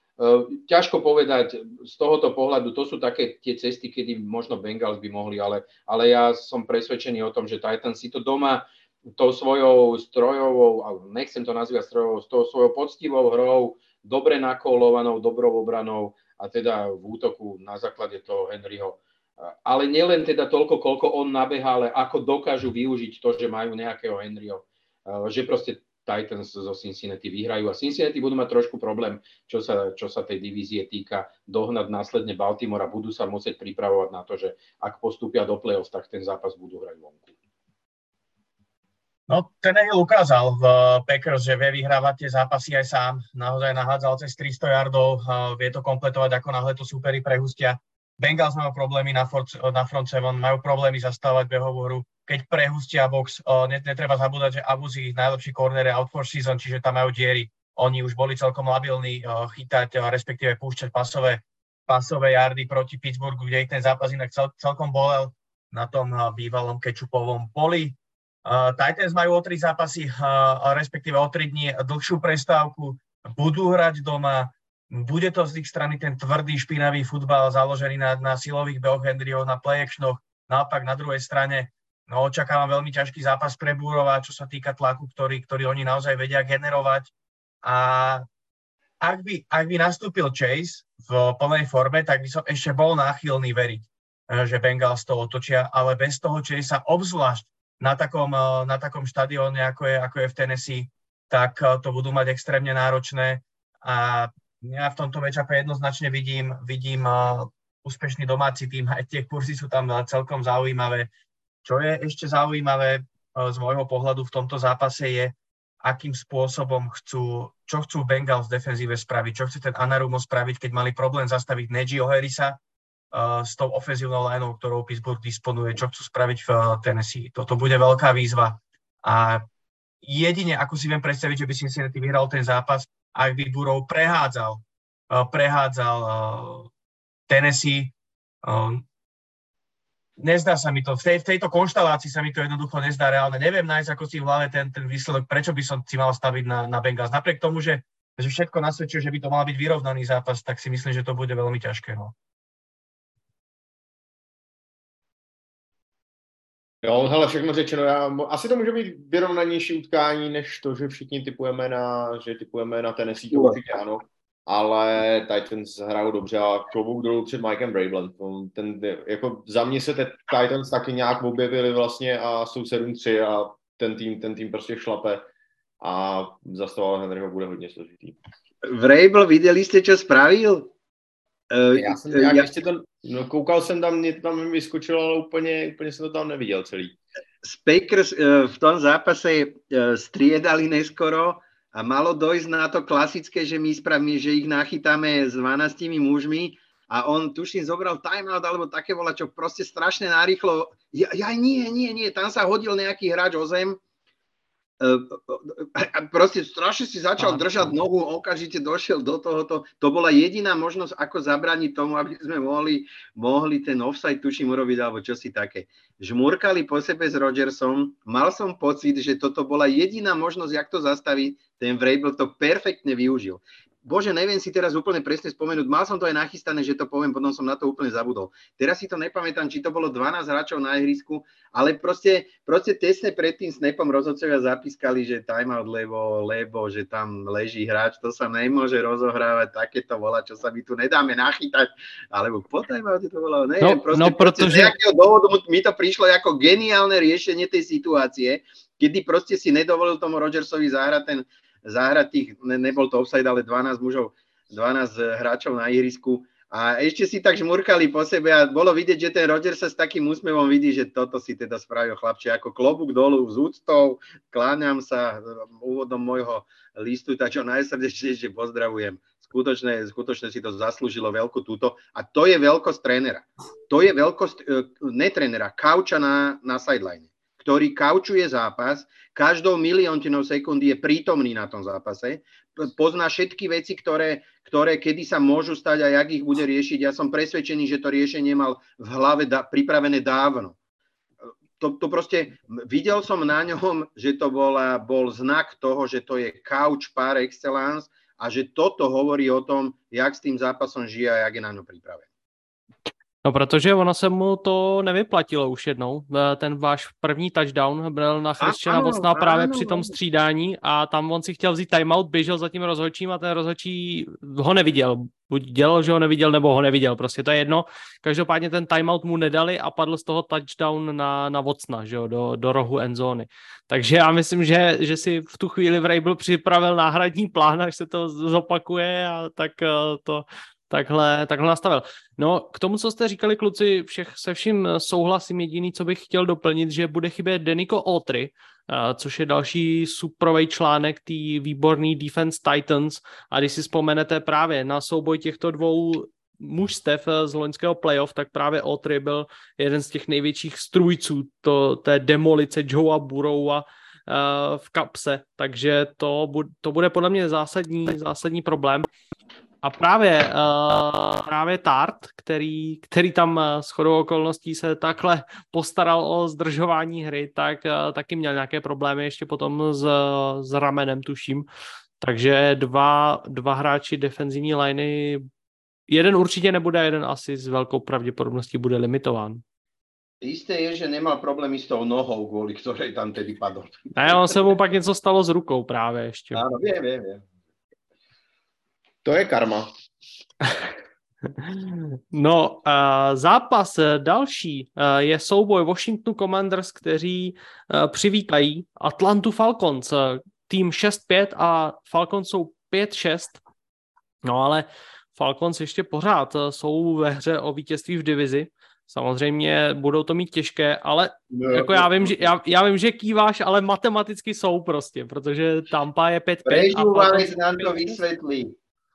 Ťažko povedať z tohoto pohľadu, to sú také tie cesty, kedy možno Bengals by mohli, ale, ale ja som presvedčený o tom, že Titans si to doma tou svojou strojovou, nechcem to nazývať strojovou, s tou svojou poctivou hrou, dobre nakolovanou, dobrou obranou a teda v útoku na základe toho Henryho. Ale nielen teda toľko, koľko on nabehá, ale ako dokážu využiť to, že majú nejakého Henryho. Že proste Titans zo Cincinnati vyhrajú a Cincinnati budú mať trošku problém, čo sa, čo sa tej divízie týka, dohnať následne Baltimore a budú sa musieť pripravovať na to, že ak postúpia do play-off, tak ten zápas budú hrať vonku. No, Tannehill ukázal v Packers, že vie vyhrávať tie zápasy aj sám. Naozaj nahádzal cez tristo yardov, vie to kompletovať, ako náhle to súperi prehustia. Bengals majú problémy na front, na front seven, majú problémy zastávať behovú hru. Keď prehustia box, netreba zabúdať, že Abuzi, najlepší corner je out for season, čiže tam majú diery. Oni už boli celkom labilní chytať, respektíve púšťať pasové, pasové yardy proti Pittsburghu, kde ich ten zápas inak cel, celkom bolel na tom bývalom kečupovom poli. Uh, Titans majú o tri zápasy, uh, respektíve o tri dní dlhšiu prestávku, budú hrať doma, bude to z ich strany ten tvrdý, špinavý futbal založený na, na silových behoch Henryho, na play-actionoch, naopak na druhej strane no, očakávam veľmi ťažký zápas pre Burova, čo sa týka tlaku, ktorý, ktorý oni naozaj vedia generovať a ak by, ak by nastúpil Chase v plnej forme, tak by som ešte bol náchylný veriť, že Bengals to otočia, ale bez toho Chase sa obzvlášť na takom, na takom štadióne, ako je, ako je v Tennessee, tak to budú mať extrémne náročné a ja v tomto matchupe jednoznačne vidím, vidím uh, úspešný domáci tým, aj tie kurzy sú tam celkom zaujímavé. Čo je ešte zaujímavé uh, z môjho pohľadu v tomto zápase je, akým spôsobom chcú, čo chcú Bengals v defenzíve spraviť, čo chce ten Anarumo spraviť, keď mali problém zastaviť Najee Harrisa, Uh, s tou ofenzívnou lineou, ktorou Pittsburgh disponuje, čo chcú spraviť v uh, Tennessee. Toto bude veľká výzva. A jedine, ako si viem predstaviť, že by Cincinnati vyhral ten zápas, ak by Burrow prehádzal, uh, prehádzal uh, Tennessee. Uh, nezdá sa mi to, v, tej, v tejto konštalácii sa mi to jednoducho nezdá reálne. Neviem nájsť, ako si v hlave ten, ten výsledok, prečo by som si mal staviť na, na Bengals. Napriek tomu, že, že všetko nasvedčuje, že by to mal byť vyrovnaný zápas, tak si myslím, že to bude veľmi ťažké. No. Jo, hele, všechno řečeno. Já, asi to může být vyrovnanější utkání, než to, že všichni typujeme na, že typujeme na Tennessee, to určitě ano. Ale Titans hrajou dobře a klobouk dolů před Mikem Vrabelem. Ten, jako za mě se te Titans taky nějak objevili vlastně a jsou sedm tři a ten tým, ten tým prostě šlape a zastavovat Henryho bude hodně složitý. Vrabel, viděli jste, čo spravil? Uh, já jsem nějak já... ještě to, no, koukal jsem tam, mě to tam vyskočilo, ale úplně, úplně jsem to tam neviděl celý. Z Packers uh, v tom zápase uh, striedali neskoro a malo dojsť na to klasické, že my spravíme, že ich nachytáme s dvanástimi mužmi a on tuším zobral timeout alebo také vola, čo proste strašne narýchlo. Ja, ja nie, nie, nie, tam sa hodil nejaký hráč o zem. A proste strašne si začal držať nohu, okamžite došiel do tohoto. To bola jediná možnosť, ako zabrániť tomu, aby sme mohli, mohli ten offside, tuším, urobiť, alebo čosi také. Žmurkali po sebe s Rodgersom. Mal som pocit, že toto bola jediná možnosť, jak to zastaviť. Ten Vrabel to perfektne využil. Bože, neviem si teraz úplne presne spomenúť. Mal som to aj nachystané, že to poviem, potom som na to úplne zabudol. Teraz si to nepamätám, či to bolo dvanásť hráčov na ihrisku, ale proste, proste tesne pred tým snapom rozhodcovia zapískali, že timeout, lebo, lebo, že tam leží hráč, to sa nemôže rozohrávať, takéto volá, čo sa my tu nedáme nachytať, alebo po timeoute to volá, neviem, no, proste, no, proste protože... z nejakého dôvodu mi to prišlo ako geniálne riešenie tej situácie, kedy proste si nedovolil tomu Rodgersovi zahrať ten zahrať tých, ne, nebol to offside, ale dvanásť mužov, dvanásť hráčov na ihrisku a ešte si tak žmurkali po sebe a bolo vidieť, že ten Rodgers sa s takým úsmevom vidí, že toto si teda spravil chlapče, ako klobúk dolu s úctou, kláňam sa úvodom môjho listu, tak čo najsrdečnejšie pozdravujem. Skutočne, skutočne si to zaslúžilo veľkú túto a to je veľkosť trénera. To je veľkosť, ne trénera, kauča na, na sideline, ktorý kaučuje zápas, každou miliontinou sekundy je prítomný na tom zápase, pozná všetky veci, ktoré, ktoré kedy sa môžu stať a jak ich bude riešiť. Ja som presvedčený, že to riešenie mal v hlave da, pripravené dávno. To, to proste, videl som na ňom, že to bola, bol znak toho, že to je couch par excellence a že toto hovorí o tom, jak s tým zápasom žije a jak je na ňo pripravený. No, protože ono se mu to nevyplatilo už jednou. Ten váš první touchdown byl na Christiana Watsona právě při tom střídání a tam on si chtěl vzít timeout, běžel za tím rozhodčím a ten rozhodčí ho neviděl. buď dělal, že ho neviděl, nebo ho neviděl, prostě to je jedno. Každopádně ten timeout mu nedali a padl z toho touchdown na, na Watsona, že jo, do, do rohu endzóny. Takže já myslím, že, že si v tu chvíli Vrabel připravil náhradní plán, až se to zopakuje a tak to takhle, takhle nastavil. No, k tomu, co jste říkali, kluci, všech, se vším souhlasím. Jediný, co bych chtěl doplnit, že bude chybět Denico Autry, což je další suprovej článek té výborný Defense Titans. A když si vzpomenete právě na souboj těchto dvou mužstev z loňského playoff, tak právě Autry byl jeden z těch největších strůjců to, té demolice Joea Burrowa v kapse. Takže to, to bude podle mě zásadní, zásadní problém. A právě, uh, právě Tart, který, který tam uh, shodou okolností se takhle postaral o zdržování hry, tak uh, taky měl nějaké problémy ještě potom s, s ramenem, tuším. Takže dva, dva hráči defenzivní liney, jeden určitě nebude, jeden asi s velkou pravděpodobností bude limitován. Isté je, že nemal problémy s tou nohou, kvôli ktorej tam tedy padol. Ne, on se mu pak něco stalo s rukou právě ještě. Áno, viem, viem, viem. To je karma. No, uh, zápas další uh, je souboj Washington Commanders, kteří uh, přivítají Atlantu Falcons. Uh, tým šest pět a Falcons jsou pět šest. No ale Falcons ještě pořád uh, jsou ve hře o vítězství v divizi. Samozřejmě budou to mít těžké, ale no, jako já vím, že, já, já vím, že kýváš, ale matematicky jsou prostě, protože Tampa je pět pět. Prežúvanec nám to vysvětlí.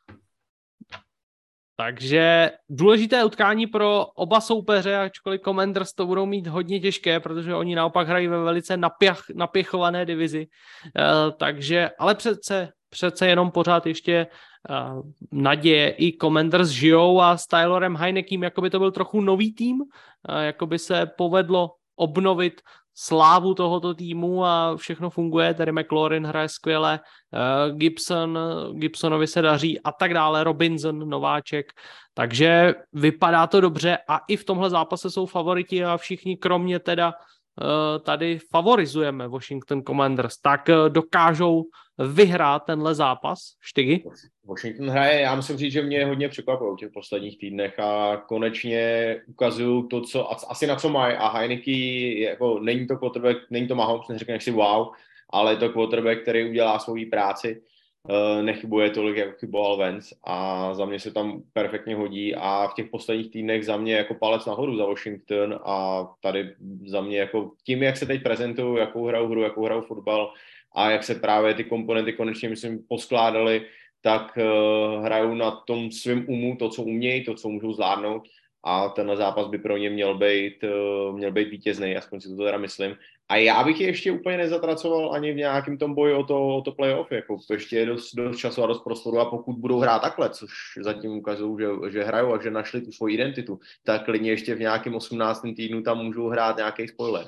Takže důležité utkání pro oba soupeře, ačkoliv Commanders to budou mít hodně těžké, protože oni naopak hrají ve velice napěch, napěchované divizi. Uh, takže, ale přece, přece jenom pořád ještě uh, naděje. I Commanders žijou a s Tylerem Heinekem jakoby to byl trochu nový tým, uh, jakoby se povedlo obnovit slávu tohoto týmu a všechno funguje, tady McLaurin hraje skvěle, Gibson, Gibsonovi se daří a tak dále, Robinson, nováček, takže vypadá to dobře a i v tomhle zápase jsou favoriti a všichni kromě teda tady favorizujeme Washington Commanders, tak dokážou vyhrát tenhle zápas, Štygy? Washington hraje, já musím říct, že mě hodně překvapilo v těch posledních týdnech a konečně ukazují to, co asi na co mají a Heineke, jako není to quarterback, není to Mahomes, neřekneš si wow, ale je to quarterback, který udělá svoji práci, nechybuje tolik, jako chyboval Vance a za mě se tam perfektně hodí a v těch posledních týdnech za mě jako palec nahoru za Washington a tady za mě jako tím, jak se teď prezentují, jakou hrajou hru, jakou hrajou fotbal a jak se právě ty komponenty konečně, myslím, poskládali, tak uh, hrajou na tom svém umu to, co umějí, to, co můžou zvládnout a tenhle zápas by pro ně měl být, uh, měl být vítězný, aspoň si to teda myslím. A já bych je ještě úplně nezatracoval ani v nějakém tom boji o to, o to playoff, jako ještě je dost, dost času a dost prostoru a pokud budou hrát takhle, což zatím ukazují, že, že hrajou a že našli tu svoji identitu, tak klidně ještě v nějakém osmnáctém týdnu tam můžou hrát nějaký spoiler.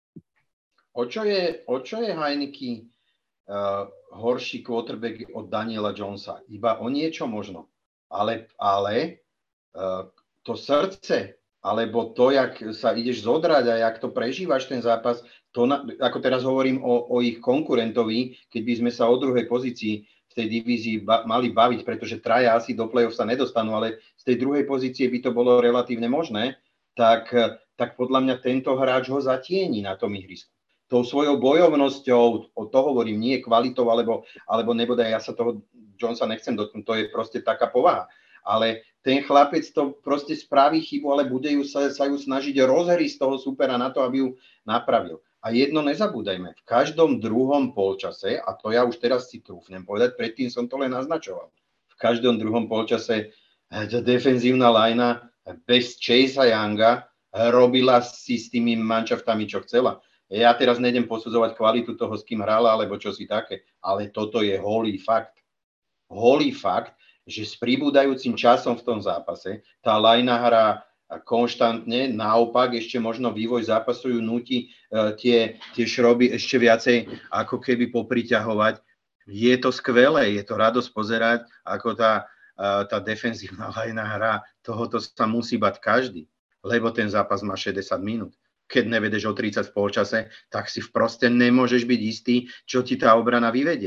O čo je, o čo je Heineke uh, horší quarterback od Daniela Jonesa? Iba o niečo možno. Ale, ale uh, to srdce, alebo to, jak sa ideš zodrať a jak to prežívaš ten zápas, to na, ako teraz hovorím o, o ich konkurentovi, keď by sme sa o druhej pozícii v tej divízii ba- mali baviť, pretože traja asi do play-off sa nedostanú, ale z tej druhej pozície by to bolo relatívne možné, tak, tak podľa mňa tento hráč ho zatieni na tom ihrisku. Tou svojou bojovnosťou, o to hovorím, nie kvalitou, alebo, alebo nebodaj, ja sa toho Jonesa nechcem dotknúť, to je proste taká povaha. Ale ten chlapec to proste spraví chybu, ale bude ju sa, sa ju snažiť rozhriť z toho supera na to, aby ju napravil. A jedno nezabúdajme, v každom druhom polčase, a to ja už teraz si trúfnem povedať, predtým som to len naznačoval, v každom druhom polčase tá defenzívna lajna bez Chasea Younga robila si s tými manšaftami, čo chcela. Ja teraz nejdem posudzovať kvalitu toho, s kým hrala, alebo čo si také, ale toto je holý fakt. Holý fakt, že s pribúdajúcim časom v tom zápase tá lajna hrá konštantne, naopak ešte možno vývoj zápasu ju núti uh, tie, tie šroby ešte viacej ako keby popriťahovať. Je to skvelé, je to radosť pozerať, ako tá, uh, tá defenzívna lajna hrá. Tohoto sa musí bať každý, lebo ten zápas má šesťdesiat minút. Keď nevedeš o tridsať v polčase, tak si proste nemôžeš byť istý, čo ti tá obrana vyvedie.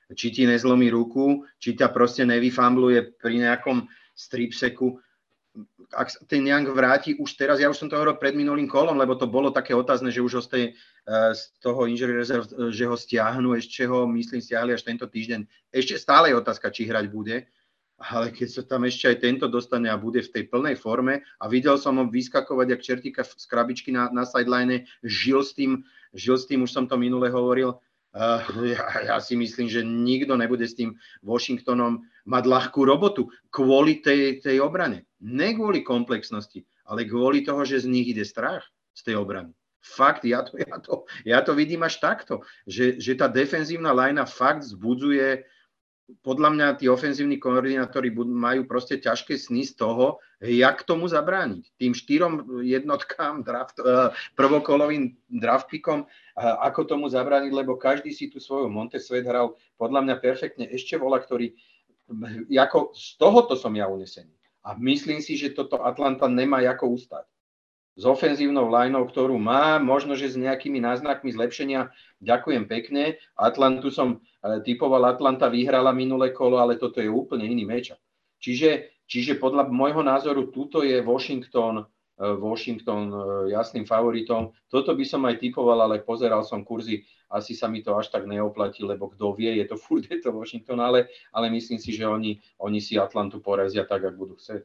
či ti nezlomí ruku, či ťa proste nevyfambluje pri nejakom stripseku. Ak ten Young vráti už teraz, ja už som to hovoril pred minulým kolom, lebo to bolo také otázne, že už ho z, tej, z toho injury reserve, že ho stiahnu, ešte ho, myslím, stiahli až tento týždeň. Ešte stále je otázka, či hrať bude, ale keď sa tam ešte aj tento dostane a bude v tej plnej forme a videl som ho vyskakovať jak čertíka z krabičky na, na sideline, žil s tým, žil s tým, už som to minule hovoril, uh, ja, ja si myslím, že nikto nebude s tým Washingtonom mať ľahkú robotu kvôli tej, tej obrane. Ne kvôli komplexnosti, ale kvôli toho, že z nich ide strach z tej obrany. Fakt, ja to, ja to, ja to vidím až takto, že, že tá defenzívna linea fakt vzbudzuje. Podľa mňa tí ofenzívni koordinátori majú proste ťažké sny z toho, jak tomu zabrániť. Tým štyrom jednotkám, draft, prvokolovým draft pickom, ako tomu zabrániť, lebo každý si tu svoju Montesvet hral podľa mňa perfektne. Ešte vola, ktorý, ako z tohoto som ja unesený. A myslím si, že toto Atlanta nemá ako ustať. S ofenzívnou lineou, ktorú má, možno, že s nejakými náznakmi zlepšenia, ďakujem pekne. Atlantu som typoval, Atlanta vyhrala minulé kolo, ale toto je úplne iný matchup. Čiže, čiže podľa môjho názoru, tuto je Washington, Washington jasným favoritom. Toto by som aj typoval, ale pozeral som kurzy, asi sa mi to až tak neoplatí, lebo kto vie, je to furt, je to Washington, ale, ale myslím si, že oni, oni si Atlantu porazia tak, ak budú chcieť.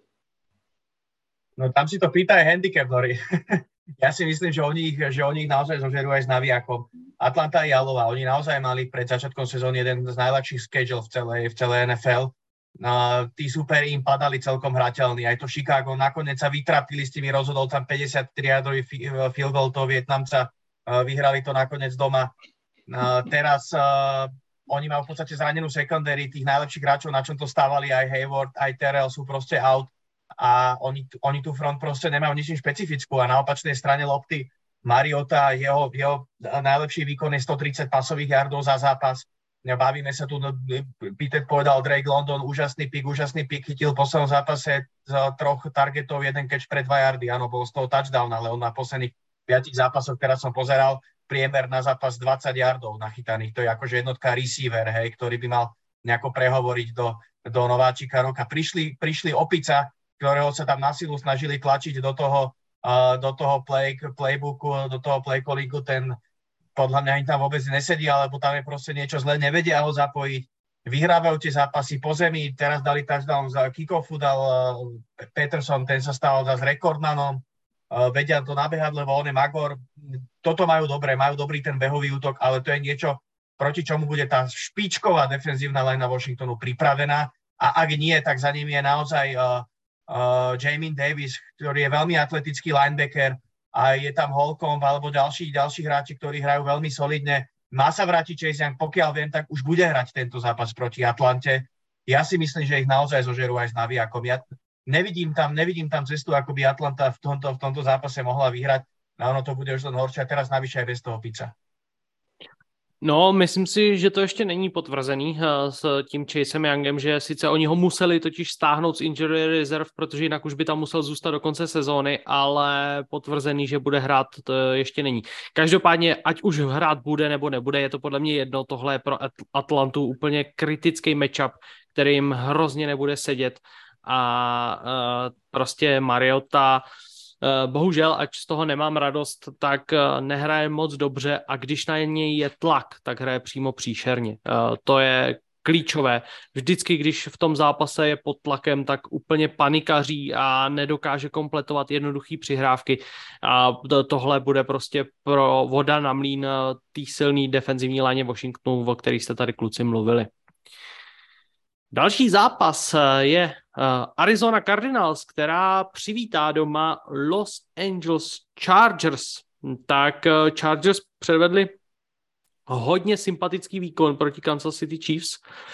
No tam si to pýta aj handicap, Lori. Ja si myslím, že oni ich, že oni ich naozaj zožerú aj s navijakom. Atlanta a Jalova, oni naozaj mali pred začiatkom sezóny jeden z najľahších schedule v celej, v celej en ef el. No, tí superi im padali celkom hrateľní. Aj to Chicago nakoniec sa vytrapili s tými, rozhodol tam päťdesiattri yardový field goal toho Vietnamca. Vyhrali to nakoniec doma. Teraz uh, oni majú v podstate zranenú secondary, tých najlepších hráčov, na čom to stávali aj Hayward, aj Terrell sú proste out. A oni, oni tú front proste nemajú ničím špecifickú a na opačnej strane lopty Mariota, jeho, jeho najlepší výkon je stotridsať pasových yardov za zápas. Bavíme sa tu, no, Peter povedal, Drake London, úžasný pik, úžasný pik, chytil v poslednom zápase z troch targetov, jeden catch pre dva yardy, áno, bol z toho touchdown, ale on na posledných piatich zápasoch, teraz som pozeral, priemer na zápas dvadsať yardov nachytaných, to je akože jednotka receiver, hej, ktorý by mal nejako prehovoriť do, do nováčika roka. Prišli, prišli opica, ktorého sa tam na silu snažili tlačiť do toho, uh, do toho play, playbooku, do toho playcallingu, ten podľa mňa im tam vôbec nesedí, alebo tam je proste niečo zle, nevedia ho zapojiť. Vyhrávajú tie zápasy po zemi, teraz dali touchdown za kick-offu, dal uh, Peterson, ten sa stal zase rekordmanom, uh, vedia to nabehať, lebo on je magor. Toto majú dobre, majú dobrý ten behový útok, ale to je niečo, proti čomu bude tá špičková defenzívna line na Washingtonu pripravená a ak nie, tak za nimi je naozaj uh, Uh, Jamin Davis, ktorý je veľmi atletický linebacker a je tam Holcomb alebo ďalší, ďalší hráči, ktorí hrajú veľmi solidne. Má sa vrátiť Chase Young, pokiaľ viem, tak už bude hrať tento zápas proti Atlante. Ja si myslím, že ich naozaj zožerú aj s navijakom. Ja nevidím tam, nevidím tam cestu, ako by Atlanta v tomto, v tomto zápase mohla vyhrať. A ono to bude už len horšie a teraz navyše aj bez toho Pizza. No, myslím si, že to ještě není potvrzený s tím Chasem Youngem, že sice oni ho museli totiž stáhnout z injury reserve, protože jinak už by tam musel zůstat do konce sezóny, ale potvrzený, že bude hrát, to ještě není. Každopádně, ať už hrát bude nebo nebude, je to podle mě jedno, tohle je pro Atlantu úplně kritický matchup, který jim hrozně nebude sedět a uh, prostě Mariota bohužel, ať z toho nemám radost, tak nehraje moc dobře a když na něj je tlak, tak hraje přímo příšerně. To je klíčové. Vždycky, když v tom zápase je pod tlakem, tak úplně panikaří a nedokáže kompletovat jednoduchý přihrávky. A tohle bude prostě pro voda na mlýn té silný defenzivní láně Washingtonu, o kterých jste tady kluci mluvili. Další zápas je Arizona Cardinals, která přivítá doma Los Angeles Chargers. Tak Chargers předvedli hodně sympatický výkon proti Kansas City Chiefs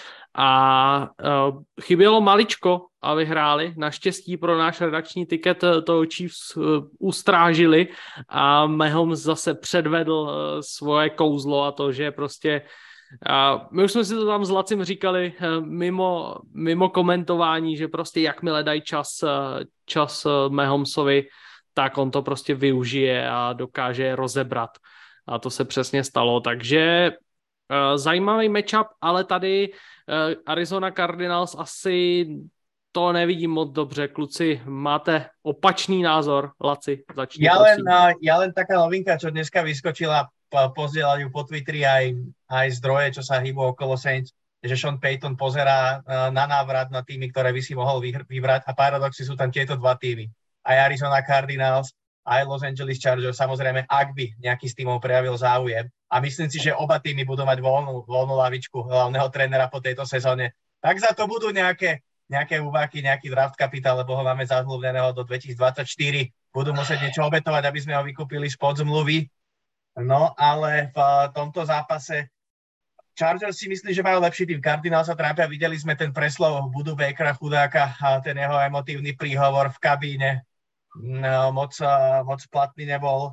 a chybělo maličko a vyhráli. Naštěstí pro náš redakční tiket toho Chiefs ustrážili a Mahomes zase předvedl svoje kouzlo a to, že prostě a my už jsme si to tam s Lacim říkali mimo, mimo komentování, že prostě jakmile dají čas, čas Mahomesovi, tak on to prostě využije a dokáže rozebrat. A to se přesně stalo. Takže Zajímavý matchup, ale tady Arizona Cardinals asi to nevidím moc dobře. Kluci, máte opačný názor. Laci, začni, ja prosím. len, ja len taká novinka, čo dneska vyskočila, pozdieľajú po Twitteri aj, aj zdroje, čo sa hýbu okolo Saints, že Sean Payton pozerá na návrat na týmy, ktoré by si mohol vybrať a paradoxy sú tam tieto dva týmy. Aj Arizona Cardinals, aj Los Angeles Chargers, samozrejme, ak by nejaký z týmov prejavil záujem. A myslím si, že oba týmy budú mať voľnú, voľnú lavičku hlavného trénera po tejto sezóne. Tak za to budú nejaké, nejaké úvaky, nejaký draft kapitál, lebo ho máme zazmluvneného do dvetisícdvadsaťštyri. Budú musieť niečo obetovať, aby sme ho vykúpili spod zmluvy. No, ale v tomto zápase Chargers si myslí, že majú lepší tým. Cardinals sa trápia. Videli sme ten preslov Budu Bakera chudáka a ten jeho emotívny príhovor v kabíne. No, moc, moc platný nebol.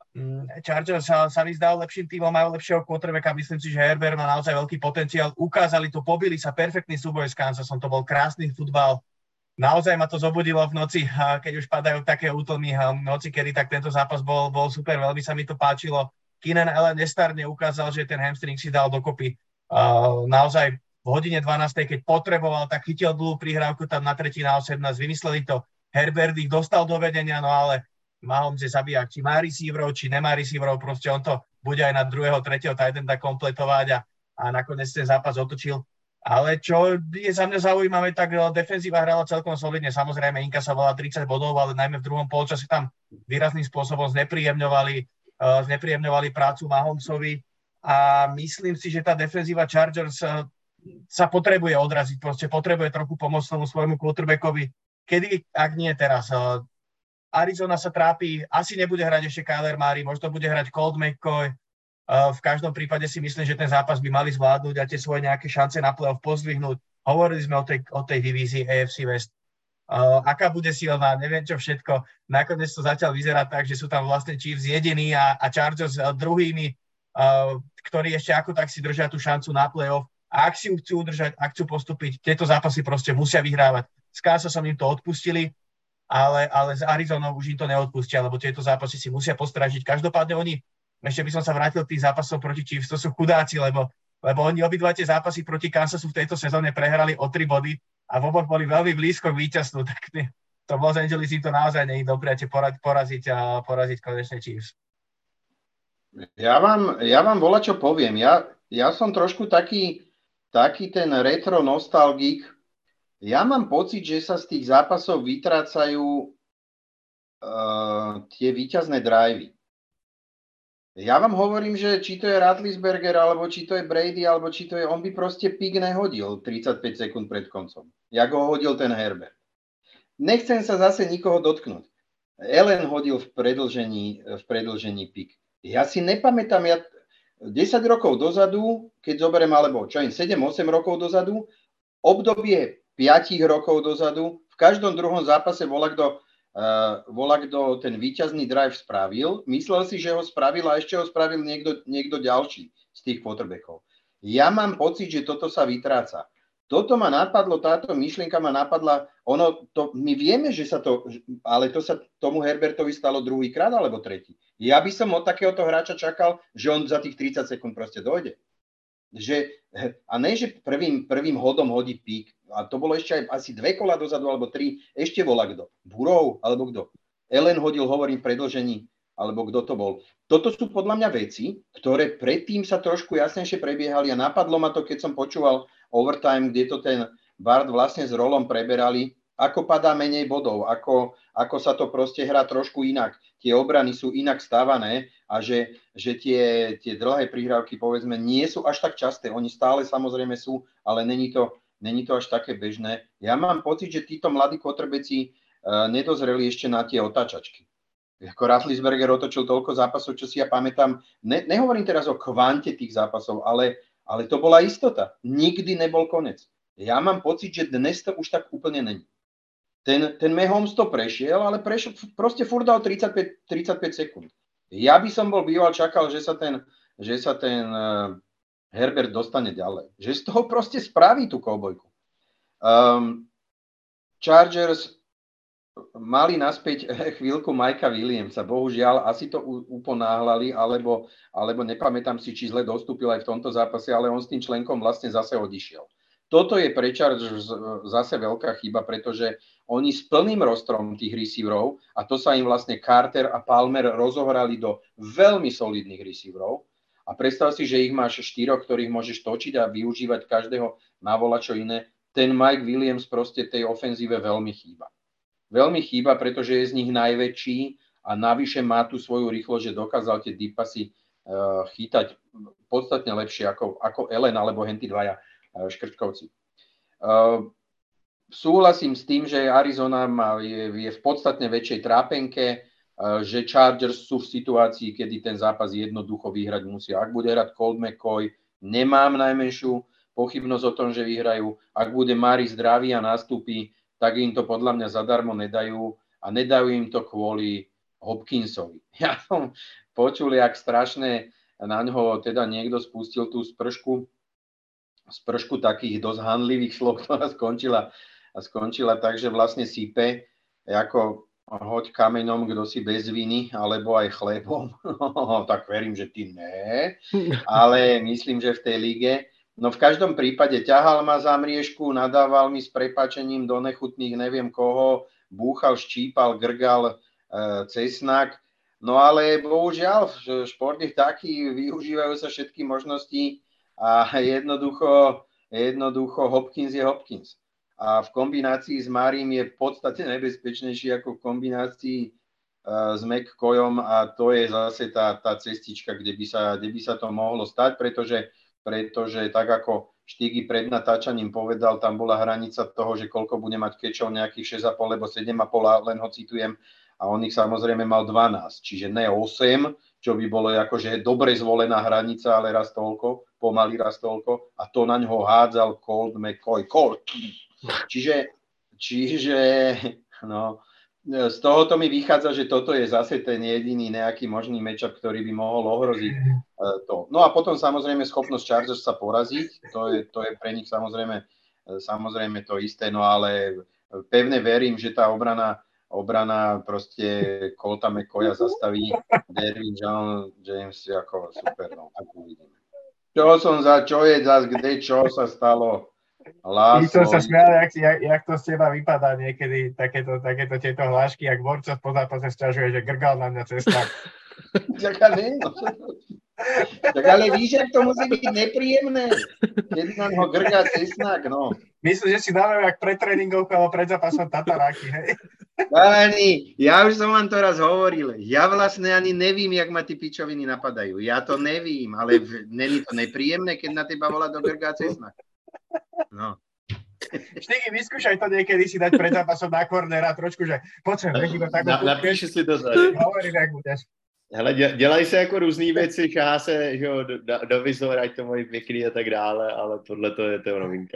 Chargers sa, sa mi zdal lepším týmom, majú lepšieho quarterbacka. Myslím si, že Herbert má naozaj veľký potenciál. Ukázali to, pobili sa, perfektný súboj s Kansasom. To bol krásny futbal. Naozaj ma to zobudilo v noci, keď už padajú také útlmy v noci, kedy tak tento zápas bol, bol super, veľmi sa mi to páčilo. Keenan Allen nestárne ukázal, že ten hamstring si dal dokopy. Uh, naozaj v hodine dvanástej, keď potreboval, tak chytil dlhú prihrávku tam na tretí na osemnásť. Vymysleli to. Herbert ich dostal do vedenia, no ale Mahomes je zabijak. Či má receiverov, či nemá receiverov, proste on to bude aj na druhého, tretieho tight enda kompletovať a, a nakoniec ten zápas otočil. Ale čo je za mňa zaujímavé, tak defenzíva hrala celkom solidne. Samozrejme, inkasovala tridsať bodov, ale najmä v druhom polčase tam výrazným spôsobom znepríjemňovali, uh, znepríjemňovali prácu Mahomesovi a myslím si, že tá defenzíva Chargers uh, sa potrebuje odraziť, proste potrebuje trochu pomôcť tomu svojmu quarterbackovi. Kedy, ak nie teraz. Uh, Arizona sa trápi, asi nebude hrať ešte Kyler Murray, možno bude hrať Colt McCoy. Uh, v každom prípade si myslím, že ten zápas by mali zvládnuť a tie svoje nejaké šance na playoff pozdvihnúť. Hovorili sme o tej, o tej divízii á ef cé West. Uh, aká bude silná, neviem čo všetko. Nakoniec to zatiaľ vyzerá tak, že sú tam vlastne Chiefs jediní a, a Chargers uh, druhými, uh, ktorí ešte ako tak si držia tú šancu na playoff. A ak si ju chcú udržať, ak chcú postúpiť, tieto zápasy proste musia vyhrávať. S Kansasom im to odpustili, ale, ale z Arizonou už im to neodpustia, lebo tieto zápasy si musia postražiť. Každopádne oni, ešte by som sa vrátil k tým zápasom proti Chiefs, to sú chudáci, lebo, lebo oni obidva tie zápasy proti Kansasu v tejto sezóne prehrali o tri body a v oboch boli veľmi blízko k víťazstvu, tak to v Los Angeles im to naozaj nie je dobré poraziť a poraziť konečne Chiefs. Ja vám, ja vám volačo poviem. Ja, ja som trošku taký, taký ten retro nostalgik. Ja mám pocit, že sa z tých zápasov vytrácajú uh, tie víťazné drivey. Ja vám hovorím, že či to je Ratlisberger, alebo či to je Brady, alebo či to je, on by proste pik nehodil tridsaťpäť sekúnd pred koncom. Jak ho hodil ten Herbert. Nechcem sa zase nikoho dotknúť. Allen hodil v predĺžení, v predĺžení pik. Ja si nepamätám, ja desať rokov dozadu, keď zoberiem, alebo čo im sedem osem rokov dozadu, obdobie päť rokov dozadu, v každom druhom zápase volá kto Uh, volá, kto ten víťazný drive spravil. Myslel si, že ho spravil a ešte ho spravil niekto, niekto ďalší z tých quarterbackov. Ja mám pocit, že toto sa vytráca. Toto ma napadlo, táto myšlienka ma napadla, ono, to, my vieme, že sa to, ale to sa tomu Herbertovi stalo druhýkrát alebo tretí. Ja by som od takéhoto hráča čakal, že on za tých tridsať sekúnd proste dojde. Že, a ne, že prvým, prvým hodom hodí pík. A to bolo ešte aj asi dve kola dozadu, alebo tri. Ešte volá kto? Burov, alebo kto? Allen hodil, hovorím, v predĺžení, alebo kto to bol. Toto sú podľa mňa veci, ktoré predtým sa trošku jasnejšie prebiehali a napadlo ma to, keď som počúval overtime, kde to ten Bart vlastne s Rolom preberali, ako padá menej bodov, ako, ako sa to proste hrá trošku inak. Tie obrany sú inak stávané a že, že tie, tie dlhé prihrávky, povedzme, nie sú až tak časté. Oni stále samozrejme sú, ale není to, není to až také bežné. Ja mám pocit, že títo mladí quarterbacki uh, nedozreli ešte na tie otáčačky. Ako Ratlisberger otočil toľko zápasov, čo si ja pamätám. Ne, nehovorím teraz o kvante tých zápasov, ale, ale to bola istota. Nikdy nebol konec. Ja mám pocit, že dnes to už tak úplne není. Ten, ten Mahomes to prešiel, ale prešiel, proste furt dal tridsaťpäť, tridsaťpäť sekúnd. Ja by som bol býval čakal, že sa ten, že sa ten uh, Herbert dostane ďalej. Že z toho proste spraví tú koubojku. Um, Chargers mali naspäť chvíľku Mikea Williamsa. Bohužiaľ, asi to uponáhľali, alebo, alebo nepamätám si, či zle dostúpil aj v tomto zápase, ale on s tým členkom vlastne zase odišiel. Toto je pre Chargers zase veľká chyba, pretože oni s plným rostrom tých receiverov, a to sa im vlastne Carter a Palmer rozohrali do veľmi solidných receiverov, a predstav si, že ich máš štyroch, ktorých môžeš točiť a využívať každého na volačo iné. Ten Mike Williams proste tej ofenzíve veľmi chýba. Veľmi chýba, pretože je z nich najväčší a navyše má tú svoju rýchlosť, že dokázal tie deep passy uh, chytať podstatne lepšie ako, ako Allen alebo henty dvaja uh, škrčkovci. Uh, súhlasím s tým, že Arizona má, je, je v podstatne väčšej trápenke, že Chargers sú v situácii, kedy ten zápas jednoducho vyhrať musia. Ak bude hrať Colt McCoy, nemám najmenšiu pochybnosť o tom, že vyhrajú. Ak bude Mari zdravý a nastúpi, tak im to podľa mňa zadarmo nedajú a nedajú im to kvôli Hopkinsovi. Ja som počul, jak strašne na ňoho teda niekto spustil tú spršku, spršku takých dosť handlivých slov, ktorá skončila, skončila tak, že vlastne sype ako hoď kameňom, kto si bez viny, alebo aj chlebom. Tak verím, že ty ne. Ale myslím, že v tej lige. No v každom prípade ťahal ma za mriežku, nadával mi s prepáčením do nechutných neviem koho, búchal, ščípal, grgal e, cesnak. No ale bohužiaľ, šport je taký, využívajú sa všetky možnosti a jednoducho, jednoducho Hopkins je Hopkins. A v kombinácii s Marim je v podstate nebezpečnejší ako v kombinácii uh, s McCoyom a to je zase tá, tá cestička, kde by, sa, kde by sa to mohlo stať, pretože, pretože tak ako Štígy pred natáčaním povedal, tam bola hranica toho, že koľko bude mať kečov, nejakých šesť a pol, lebo sedem a pol, len ho citujem, a on ich samozrejme mal dvanásť, čiže ne osem, čo by bolo akože dobre zvolená hranica, ale raz toľko, pomaly raz toľko, a to na ňoho hádzal Colt McCoy. Colt. Čiže, čiže no, z tohoto mi vychádza, že toto je zase ten jediný nejaký možný matchup, ktorý by mohol ohroziť to. No a potom samozrejme schopnosť Chargers sa poraziť, to je, to je pre nich samozrejme, samozrejme to isté, no ale pevne verím, že tá obrana, obrana proste Colta McCoya zastaví. Derwin John, James ako super, no, tak uvidíme. Čo som za, čo je zas, kde, čo sa stalo? I som sa smial, jak, jak, jak to z teba vypadá niekedy, takéto, takéto tieto hlášky, jak Borca po zápase sťažuje, že grgal na mňa cesta. Tak ale, tak ale víš, jak to musí byť nepríjemné, keď nám ho grgá cesnak, no. Myslím, že si dáme jak pred tréningovkou, alebo pred zápasom tataráky, hej? Ani, ja už som vám to raz hovoril, ja vlastne ani nevím, jak ma tí pičoviny napadajú, ja to nevím, ale není to nepríjemné, keď na teba volá do grgá cesnak. No. Štíky, vyskúšaj to niekedy si dať pred zápasom na kornera trošku, že poď nech to tak Na, napíši si to tady. Hovorím, jak budeš. Hele, dělají se jako různý věci, šahá se že jo, do, do vizor, ať to mají pěkný a tak dále, ale tohle to je to novinka.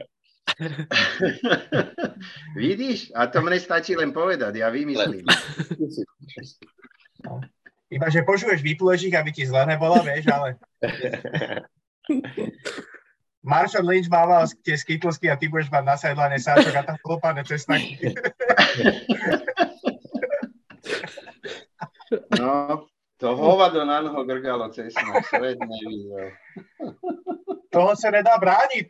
Vidíš? A to mne stačí len povedať, ja vymyslím. No. Iba, že počuješ výplužík, aby ti zle nebola, vieš, ale... Marshall Lynch mával tie skitlsky a ty budeš mať na sideline sáčok a tam klopané cesnaky. No, to hovado na noho grgalo cesnak, svet nevidel. Toho sa nedá brániť.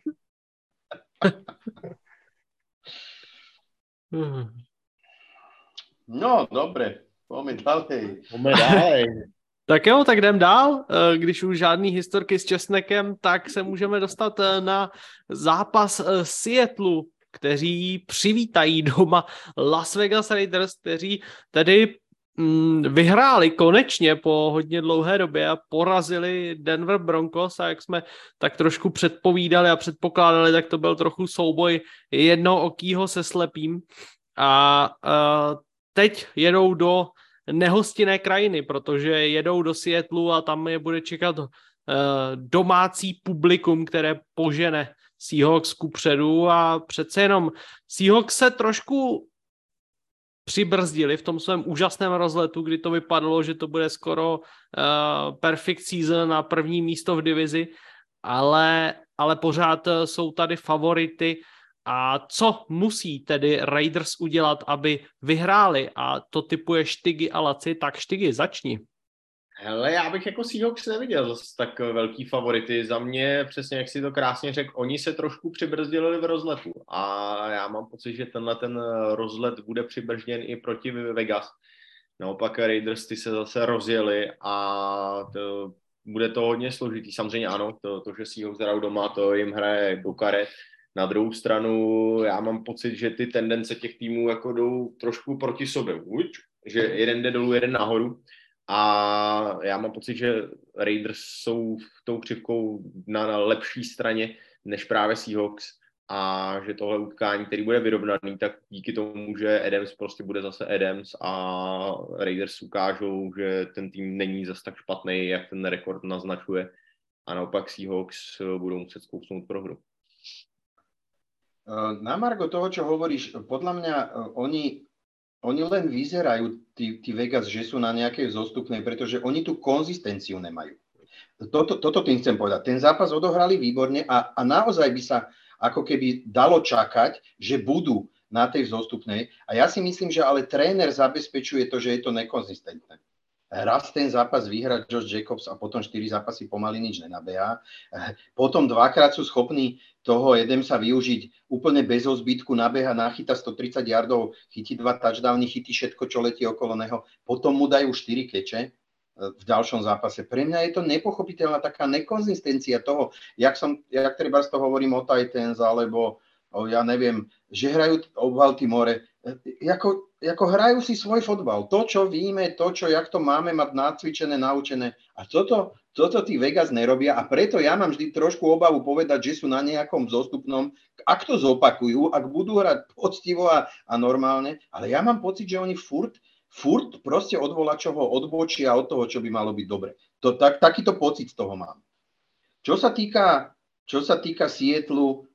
No, dobre, poďme ďalej. Poďme ďalej. Tak jo, tak jdem dál. Když už žádný historky s česnekem, tak se můžeme dostat na zápas Seattleu, kteří přivítají doma Las Vegas Raiders, kteří tedy mm, vyhráli konečně po hodně dlouhé době a porazili Denver Broncos, a jak jsme tak trošku předpovídali a předpokládali, tak to byl trochu souboj jednookýho se slepým. A uh, teď jedou do nehostinné krajiny, protože jedou do Seattleu a tam je bude čekat uh, domácí publikum, které požene Seahawks kupředu, a přece jenom Seahawks se trošku přibrzdili v tom svém úžasném rozletu, kdy to vypadalo, že to bude skoro uh, perfect season na první místo v divizi, ale, ale pořád jsou tady favority A co musí tedy Raiders udělat, aby vyhráli? A to typuje Štygy a Laci, tak Štygy, začni. Hele, já bych jako Seahawks neviděl zase tak velký favority. Za mě, přesně jak si to krásně řekl, oni se trošku přibrzdili v rozletu. A já mám pocit, že tenhle ten rozlet bude přibržděn i proti Vegas. Naopak Raiders ty se zase rozjeli a to, bude to hodně složitý. Samozřejmě ano, to, to že Seahawks hrajou doma, to jim hraje do karet. Na druhou stranu já mám pocit, že ty tendence těch týmů jako jdou trošku proti sobě. Uč, že jeden jde dolů, jeden nahoru. A já mám pocit, že Raiders jsou tou křivkou na, na lepší straně než právě Seahawks a že tohle utkání, který bude vyrovnaný, tak díky tomu, že Adams prostě bude zase Adams a Raiders ukážou, že ten tým není zase tak špatný, jak ten rekord naznačuje a naopak Seahawks budou muset zkousnout prohru. Na margo toho, čo hovoríš, podľa mňa oni, oni len vyzerajú, tí, tí Vegas, že sú na nejakej zostupnej, pretože oni tú konzistenciu nemajú. Toto, toto tým chcem povedať. Ten zápas odohrali výborne a, a naozaj by sa ako keby dalo čakať, že budú na tej vzostupnej. A ja si myslím, že ale tréner zabezpečuje to, že je to nekonzistentné. Raz ten zápas vyhrá Josh Jacobs a potom štyri zápasy pomaly nič nenabehá. Potom dvakrát sú schopní toho Adamsa využiť úplne bez zbytku, nabeha, nachyta stotridsať yardov, chytí dva touchdowny, chytí všetko, čo letí okolo neho. Potom mu dajú štyri keče v ďalšom zápase. Pre mňa je to nepochopiteľná taká nekonzistencia toho, jak, som, jak treba z toho hovorím o Titans, alebo o, ja neviem, že hrajú o Baltimore. Jako, ako hrajú si svoj fotbal. To, čo víme, to, čo, jak to máme mať nacvičené, naučené. A toto, toto tí Vegas nerobia a preto ja mám vždy trošku obavu povedať, že sú na nejakom zostupnom. Ak to zopakujú, ak budú hrať poctivo a, a normálne, ale ja mám pocit, že oni furt, furt proste od volačoho odbočia od toho, čo by malo byť dobre. To, tak, takýto pocit z toho mám. Čo sa týka, čo sa týka Seattlu,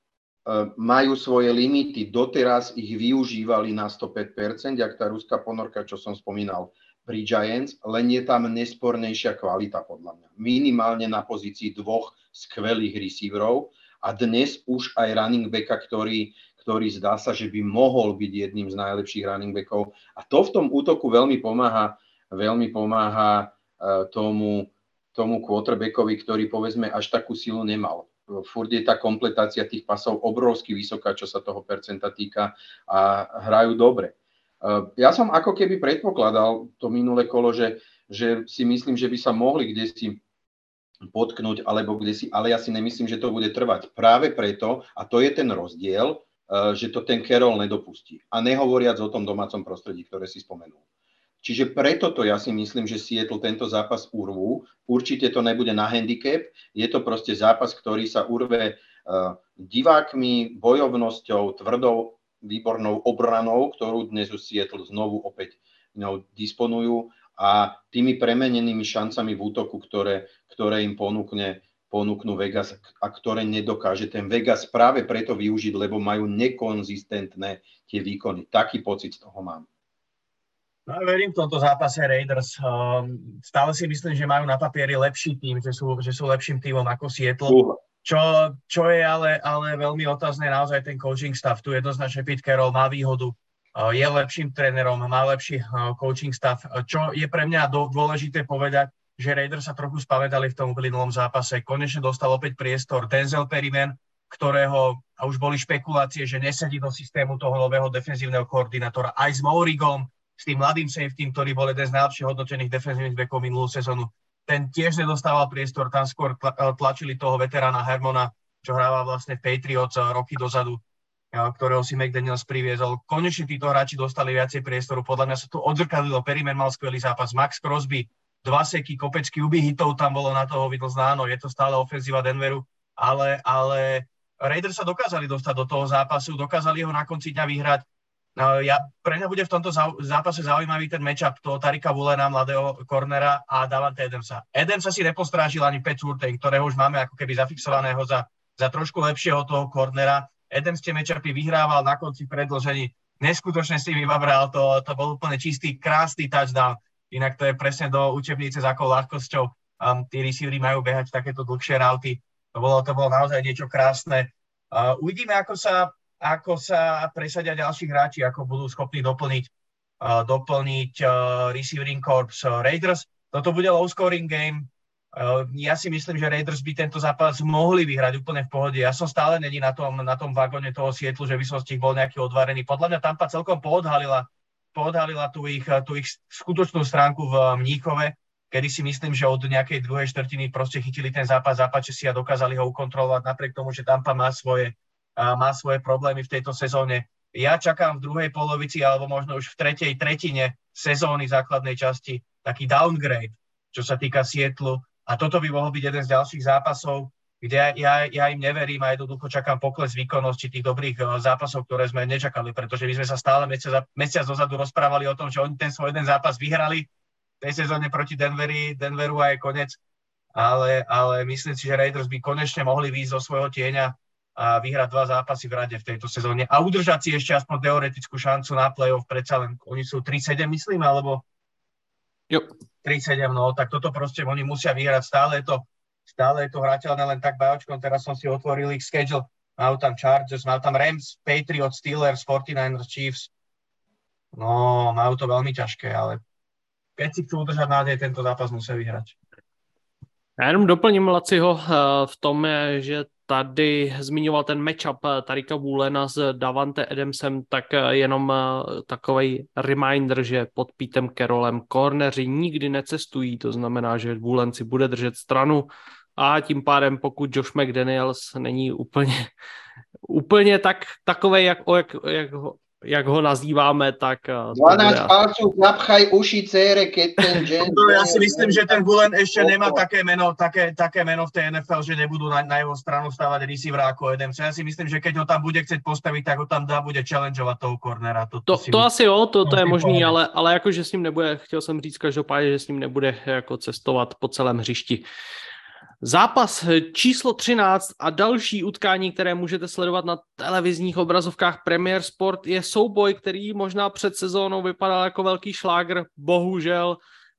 majú svoje limity, doteraz ich využívali na sto päť percent, jak tá ruská ponorka, čo som spomínal pri Giants, len je tam nespornejšia kvalita podľa mňa. Minimálne na pozícii dvoch skvelých receiverov a dnes už aj running backa, ktorý, ktorý zdá sa, že by mohol byť jedným z najlepších running backov. A to v tom útoku veľmi pomáha, veľmi pomáha uh, tomu, tomu quarterbackovi, ktorý povedzme až takú silu nemal. Furt je tá kompletácia tých pasov obrovsky vysoká, čo sa toho percenta týka a hrajú dobre. Ja som ako keby predpokladal to minulé kolo, že, že si myslím, že by sa mohli kdesi potknúť, alebo kdesi, ale ja si nemyslím, že to bude trvať. Práve preto, a to je ten rozdiel, že to ten Carroll nedopustí. A nehovoriac o tom domácom prostredí, ktoré si spomenul. Čiže preto to ja si myslím, že Seattle tento zápas urvú. Určite to nebude na handicap. Je to proste zápas, ktorý sa urve uh, divákmi, bojovnosťou, tvrdou, výbornou obranou, ktorú dnes už Seattle znovu opäť no, disponujú a tými premenenými šancami v útoku, ktoré, ktoré im ponúkne, ponúknú Vegas a ktoré nedokáže ten Vegas práve preto využiť, lebo majú nekonzistentné tie výkony. Taký pocit z toho mám. No ja verím v tomto zápase Raiders. Um, stále si myslím, že majú na papieri lepší tým, že sú, že sú lepším týmom ako Seattle. Uh. Čo, čo je ale, ale veľmi otázne naozaj ten coaching staff. Tu jednoznačne Pete Carroll má výhodu. Uh, je lepším trénerom, má lepší uh, coaching staff. Uh, čo je pre mňa do, dôležité povedať, že Raiders sa trochu spamätali v tom uplynulom zápase. Konečne dostal opäť priestor Denzel Perryman, ktorého a už boli špekulácie, že nesedí do systému toho nového defenzívneho koordinátora aj s Mourigom, s tým mladým safetym, ktorý bol jeden z najlepších hodnotených defenzívnych backov minulú sezónu. Ten tiež nedostával priestor, tam skôr tlačili toho veterána Hermona, čo hrával vlastne v Patriots roky dozadu, ktorého si McDaniels priviezol. Konečne títo hráči dostali viacej priestoru. Podľa mňa sa tu odzrkadlilo. Perryman mal skvelý zápas, Max Crosby, dva seky, kopecky uby hitov tam bolo na toho vidno znáno. Je to stále ofenzíva Denveru, ale, ale Raiders sa dokázali dostať do toho zápasu, dokázali ho na konci dňa vyhrať. No, ja, pre mňa bude v tomto zápase zaujímavý ten matchup toho Tarika Woolena, mladého cornera a Davante Adamsa. Adamsa si nepostrážil ani Pat Surtain, ktorého už máme ako keby zafixovaného za, za trošku lepšieho toho cornera. Adams tie matchupy vyhrával na konci predĺžení. Neskutočne si vybabral, to, to bol úplne čistý, krásny touchdown. Inak to je presne do učebnice, za akou ľahkosťou um, tí receivery majú behať takéto dlhšie rauty. To bolo, to bolo naozaj niečo krásne. Uh, uvidíme, ako sa ako sa presadia ďalší hráči, ako budú schopní doplniť, uh, doplniť uh, receiving corps uh, Raiders. Toto bude low scoring game. Uh, ja si myslím, že Raiders by tento zápas mohli vyhrať úplne v pohode. Ja som stále není na tom, na tom vagóne toho Sietlu, že by som z tých bol nejaký odvarený. Podľa mňa Tampa celkom poodhalila, poodhalila tú ich, tú ich skutočnú stránku v Mníchove, kedy si myslím, že od nejakej druhej štvrtiny proste chytili ten zápas, zápače si a dokázali ho ukontrolovať napriek tomu, že Tampa má svoje, uh, má svoje problémy v tejto sezóne. Ja čakám v druhej polovici alebo možno už v tretej tretine sezóny základnej časti taký downgrade, čo sa týka Sietlu. A toto by mohol byť jeden z ďalších zápasov, kde ja, ja, ja im neverím a jednoducho čakám pokles výkonnosti tých dobrých uh, zápasov, ktoré sme nečakali, pretože my sme sa stále mesiac, mesiac dozadu rozprávali o tom, že oni ten svoj jeden zápas vyhrali v tej sezóne proti Denveri, Denveru a je konec. Ale, ale myslím si, že Raiders by konečne mohli výjsť zo svojho tieňa a vyhrať dva zápasy v rade v tejto sezóne a udržať si ešte aspoň teoretickú šancu na play-off. Predsa len oni sú tri sedem, myslím, alebo jo. tri sedem, no, tak toto proste oni musia vyhrať. Stále je to, stále je to hrateľné len tak bajočkom. Teraz som si otvoril ich schedule. Majú tam Chargers, majú tam Rams, Patriots, Steelers, forty-niners, Chiefs. No, majú to veľmi ťažké, ale keď si chcú udržať nádej, tento zápas musia vyhrať. Já jenom doplním Laciho v tom, že tady zmiňoval ten matchup Tarika Woolena s Davante Adamsem, tak jenom takovej reminder, že pod Petem Carrollem corneři nikdy necestují, to znamená, že Woolen si bude držet stranu a tím pádem pokud Josh McDaniels není úplně, úplně tak, takovej, jak, jak, jak ho jak ho nazýváme, tak... dvanásť palcov napchaj uši cére, keď ten James... No, ja si myslím, že ten Woolen ešte nemá také meno, také, také meno v tej en ef el, že nebudú na, na jeho stranu stávať receivera ako Adams. Ja si myslím, že keď ho tam bude chcieť postaviť, tak ho tam dá, bude challengeovať toho cornera. To, to, to, to asi jo, to, to je možný, ale, ale jakože s ním nebude, chtěl jsem říct každopádně, že s ním nebude jako cestovat po celém hřišti. Zápas číslo třináct a další utkání, které můžete sledovat na televizních obrazovkách Premier Sport, je souboj, který možná před sezónou vypadal jako velký šlágr. Bohužel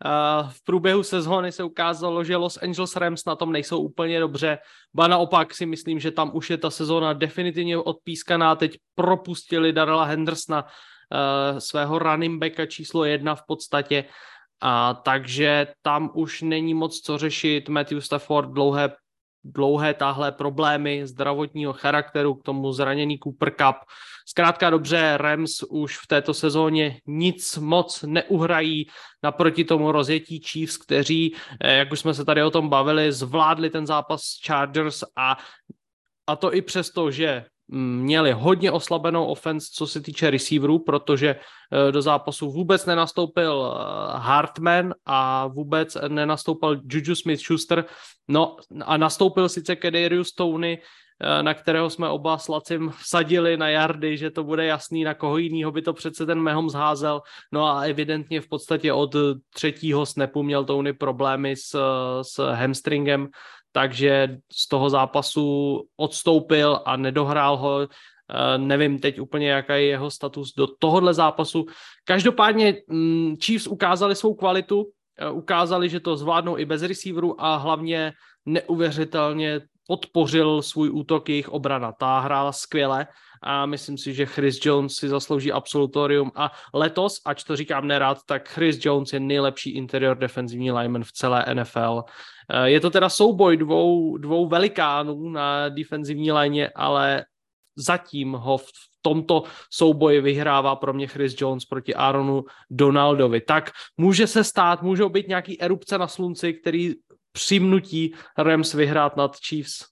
v průběhu sezóny se ukázalo, že Los Angeles Rams na tom nejsou úplně dobře. Ba naopak si myslím, že tam už je ta sezóna definitivně odpískaná. Teď propustili Darrella Hendersona, svého running backa číslo jedna v podstatě. A takže tam už není moc co řešit. Matthew Stafford dlouhé, dlouhé táhlé problémy zdravotního charakteru, k tomu zraněný Cooper Kupp. Zkrátka dobře, Rams už v této sezóně nic moc neuhrají naproti tomu rozjetí Chiefs, kteří, jak už jsme se tady o tom bavili, zvládli ten zápas s Chargers a, a to i přesto, že měli hodně oslabenou offense, co se týče receiverů, protože do zápasu vůbec nenastoupil Hartman a vůbec nenastoupil Juju Smith-Schuster. No a nastoupil sice Kadarius Toney, na kterého jsme oba s Lacim vsadili na yardy, že to bude jasný, na koho jinýho by to přece ten Mahomes házel. No a evidentně v podstatě od třetího snapu měl Toney problémy s, s hamstringem, takže z toho zápasu odstoupil a nedohrál ho. Nevím teď úplně, jaký je jeho status do tohohle zápasu. Každopádně Chiefs ukázali svou kvalitu, ukázali, že to zvládnou i bez receiverů a hlavně neuvěřitelně podpořil svůj útok jejich obrana. Ta hrála skvěle a myslím si, že Chris Jones si zaslouží absolutorium a letos, ač to říkám nerad, tak Chris Jones je nejlepší interior defenzivní lineman v celé en ef el. Je to teda souboj dvou, dvou velikánů na defenzivní lině, ale zatím ho v tomto souboji vyhrává pro mě Chris Jones proti Aaronu Donaldovi. Tak může se stát, můžou být nějaký erupce na slunci, který přimnutí Rams vyhrát nad Chiefs.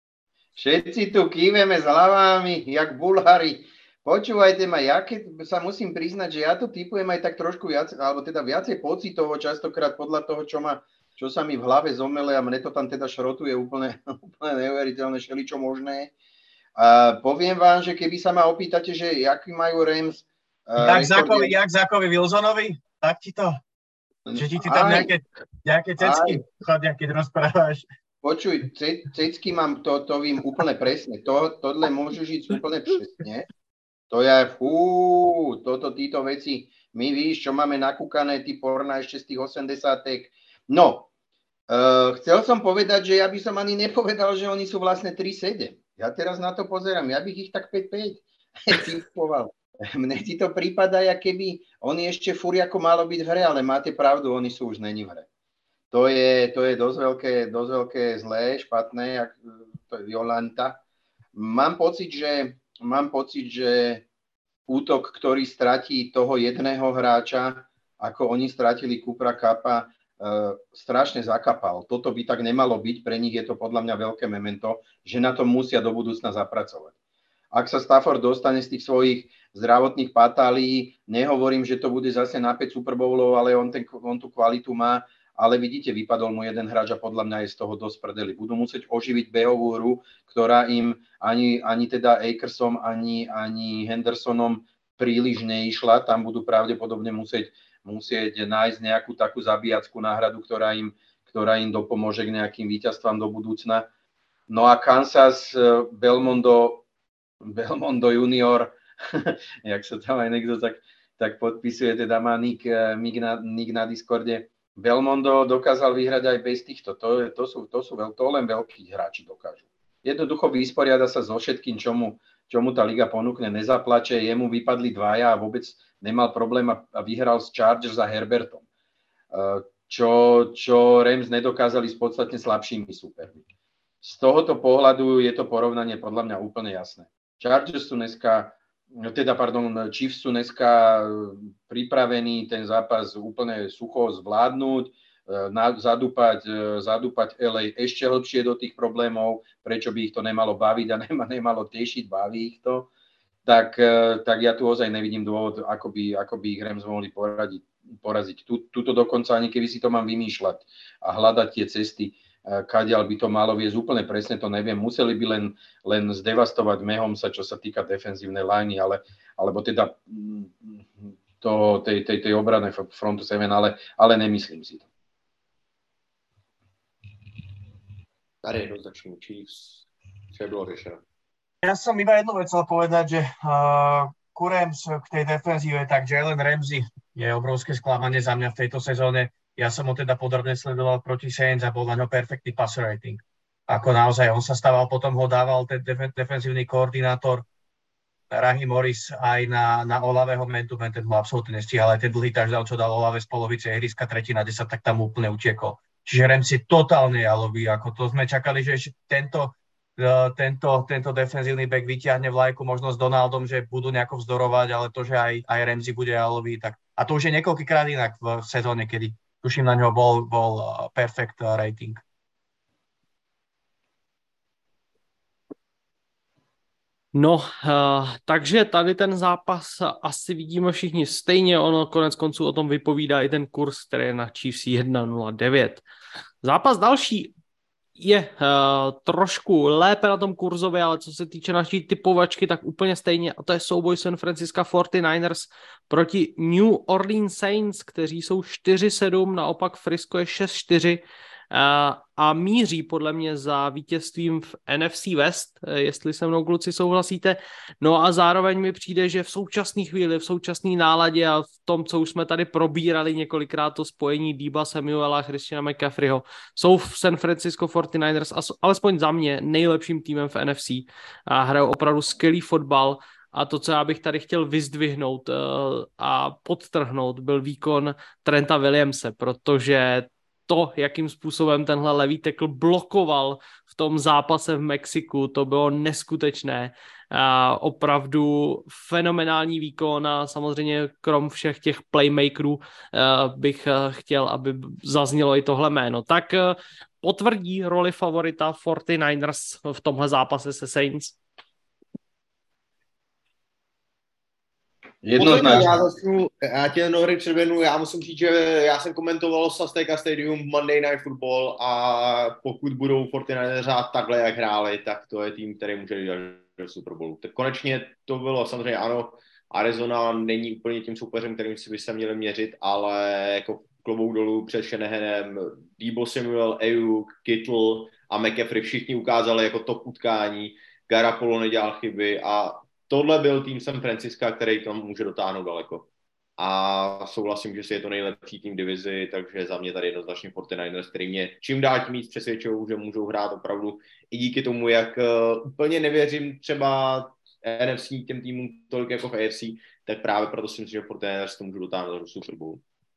Všetci tu kýveme s hlavami, jak bulhári. Počúvajte ma, ja keď sa musím priznať, že ja to typujem aj tak trošku viac, alebo teda viacej pocitovo, častokrát podľa toho, čo, ma, čo sa mi v hlave zomele a mne to tam teda šrotuje úplne, úplne neuveriteľné, šeličo možné. A poviem vám, že keby sa ma opýtate, že jaký majú Rams... Tak Zakovi, jak Zakovi Wilsonovi? Tak ti to... Že ti, ti tam aj, nejaké, nejaké cecky chodia, keď rozprávaš. Počuj, ce, cecky mám, to, to vím úplne presne. To, tohle môžu žiť úplne presne. To je, fú, toto, títo veci, my víš, čo máme nakúkané, ty porna ešte z tých osemdesiatek. No, uh, chcel som povedať, že ja by som ani nepovedal, že oni sú vlastne tri sedem. Ja teraz na to pozerám, ja bych ich tak päť päť. typoval. Mne ti to prípada, ako keby oni ešte fúri ako malo byť v hre, ale máte pravdu, oni sú už není v hre. To je, to je dosť veľké, dosť veľké zlé, špatné, to je Violanta. Mám pocit, že, mám pocit, že útok, ktorý stratí toho jedného hráča, ako oni stratili Coopera Kuppa, Uh, strašne zakapal. Toto by tak nemalo byť, pre nich je to podľa mňa veľké memento, že na to musia do budúcna zapracovať. Ak sa Stafford dostane z tých svojich zdravotných patálií, nehovorím, že to bude zase na päť Super Bowlov, ale on, ten, on tú kvalitu má, ale vidíte, vypadol mu jeden hráč a podľa mňa je z toho dosť prdeli. Budú musieť oživiť behovú hru, ktorá im ani, ani teda Akersom, ani, ani Hendersonom príliš neišla. Tam budú pravdepodobne musieť musieť nájsť nejakú takú zabíjackú náhradu, ktorá im, ktorá im dopomôže k nejakým víťazstvám do budúcna. No a Kansas, Belmondo, Belmondo junior, jak sa tam aj niekto tak, tak podpisuje, teda má nick, nick, na, nick na Discorde. Belmondo dokázal vyhrať aj bez týchto. To, to, sú, to, sú, to len veľkí hráči dokážu. Jednoducho vysporiada sa so všetkým, čomu, čomu tá liga ponúkne, nezaplače, jemu vypadli dvaja a vôbec nemal problém a vyhral s Chargers a Herbertom, čo, čo Rams nedokázali s podstatne slabšími súpermi. Z tohoto pohľadu je to porovnanie podľa mňa úplne jasné. Chargers sú dneska, teda pardon, Chiefs sú dneska pripravení ten zápas úplne sucho zvládnuť, zadúpať, zadúpať el ej ešte hlbšie do tých problémov, prečo by ich to nemalo baviť a nemalo tešiť, baví ich to. Tak, tak ja tu ozaj nevidím dôvod, ako by, ako by ich Rams mohli poradiť, poraziť. Tu, tuto dokonca ani keby si to mám vymýšľať a hľadať tie cesty, kadiaľ by to malo viesť, úplne presne to neviem. Museli by len, len zdevastovať Mahomesa, čo sa týka defenzívnej liney, ale, alebo teda to, tej, tej, tej obrany frontu sedem, ale, ale nemyslím si to. Tady jednoznačný Chiefs, čo bylo riešené. Ja som iba jednu vec chcel povedať, že uh, ku Rams k tej defenzíve, tak Jalen Ramsey je obrovské sklamanie za mňa v tejto sezóne. Ja som ho teda podrobne sledoval proti Saints a bol na ňo perfektný passer rating. Ako naozaj, on sa stával, potom ho dával ten def- defenzívny koordinátor Raheem Morris aj na, na Olaveho man-to-man, ten mu absolútne nestíhal, aj ten dlhý touchdown, čo dal Olave z polovice ihriska tretina desať, tak tam úplne utiekol. Čiže Ramsey totálne jalový, ako to sme čakali, že tento Tento, tento defenzívny back vyťahne vlajku možno s Donaldom, že budú nejako vzdorovať, ale to, že aj, aj Ramsey bude jalový, tak a to už je niekoľkýkrát inak v sezóne, kedy tuším na ňo bol, bol perfect rating. No, uh, takže tady ten zápas asi vidíme všichni stejně, ono konec konců o tom vypovídá i ten kurz, který je na Chiefs jedna nula devět. Zápas další je uh, trošku lépe na tom kurzově, ale co se týče naší typovačky, tak úplně stejně, a to je souboj San Francisco forty-niners proti New Orleans Saints, kteří jsou čtyři sedm, naopak Frisco je šest čtyři uh, a míří podle mě za vítězstvím v N F C West, jestli se mnou kluci souhlasíte. No a zároveň mi přijde, že v současné chvíli, v současné náladě a v tom, co už jsme tady probírali několikrát, to spojení Deeba Samuela a Christiana McCaffreyho, jsou v San Francisco forty-niners alespoň za mě nejlepším týmem v N F C a hrajou opravdu skvělý fotbal. A to, co já bych tady chtěl vyzdvihnout uh, a podtrhnout, byl výkon Trenta Williamse, protože to, jakým způsobem tenhle levý tackle blokoval v tom zápase v Mexiku, to bylo neskutečné. A opravdu fenomenální výkon a samozřejmě krom všech těch playmakerů bych chtěl, aby zaznělo i tohle jméno. Tak potvrdí roli favorita forty-niners v tomhle zápase se Saints? Jednoznačně. Já začnu, já tě Nory předběhnu, já musím říct, že já jsem komentoval z Azteca Stadium Monday Night Football a pokud budou forty-niners hrát takhle, jak hráli, tak to je tým, který může jít do Super Bowlu. Tak konečně to bylo samozřejmě ano, Arizona není úplně tím soupeřem, kterým si by se měli měřit, ale jako klobouk dolů před Shanahanem, Deebo Samuel, Ayuk, Kittle a McCaffrey všichni ukázali jako top utkání, Garoppolo nedělal chyby a tohle byl tým San Francisca, který tam může dotáhnout daleko. A souhlasím, že si je to nejlepší tým divizi, takže za mě tady jednoznačně forty-niners, který mě čím dál tím víc přesvědčují, že můžou hrát opravdu i díky tomu, jak uh, úplně nevěřím třeba N F C těm týmům tolik jako v A F C, tak právě proto si myslím, že po Niners to můžu dotáhnout do Super Bowl.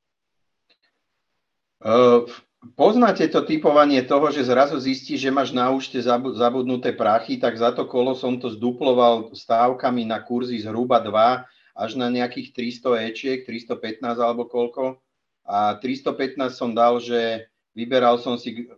Uh, poznáte to typovanie toho, že zrazu zistí, že máš na účte zabudnuté prachy, tak za to kolo som to zduploval stávkami na kurzy zhruba dva až na nejakých tristo ečiek, tristopätnásť alebo koľko. A tristopätnásť som dal, že vyberal som si,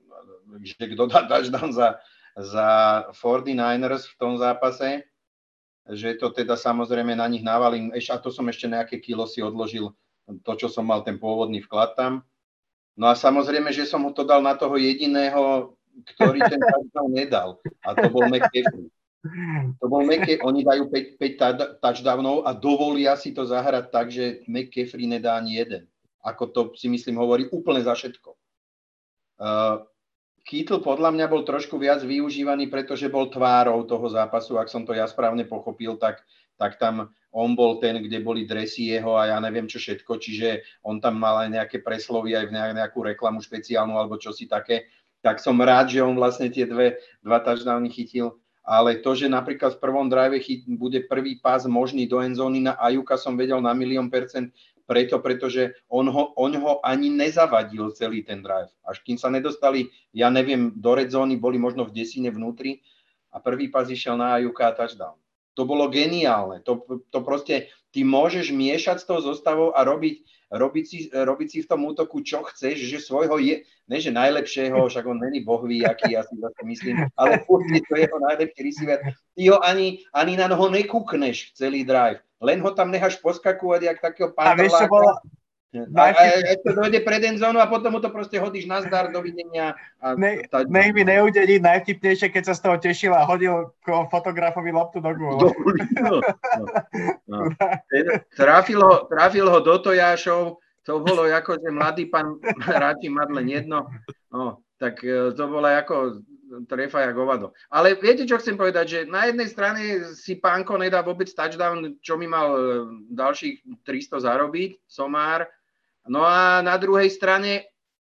že kto dá touchdown za, za forty-niners v tom zápase, že to teda samozrejme na nich navalím. A to som ešte nejaké kilo si odložil, to, čo som mal ten pôvodný vklad tam. No a samozrejme, že som ho to dal na toho jediného, ktorý ten touchdown nedal. A to bol McCaffrey. To bol McCaffrey. Oni dajú päť, päť touchdownov a dovolia si to zahrať tak, že McCaffrey nedá ani jeden. Ako to si myslím hovorí úplne za všetko. Uh, Kittle podľa mňa bol trošku viac využívaný, pretože bol tvárou toho zápasu. Ak som to ja správne pochopil, tak, tak tam on bol ten, kde boli dresy jeho a ja neviem čo všetko, čiže on tam mal aj nejaké preslovy, aj v nejakú reklamu špeciálnu alebo čosi také, tak som rád, že on vlastne tie dve, dva touchdowny chytil, ale to, že napríklad v prvom drive chyt, bude prvý pás možný do endzóny na Ajuka, som vedel na milión percent preto, pretože on ho, on ho ani nezavadil celý ten drive. Až kým sa nedostali, ja neviem, do red zóny, boli možno v desine vnútri a prvý pás išiel na Ajuka a touchdown. To bolo geniálne. To, to proste, ty môžeš miešať s tou zostavou a robiť, robiť, si, robiť si v tom útoku, čo chceš, že svojho je, ne že najlepšieho, však on není bohví, aký ja si zase myslím, ale furt je to jeho najlepší receiver. Ty ho ani, ani na noho nekúkneš celý drive. Len ho tam necháš poskakovať, jak takého panderláka. A, a ešte dojde pred endzónu a potom mu to proste hodíš na zdar, dovidenia. A ne, nech mi neudedí najvtipnejšie, keď sa z toho tešil a hodil fotografovi loptu do gôlu. No, no, no. Trafil, ho, trafil ho do tojášov, to bolo ako, že mladý pán ráči mať len jedno. No, tak to bolo ako trefa jak hovado. Ale viete, čo chcem povedať, že na jednej strane si pánko nedá vôbec touchdown, čo mi mal ďalších tristo zarobiť, somár. No a na druhej strane,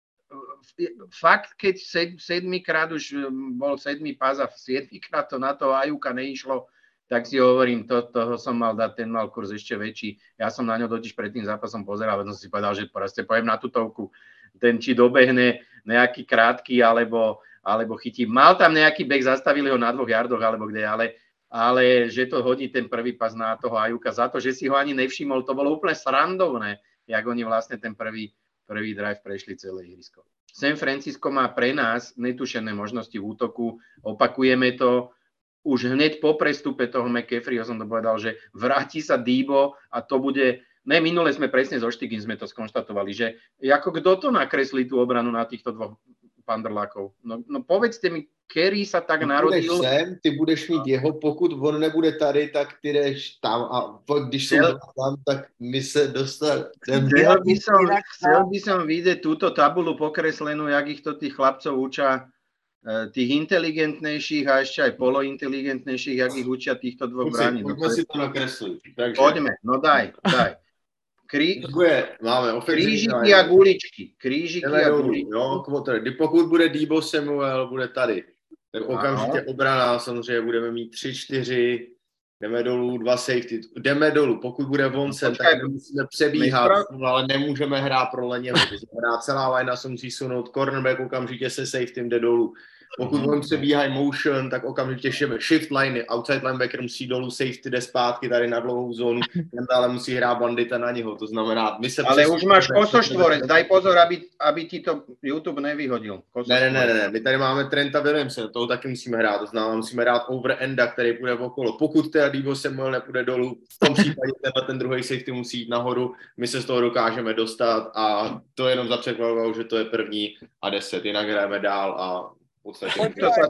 fakt, keď sedmikrát už bol sedmý pás a siedmikrát to na to Ajuka neišlo, tak si hovorím, to, toho som mal dať, ten mal kurz ešte väčší. Ja som na ňo totiž pred tým zápasom pozeral, veď som si povedal, že proste pojem na tutovku, ten či dobehne nejaký krátky, alebo, alebo chytí. Mal tam nejaký bek, zastavili ho na dvoch jardoch, alebo kde, ale, ale že to hodí ten prvý pas na toho Ajuka za to, že si ho ani nevšimol, to bolo úplne srandovné, jak oni vlastne ten prvý, prvý drive prešli celé ihrisko. San Francisco má pre nás netušené možnosti v útoku, opakujeme to, už hneď po prestupe toho McCaffreyho som to povedal, že vráti sa Debo a to bude, ne, minule sme presne so Štigin sme to skonštatovali, že ako kto to nakreslí tú obranu na týchto dvoch pandrlákov. No, no povedzte mi, Kerry sa tak ty narodil. Budeš sem, ty budeš mít jeho, pokud on nebude tady, tak ty jdeš tam a když som Chcel... tam, tak my se dostali. Chcel by som, chcel by som vidieť túto tabulu pokreslenú, jak ich to tých chlapcov učia, tých inteligentnejších a ešte aj polointeligentnejších, jak ich učia týchto dvoch bráni. Poďme si to nakresliť. Takže... Poďme, no daj, daj. Krí... Máme krížiky a guličky. Krížiky a guličky. Jo, pokud bude Debo Samuel, bude tady. Tak okamžitě ano. Obrana, samozřejmě budeme mít tři čtyři, jdeme dolů, dva safety, jdeme dolů. Pokud bude Vonsen, tak musíme přebíhat, ale nemůžeme hrát pro Leněho. Celá linea se musí sunout, cornerback okamžitě se safetym jde dolů. Pokud on přebíhají motion, tak okamžitě shift line, outside linebacker musí dolů, safety jde zpátky tady na dlouhou zónu, ten dále musí hrát bandita na něho, to znamená, my se... Ale už máš kosoštvorec, daj pozor, aby, aby ti to YouTube nevyhodil. Ne, ne, ne, ne, my tady máme Trenta Williamse, toho taky musíme hrát, to znamená, musíme hrát over enda, který půjde okolo. Pokud teda Debo Samuel nepůjde dolů, v tom případě tenhle ten druhý safety musí jít nahoru, my se z toho dokážeme dostat a to jenom za předpokladu, že to je první a deset, jinak hrajeme dál a Poďme,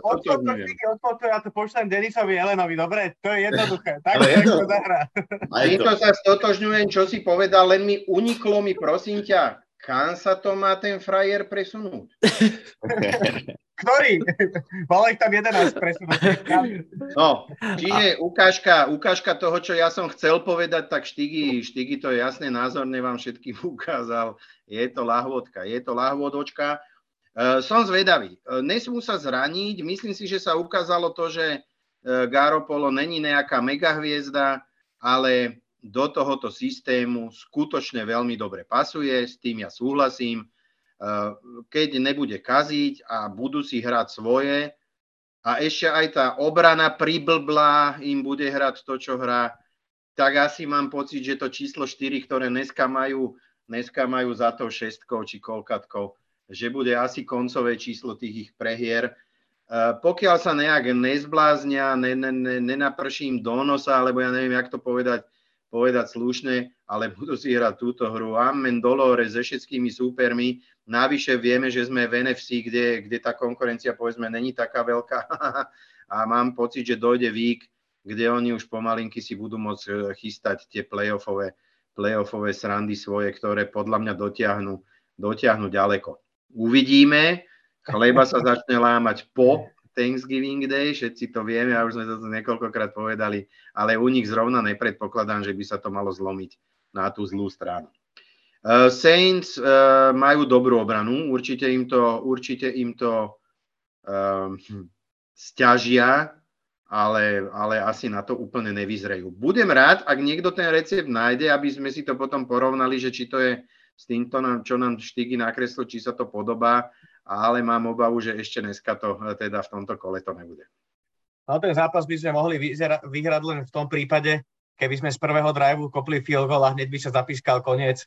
ja to pošlem Denisovi Elenovi, dobre? To je jednoduché. Tak to zahrá. Týmto sa stotožňujem, čo si povedal, len mi uniklo mi, prosím ťa, kam sa to má ten frajer presunúť? Ktorý? Mal ich tam jedenásť presunúť. No, čiže ukážka, ukážka toho, čo ja som chcel povedať, tak Štigy, Štigy to jasne názorne vám všetkým ukázal. Je to lahôdka, je to lahôdočka. Uh, som zvedavý. Uh, nesmú sa zraniť. Myslím si, že sa ukázalo to, že, Garoppolo není nejaká megahviezda, ale do tohoto systému skutočne veľmi dobre pasuje, s tým ja súhlasím. Keď nebude kaziť a budú si hrať svoje a ešte aj tá obrana priblblá im bude hrať to, čo hrá, tak asi mám pocit, že to číslo štyri, ktoré dneska majú, dneska majú za to šestkou či kolkatkou, že bude asi koncové číslo tých ich prehier. Uh, pokiaľ sa nejak nezbláznia, ne, ne, ne, nenaprší im do nosa, alebo ja neviem, jak to povedať, povedať slušne, ale budú si hrať túto hru. Amen, dolore, so všetkými súpermi. Navyše vieme, že sme v en ef cé, kde, kde tá konkurencia, povedzme, není taká veľká. A mám pocit, že dojde vík, kde oni už pomalinky si budú môcť chystať tie playoffové, playoffové srandy svoje, ktoré podľa mňa dotiahnu, dotiahnu ďaleko. Uvidíme, chleba sa začne lámať po Thanksgiving Day, všetci to vieme, a už sme to niekoľkokrát povedali, ale u nich zrovna nepredpokladám, že by sa to malo zlomiť na tú zlú stranu. Uh, Saints uh, majú dobrú obranu, určite im to, určite im to um, sťažia, ale, ale asi na to úplne nevyzrejú. Budem rád, ak niekto ten recept nájde, aby sme si to potom porovnali, že či to je s týmto, čo nám Štigy nakreslil, či sa to podobá, ale mám obavu, že ešte dneska to teda v tomto kole to nebude. No ten zápas by sme mohli vyzera- vyhrať len v tom prípade, keby sme z prvého driveu kopli field goal a hneď by sa zapískal koniec.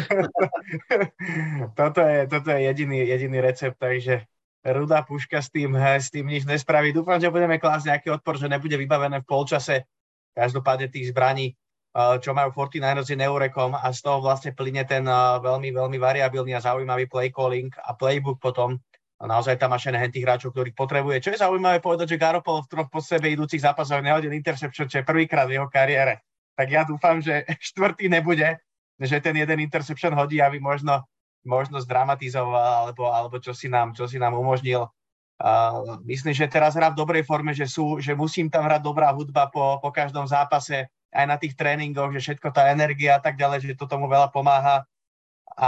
toto je, toto je jediný, jediný recept, takže rudá puška s tým, s tým nič nespraví. Dúfam, že budeme klásť nejaký odpor, že nebude vybavené v polčase. Každopádne tých zbraní, čo majú forty-niners je neurekom a z toho vlastne plyne ten veľmi, veľmi variabilný a zaujímavý play calling a playbook potom. A naozaj tam máš aj tých hráčov, ktorých potrebuje. Čo je zaujímavé povedať, že Garoppolo v troch po sebe idúcich zápasoch nehodil interception, čo je prvýkrát v jeho kariére. Tak ja dúfam, že štvrtý nebude, že ten jeden interception hodí, aby možno, možno zdramatizoval alebo, alebo čo, si nám, čo si nám umožnil. Uh, myslím, že teraz hrá v dobrej forme, že, sú, že musím tam hrať dobrá hudba po, po každom zápase, aj na tých tréningoch, že všetko tá energia a tak ďalej, že to tomu veľa pomáha. A,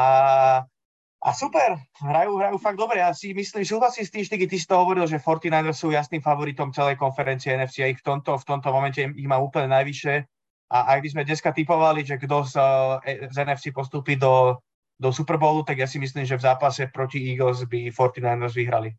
a super, hrajú, hrajú fakt dobre. Ja si myslím, súhlasím s tým, Štigy, ty si to hovoril, že forty-niners sú jasným favoritom celej konferencie en ef cé a ich v tomto, v tomto momente ich má úplne najvyššie. A ak by sme dneska typovali, že kto z, z en ef cé postúpi do, do Super Bowlu, tak ja si myslím, že v zápase proti Eagles by forty-niners vyhrali.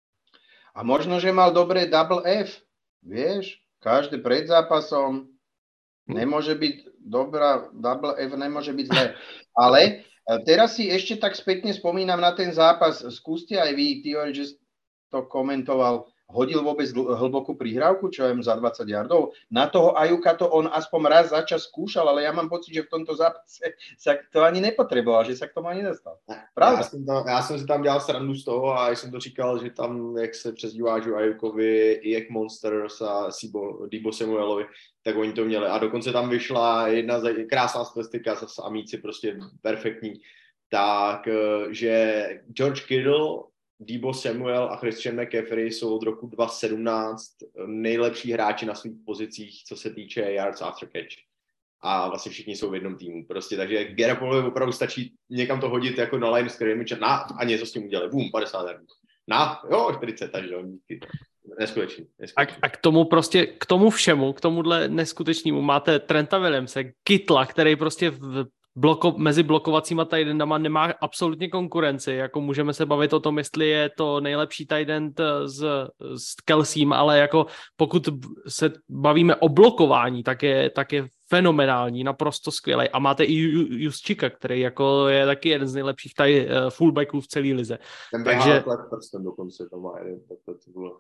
A možno, že mal dobré double F, vieš, každý pred zápasom nemôže byť dobrá, double F nemôže byť zlé. Ale teraz si ešte tak spätne spomínam na ten zápas. Skúste aj vy, Tio, že to komentoval. Hodil vôbec hlbokú prihrávku, čo je za dvadsať yardov? Na toho Ajuka to on aspoň raz za čas skúšal, ale ja mám pocit, že v tomto zápase sa to ani nepotreboval, že sa k tomu ani nedostal. Pravda? Já jsem, tam, já jsem si tam dělal srandu z toho a jsem to říkal, že tam, jak se přezdíváš o Ajukovi, i jak Monsters a Deebo Samuelovi, tak oni to měli. A dokonce tam vyšla jedna krásná statistika, zase amíci prostě perfektní, tak, že George Kittle, Deebo Samuel a Christian McCaffrey jsou od roku dva tisíce sedmnáct nejlepší hráči na svých pozicích, co se týče yards after catch. A vlastně všichni jsou v jednom týmu. Prostě, takže Garoppolo opravdu stačí někam to hodit jako na line scrimmage na a něco s tím udělali. Bum, padesát yardů. Na, jo, čtyřicet, takže neskutečný. A, a k tomu prostě, k tomu všemu, k tomuhle neskutečnému máte Trenta Williamse, Kittla, který prostě v Bloko, mezi blokovacíma tight endama nemá absolutně konkurenci, jako můžeme se bavit o tom, jestli je to nejlepší tight end s, s Kelsím, ale jako pokud se bavíme o blokování, tak je, tak je fenomenální, naprosto skvělý. A máte i Juszczyka, který jako je taky jeden z nejlepších taj, fullbacků v celé lize. Ten Takže prstem dokonce to má jeden, tak to bylo.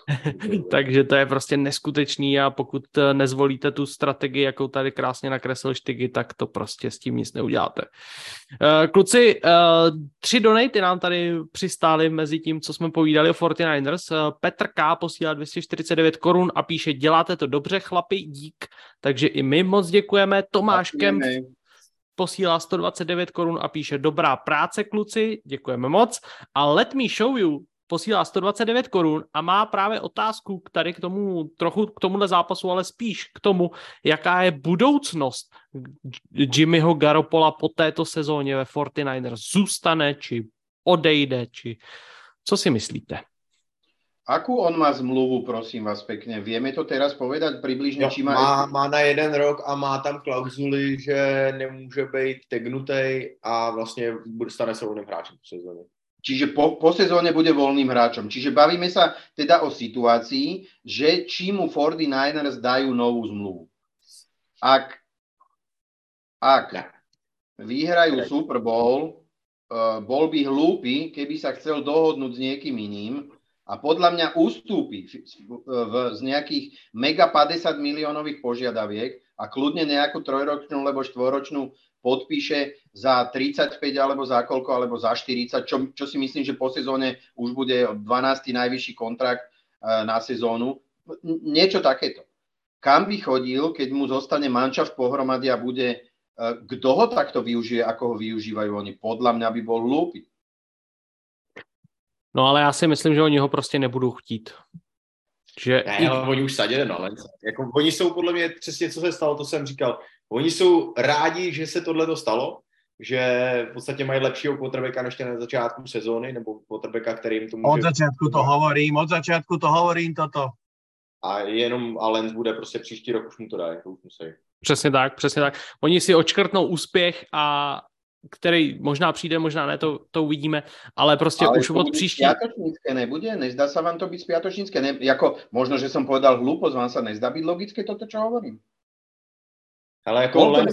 Takže to je prostě neskutečný a pokud nezvolíte tu strategii, jakou tady krásně nakreslil Štigy, tak to prostě s tím nic neuděláte. Kluci, tři donaty nám tady přistály mezi tím, co jsme povídali o forty-niners. Petr K. posílá dvě stě čtyřicet devět korun a píše, děláte to dobře, chlapi, dík. Takže i my moc děkujeme. Tomáš Kemp posílá sto dvacet devět korun a píše, dobrá práce, kluci, děkujeme moc. A Let Me Show You posílá sto dvacet devět korun a má právě otázku k tady k tomu, trochu k tomuhle zápasu, ale spíš k tomu, jaká je budoucnost Jimmyho Garoppola po této sezóně ve forty-niners. Zůstane, či odejde, či co si myslíte? Akú on má zmluvu, prosím vás pekne? Vieme to teraz povedať približne? Jo, či má, má, má na jeden rok a má tam klauzuli, že nemůže být tagnutej a vlastně stane se voľným hráčom v sezóne. Čiže po, po sezóne bude voľným hráčom. Čiže bavíme sa teda o situácii, že či mu forty-niners dajú novú zmluvu. Ak, ak vyhrajú Super Bowl, uh, bol by hlúpy, keby sa chcel dohodnúť s niekým iným, a podľa mňa ústúpi v, v, z nejakých mega päťdesiat miliónových požiadaviek a kľudne nejakú trojročnú alebo štvoročnú podpíše za tridsaťpäť alebo za koľko, alebo za štyridsať, čo, čo si myslím, že po sezóne už bude dvanásty najvyšší kontrakt uh, na sezónu. Niečo takéto. Kam by chodil, keď mu zostane manšaft pohromady a bude, uh, kto ho takto využije, ako ho využívajú oni? Podľa mňa by bol hlúpy. No ale já si myslím, že oni ho prostě nebudou chtít. Že ne, ale oni už sadili na Lensa. Jako, oni jsou podle mě přesně, co se stalo, to jsem říkal. Oni jsou rádi, že se tohle stalo, že v podstatě mají lepšího quarterbacka než na začátku sezóny, nebo quarterbacka, který jim to může... Od začátku to hovorím, od začátku to hovorím toto. A jenom a Lens bude prostě příští rok, už mu to dá, to už musí. Přesně tak, přesně tak. Oni si odškrtnou úspěch a který možná přijde, možná ne, to, to uvidíme, ale prostě ale už od příští... Ale spiatočnícke nebude? Nezdá sa vám to byť spiatočnícke? Ne, jako, možno, že som povedal hlúposť, vám sa nezdá byť logické toto, čo hovorím? Ale jako Len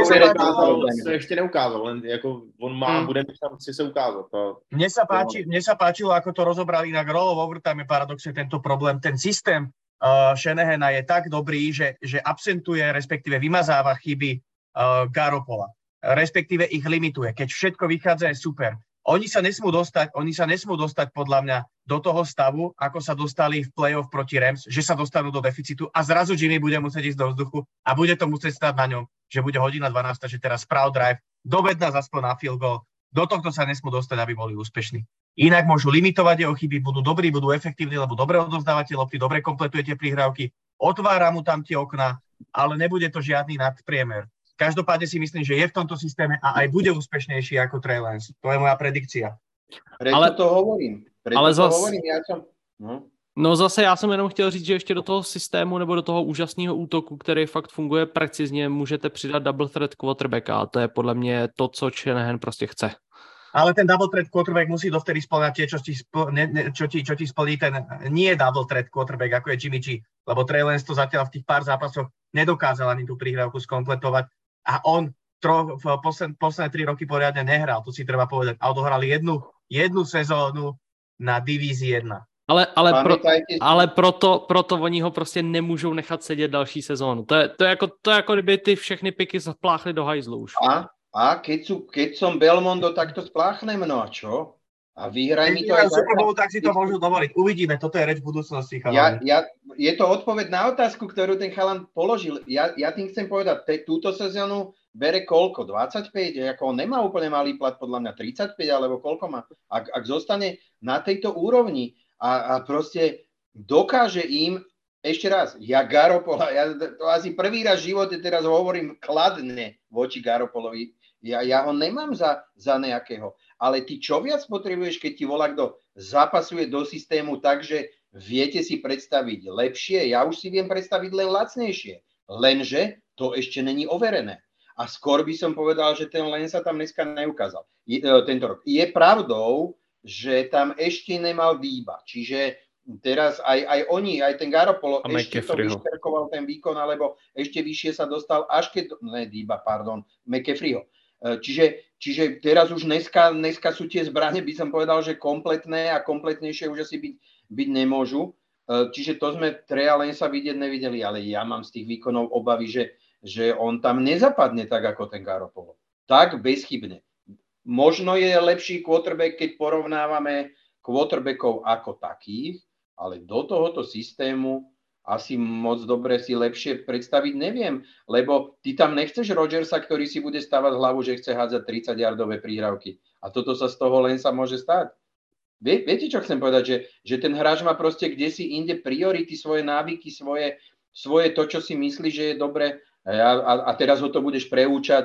se ještě neukázal, len jako on má, hmm. bude šanci se ukázat. To... Mne sa páči, mne sa páčilo, ako to rozobrali na Roll of Overtime, paradoxne tento problém. Ten systém uh, Shanahana je tak dobrý, že, že absentuje, respektíve vymazáva chyby uh, Garoppola. Respektíve ich limituje. Keď všetko vychádza, je super. Oni sa nesmú dostať, oni sa nesmú dostať podľa mňa do toho stavu, ako sa dostali v play-off proti Rams, že sa dostanú do deficitu a zrazu Jimmy bude musieť ísť do vzduchu a bude to musieť stať na ňom, že bude hodina dvanásť, že teraz sprav drive, dovedná zaspoň na field goal. Do tohto sa nesmú dostať, aby boli úspešní. Inak môžu limitovať jeho chyby, budú dobrí, budú efektívni, lebo dobre odovzdávate lopty, dobre kompletujete prihrávky, otvára mu tam tie okná, ale nebude to žiadny nadpriemer. Každopádne si myslím, že je v tomto systéme a aj bude úspešnejší ako Trey Lance. To je moja predikcia. Preto ale, to hovorím. Preto ale to zas, hovorím. Ja som... no. no zase já jsem jenom chtěl říct, že ještě do toho systému nebo do toho úžasného útoku, který fakt funguje precizně, můžete přidat double threat quarterbacka a to je podle mě to, co Shanahan prostě chce. Ale ten double threat quarterback musí dovtedy spĺňať tie, čo ti, spl- ne, ne, čo, ti, čo ti splní ten nie double threat quarterback, ako je Jimmy G, lebo Trey Lance to zatiaľ v tých pár zápasoch nedokázal ani tú prihrávku skompletovať a on tro, v posled, posledné tri roky poriadne nehral, to si treba povedať. A odohrali jednu, jednu sezónu na divízii jedna. Ale, ale, pro, ale proto, proto oni ho prostě nemůžou nechat sedět další sezónu. To je, to je, jako, to je jako kdyby ty všechny piky zapláchly do hajzlu už. A, a keď, sú, keď som Belmondo, tak to spláchnem, no a čo? A vyhraj mi to aj... Superbowl, tak si to môžu dovoliť. Uvidíme, toto je reč v budúcnosti, ja, ja, je to odpoveď na otázku, ktorú ten chalan položil. Ja, ja tým chcem povedať, te, túto sezónu bere koľko? dvadsaťpäť? Ako on nemá úplne malý plat, podľa mňa tridsaťpäť, alebo koľko má? Ak, ak zostane na tejto úrovni a, a proste dokáže im, ešte raz, ja Garoppola, ja to asi prvý raz v živote teraz hovorím kladne voči Garoppolovi, ja, ja ho nemám za, za nejakého. Ale ty čo viac potrebuješ, keď ti volá kto zapasuje do systému tak, že viete si predstaviť lepšie? Ja už si viem predstaviť len lacnejšie. Lenže to ešte není overené. A skôr by som povedal, že ten Len sa tam dneska neukázal. Je, tento rok. Je pravdou, že tam ešte nemal Dýba. Čiže teraz aj, aj oni, aj ten Garoppolo ešte to vyšperkoval ten výkon, alebo ešte vyššie sa dostal, až keď... Ne, Dýba, pardon, McCaffreyho. Čiže, čiže teraz už dneska, dneska sú tie zbrane, by som povedal, že kompletné a kompletnejšie už asi byť, byť nemôžu. Čiže to sme Treya Lanca vidieť nevideli, ale ja mám z tých výkonov obavy, že, že on tam nezapadne tak, ako ten Garoppolo. Tak bezchybne. Možno je lepší quarterback, keď porovnávame quarterbackov ako takých, ale do tohoto systému asi moc dobre si lepšie predstaviť neviem, lebo ty tam nechceš Rodgersa, ktorý si bude stavať hlavu, že chce hádzať tridsať-yardové príhrávky. A toto sa z toho len sa môže stať. Vie, viete, čo chcem povedať? Že, že ten hráč má proste kdesi inde priority, svoje návyky, svoje, svoje to, čo si myslí, že je dobre a, a, a teraz ho to budeš preúčať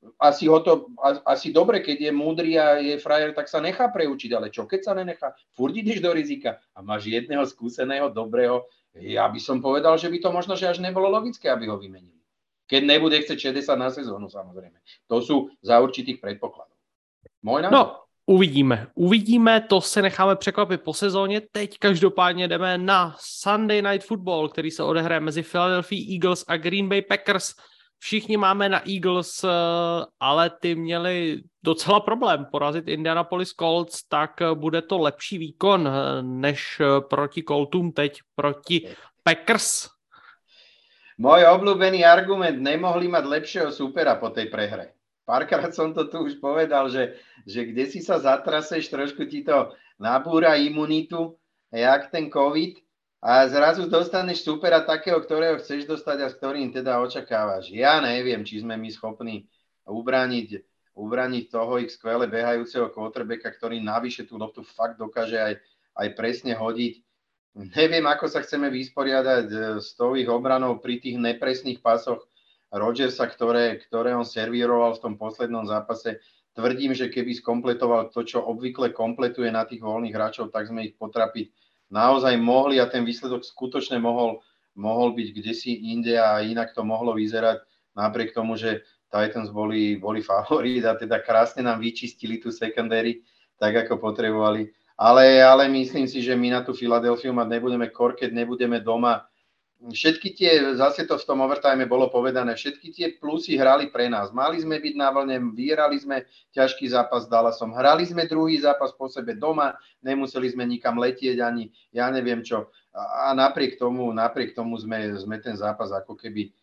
asi, ho to, asi dobre, keď je múdry a je frajer, tak sa nechá preučiť, ale čo keď sa nenechá? Furt ideš do rizika a máš jedného skúseného, dobrého. Ja by som povedal, že by to možno, že až nebolo logické, aby ho vymenili. Keď nebude chcieť šesťdesiat na sezónu, samozrejme. To sú za určitých predpokladov. Môj názor? No, uvidíme. Uvidíme, to se necháme překvapit po sezóně. Teď každopádně jdeme na Sunday Night Football, který se odehraje mezi Philadelphia Eagles a Green Bay Packers. Všichni máme na Eagles, ale ty měli docela problém porazit Indianapolis Colts, tak bude to lepší výkon než proti Coltům teď proti Packers. Môj obľúbený argument, nemohli mať lepšieho supera po tej prehre. Párkrát som to tu už povedal, že, že kde si sa zatraseš, trošku ti to nabúra imunitu, jak ten COVID, a zrazu dostaneš supera takého, ktorého chceš dostať a s ktorým teda očakávaš. Ja neviem, či sme my schopní ubrániť, ubrániť toho ich skvele behajúceho quarterbacka, ktorý navyše tú loptu fakt dokáže aj, aj presne hodiť. Neviem, ako sa chceme vysporiadať s tou ich obranou pri tých nepresných pasoch Rodgersa, ktoré, ktoré on servíroval v tom poslednom zápase. Tvrdím, že keby skompletoval to, čo obvykle kompletuje na tých voľných hráčov, tak sme ich potrapiť naozaj mohli a ten výsledok skutočne mohol, mohol byť kdesi inde a inak to mohlo vyzerať napriek tomu, že Titans boli, boli favorit a teda krásne nám vyčistili tú secondary, tak ako potrebovali. Ale, ale myslím si, že my na tú Filadelfiu mať nebudeme kor, keď nebudeme doma. Všetky tie, zase to v tom overtime bolo povedané, všetky tie plusy hrali pre nás. Mali sme byť na vlne, vyhrali sme ťažký zápas s Dallasom, hrali sme druhý zápas po sebe doma, nemuseli sme nikam letieť ani ja neviem čo. A, a napriek tomu, napriek tomu sme, sme ten zápas ako keby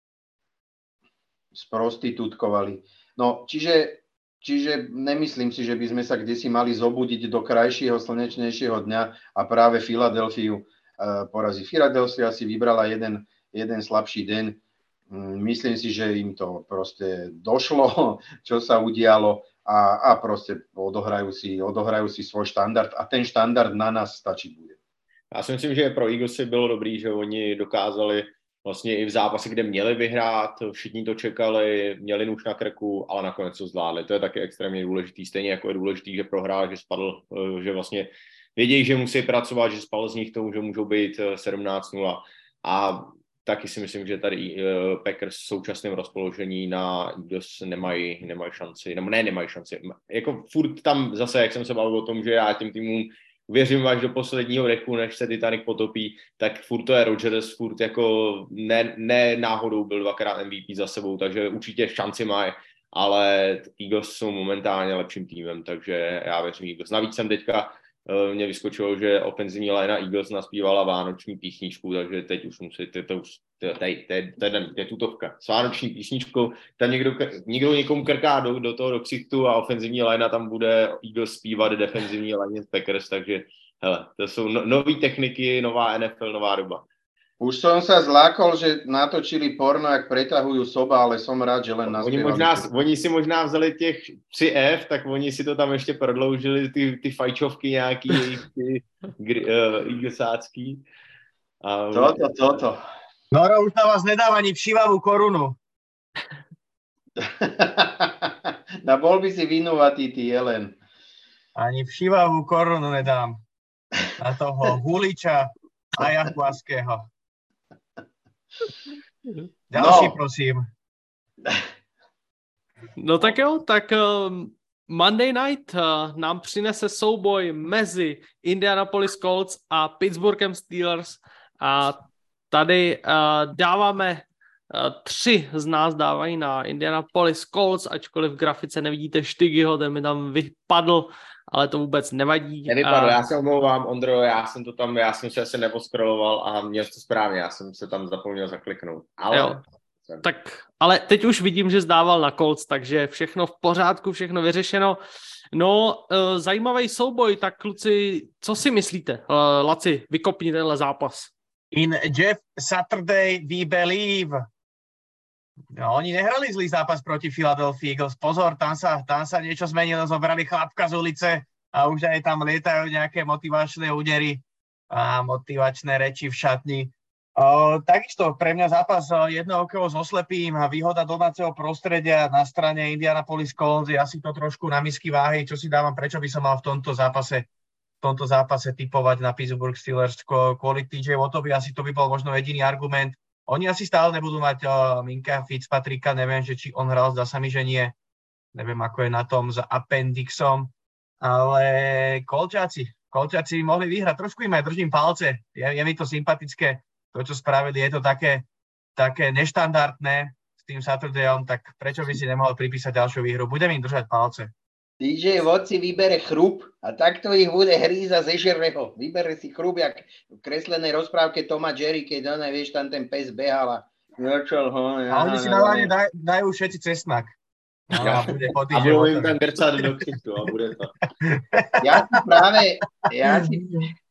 sprostitútkovali. No, čiže Čiže nemyslím si, že by sme sa kdesi mali zobudiť do krajšieho, slnečnejšieho dňa a práve Filadelfiu uh, porazí. Filadelfia si vybrala jeden, jeden slabší deň. Um, myslím si, že im to proste došlo, čo sa udialo a, a proste odohrajú si, odohrajú si svoj štandard a ten štandard na nás stačiť bude. Já si myslím, že pro Eaglesy bylo dobrý, že oni dokázali vlastně i v zápase, kde měli vyhrát, všichni to čekali, měli nůž na krku, ale nakonec to zvládli. To je taky extrémně důležitý. Stejně jako je důležitý, že prohrál, že spadl, že vlastně vědějí, že musí pracovat, že spadl z nich tomu, že můžou být sedmnáct nula. A taky si myslím, že tady Packers v současném rozpoložení na Eagles nemají, nemají šanci, nebo ne, nemají šanci. Jako furt tam zase, jak jsem se bavil o tom, že já těm týmům věřím až do posledního dechu, než se Titanic potopí, tak furt to je Rodgers, furt jako ne, ne náhodou byl dvakrát M V P za sebou, takže určitě šanci mají, ale Eagles jsou momentálně lepším týmem, takže já věřím Eagles. Navíc jsem teďka, uh, mě vyskočilo, že ofenzivní line Eagles naspívala vánoční písničku, takže teď už musí, to, to už, to je tutovka, s vánoční písničkou, tam někdo, někdo někomu krká do, do toho do ksichtu a ofenzivní line tam bude Eagles zpívat defenzivní line Packers, takže hele, to jsou no, nové techniky, nová N F L, nová doba. Už som sa zlákol, že natočili porno, jak pretahujú soba, ale som rád, že len naspievali. Oni, možná, oni si možná vzali těch tři F, tak oni si to tam ještě prodloužili, ty, ty fajčovky nějaký, ty uh, eaglesácký. A... Toto, toto. Noro už na vás nedáva ani všívavú korunu. Na bol by si vinúvatý, ty Jelen. Ani všívavú korunu nedám. Na toho Huliča a Jakuaského. Ďalší, no. Prosím. No tak jo, tak um, Monday Night uh, nám přinese souboj mezi Indianapolis Colts a Pittsburghem Steelers a tady uh, dáváme, uh, tři z nás dávají na Indianapolis Colts, ačkoliv v grafice nevidíte Štygyho, ten mi tam vypadl, ale to vůbec nevadí. Nevypadl, uh, já se omlouvám, Ondro, já jsem to tam, já jsem se asi neposkroloval a měl to správně, já jsem se tam zapomněl zakliknout. Ale... Jo. Tak, ale teď už vidím, že zdával na Colts, takže všechno v pořádku, všechno vyřešeno. No, uh, zajímavý souboj, tak kluci, co si myslíte? Uh, Laci, vykopni tenhle zápas. In Jeff Saturday we believe. No, oni nehrali zlý zápas proti Philadelphia Eagles. Pozor, tam sa, tam sa niečo zmenilo, zobrali chlapka z ulice a už aj tam lietajú nejaké motivačné údery a motivačné reči v šatni. Uh, takisto pre mňa zápas jedno okolo so slepým a výhoda domáceho prostredia na strane Indianapolis Colts je asi to trošku na misky váhy, čo si dávam, prečo by som mal v tomto zápase v tomto zápase typovať na Pittsburgh Steelers kvôli té jé Wattovi, asi to by bol možno jediný argument. Oni asi stále nebudú mať uh, Minka Fitzpatricka, neviem, že či on hral, zdá sa mi, že nie. Neviem, ako je na tom s appendixom, ale Kolčáci, Kolčáci mohli vyhrať, trošku im aj držím palce, je, je mi to sympatické. To, čo spravili, je to také, také neštandardné s tým Saturdayom, tak prečo by si nemohol pripísať ďalšiu výhru? Budem im držať palce. té jé Watt si vybere chrup a takto ich bude hríza zežere ho. Vybere si chrup, jak v kreslenej rozprávke Toma Jerry, keď ona, vieš, tam ten pes behal a začal ho. A oni si normálne daj, dajú všetci cesnak. No, a bude po a budou jim tam grcať do ksichtu a bude to. Ja si práve, ja si...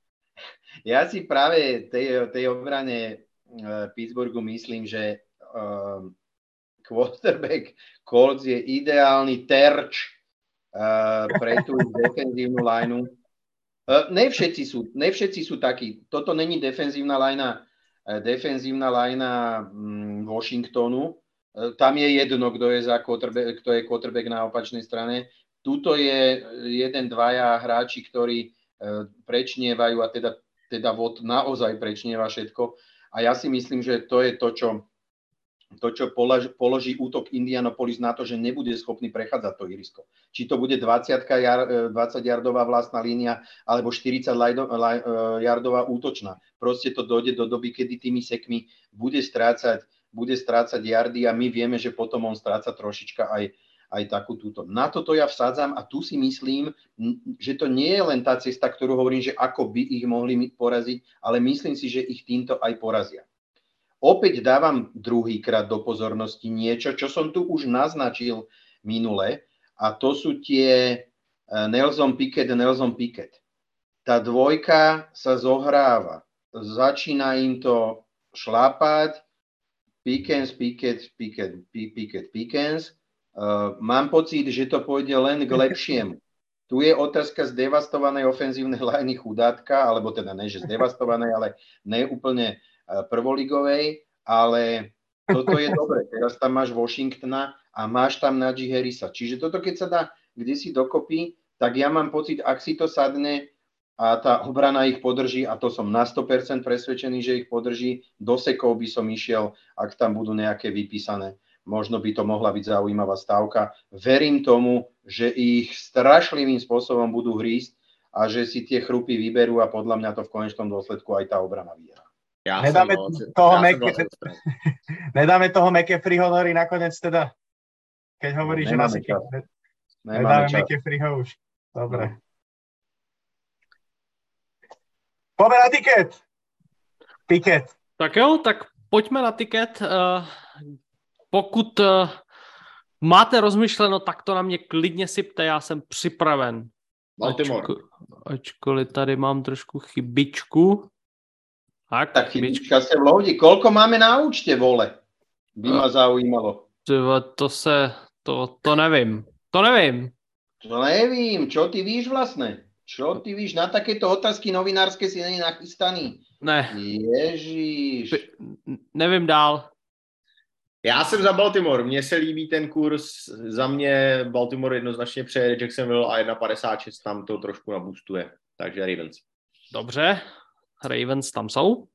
Ja si práve tej, tej obrane uh, Pittsburghu myslím, že uh, quarterback Colts je ideálny terč uh, pre tú defenzívnu lineu. Uh, ne všetci sú, ne všetci sú takí. Toto není defenzívna linea, uh, defenzívna linea um, Washingtonu. Uh, tam je jedno, kto je, za quarterback, kto je quarterback na opačnej strane. Tuto je jeden, dvaja hráči, ktorí uh, prečnievajú a teda teda vod naozaj prečnieva všetko. A ja si myslím, že to je to, čo, to, čo položí, položí útok Indianapolis na to, že nebude schopný prechádzať to ihrisko. Či to bude dvadsať-jardová vlastná línia, alebo štyridsať jardová útočná. Proste to dojde do doby, kedy tými sekmi bude strácať, bude strácať jardy a my vieme, že potom on stráca trošička aj aj takú túto. Na toto ja vsádzam a tu si myslím, že to nie je len tá cesta, ktorú hovorím, že ako by ich mohli poraziť, ale myslím si, že ich týmto aj porazia. Opäť dávam druhýkrát do pozornosti niečo, čo som tu už naznačil minule a to sú tie Nelson Pickett, Nelson Pickett. Tá dvojka sa zohráva. Začína im to šlápať. Pickens, Pickett, Pickett, Pickett, Pickens. Uh, mám pocit, že to pôjde len k lepšiemu. Tu je otázka zdevastovanej ofenzívnej liney chudátka, alebo teda ne, že zdevastovanej, ale ne úplne uh, prvoligovej, ale toto je dobre. Teraz tam máš Washingtona a máš tam Najee Harrisa. Čiže toto, keď sa dá kdesi dokopy, tak ja mám pocit, ak si to sadne a tá obrana ich podrží, a to som na sto percent presvedčený, že ich podrží, do sekov by som išiel, ak tam budú nejaké vypísané. Možno by to mohla byť zaujímavá stávka. Verím tomu, že ich strašlivým spôsobom budú hrísť a že si tie chrupy vyberú a podľa mňa to v konečnom dôsledku aj tá obrana vyhrá. Ja nedáme, bol, toho ja Meke, nedáme toho McCaffreyho Nori nakoniec teda, keď hovoríš, že nás nedáme McCaffreyho už. Dobre. No. Poďme na tiket. Tiket. Tak jo, tak pojďme na tiket. Uh... Pokud uh, máte rozmyšleno, tak to na mě klidně sypte, já jsem připraven. Baltimore. Ačko, ačkoliv tady mám trošku chybičku. Tak, tak chybička se vloudí. Koľko máme na účte, vole? By ma zaujímalo. To, to se, to, to nevím. To nevím. To nevím. Čo ty víš vlastne? Čo ty víš? Na takéto otázky novinárske si není nachystaný. Ne. Ježíš. Nevím dál. Já jsem za Baltimore, mně se líbí ten kurz, za mě Baltimore jednoznačně přejede Jacksonville a jedna padesát šest tam to trošku nabustuje, takže Ravens. Dobře, Ravens tam jsou.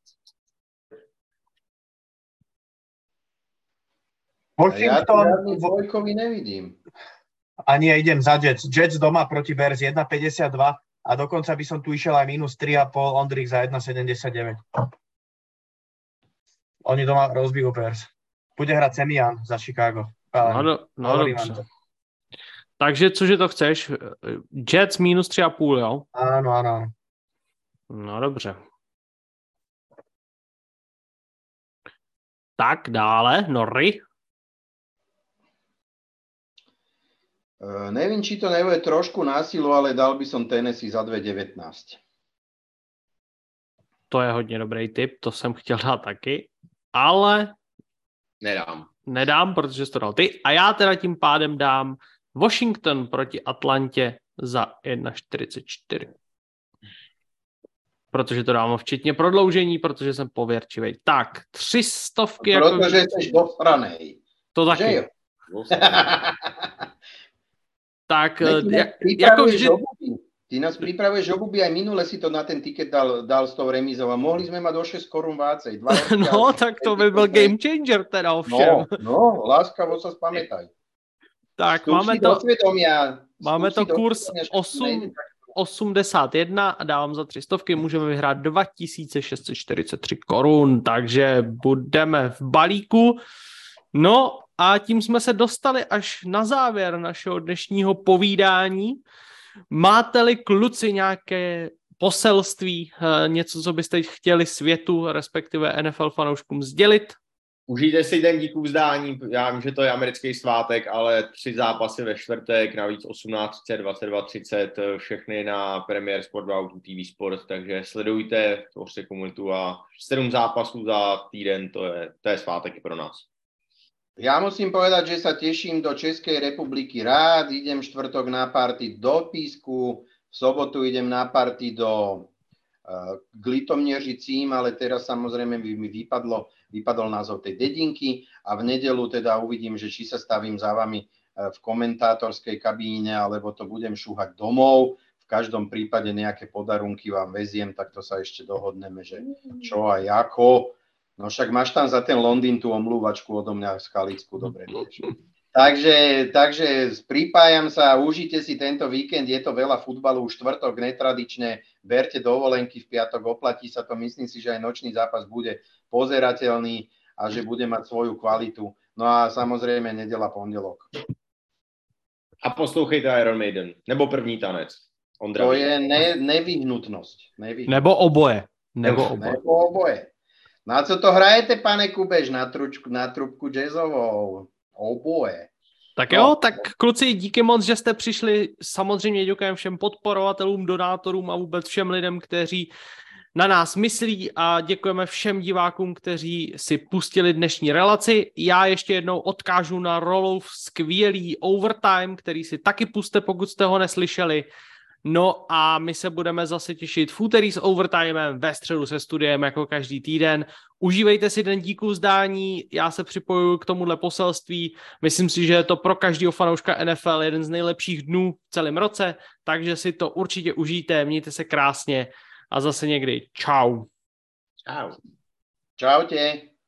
Washington... Ja to dvojkovi nevidím. Ani ja idem za Jets. Jets doma proti Bears jedna päťdesiatdva a dokonca by som tu išiel aj minus tri a pol Ondrik za jedna sedemdesiatdeväť. Oni doma rozbijú Bears. Bude hrať Semian za Chicago. No, no, no dobře. Takže cože to chceš? Jets minus tři a půl, jo? Áno, áno. No dobře. Tak dále, Norry. Uh, neviem, či to nebude trošku násilu, ale dal by som Tennessee za dva devätnásť. To je hodně dobrý tip, to jsem chtěl dát taky, ale nedám. Nedám, protože jsi to dal ty. A já teda tím pádem dám Washington proti Atlantě za jedna čtyřicet čtyři. protože to dávám včetně prodloužení, protože jsem pověrčivý. Tak, tři stovky. Protože jako... jsi dosranej. To taky. Tak, jak, jako vždy... Ty nás pripravuješ obuby, aj minule si to na ten tiket dal, dal s tou remízou a mohli sme mať o šesť korún vácej. No, tak to by byl game changer teda ovšem. No, no, láskavo sa spamätaj. Tak, Vstup máme to, svedomia, máme to kurz osm osmdesát jedna a dávám za tři stovky, můžeme vyhrát dva tisíce šest set čtyřicet tři korun, takže budeme v balíku. No a tím jsme se dostali až na závěr našeho dnešního povídání. Máte-li kluci nějaké poselství, něco, co byste chtěli světu, respektive N F L fanouškům sdělit? Užijte si den díku vzdání, já vím, že to je americký svátek, ale tři zápasy ve čtvrtek, navíc osmnáct třicet, dvacet dva třicet, všechny na Premier Sport dva T V Sport, takže sledujte, tvořte komunitu a sedm zápasů za týden, to je, to je svátek i pro nás. Ja musím povedať, že sa teším do Českej republiky rád, idem štvrtok na party do Písku, v sobotu idem na party do uh, k Litomnieřicím, ale teraz samozrejme mi vypadlo, vypadol názov tej dedinky a v nedelu teda uvidím, že či sa stavím za vami v komentátorskej kabíne, alebo to budem šúhať domov. V každom prípade nejaké podarunky vám veziem, tak to sa ešte dohodneme, že čo a ako. No však máš tam za ten Londýn tú omlúvačku odo mňa z Chalicku, dobre vieš. Takže, takže pripájam sa, užite si tento víkend, je to veľa futbalu, štvrtok netradične, berte dovolenky, v piatok oplatí sa to, myslím si, že aj nočný zápas bude pozerateľný a že bude mať svoju kvalitu. No a samozrejme nedela, pondelok. A poslouchejte Iron Maiden, nebo první tanec. Ondra. To je ne, nevyhnutnosť. nevyhnutnosť. Nebo oboje. Nebo oboje. Nebo oboje. Na co to hrajete, pane Kubež, na, tručku, na trubku jazzovou? Oboje. Tak jo, no. Tak kluci, díky moc, že jste přišli. Samozřejmě děkujeme všem podporovatelům, donátorům a vůbec všem lidem, kteří na nás myslí a děkujeme všem divákům, kteří si pustili dnešní relaci. Já ještě jednou odkážu na Rolov skvělý Overtime, který si taky puste, pokud jste ho neslyšeli. No a my se budeme zase těšit v úterý s Overtimem, ve středu se studiem jako každý týden. Užívejte si den díku vzdání, já se připojuju k tomuhle poselství. Myslím si, že je to pro každého fanouška N F L jeden z nejlepších dnů v celém roce, takže si to určitě užijte, mějte se krásně a zase někdy. Čau. Čau. Čaute.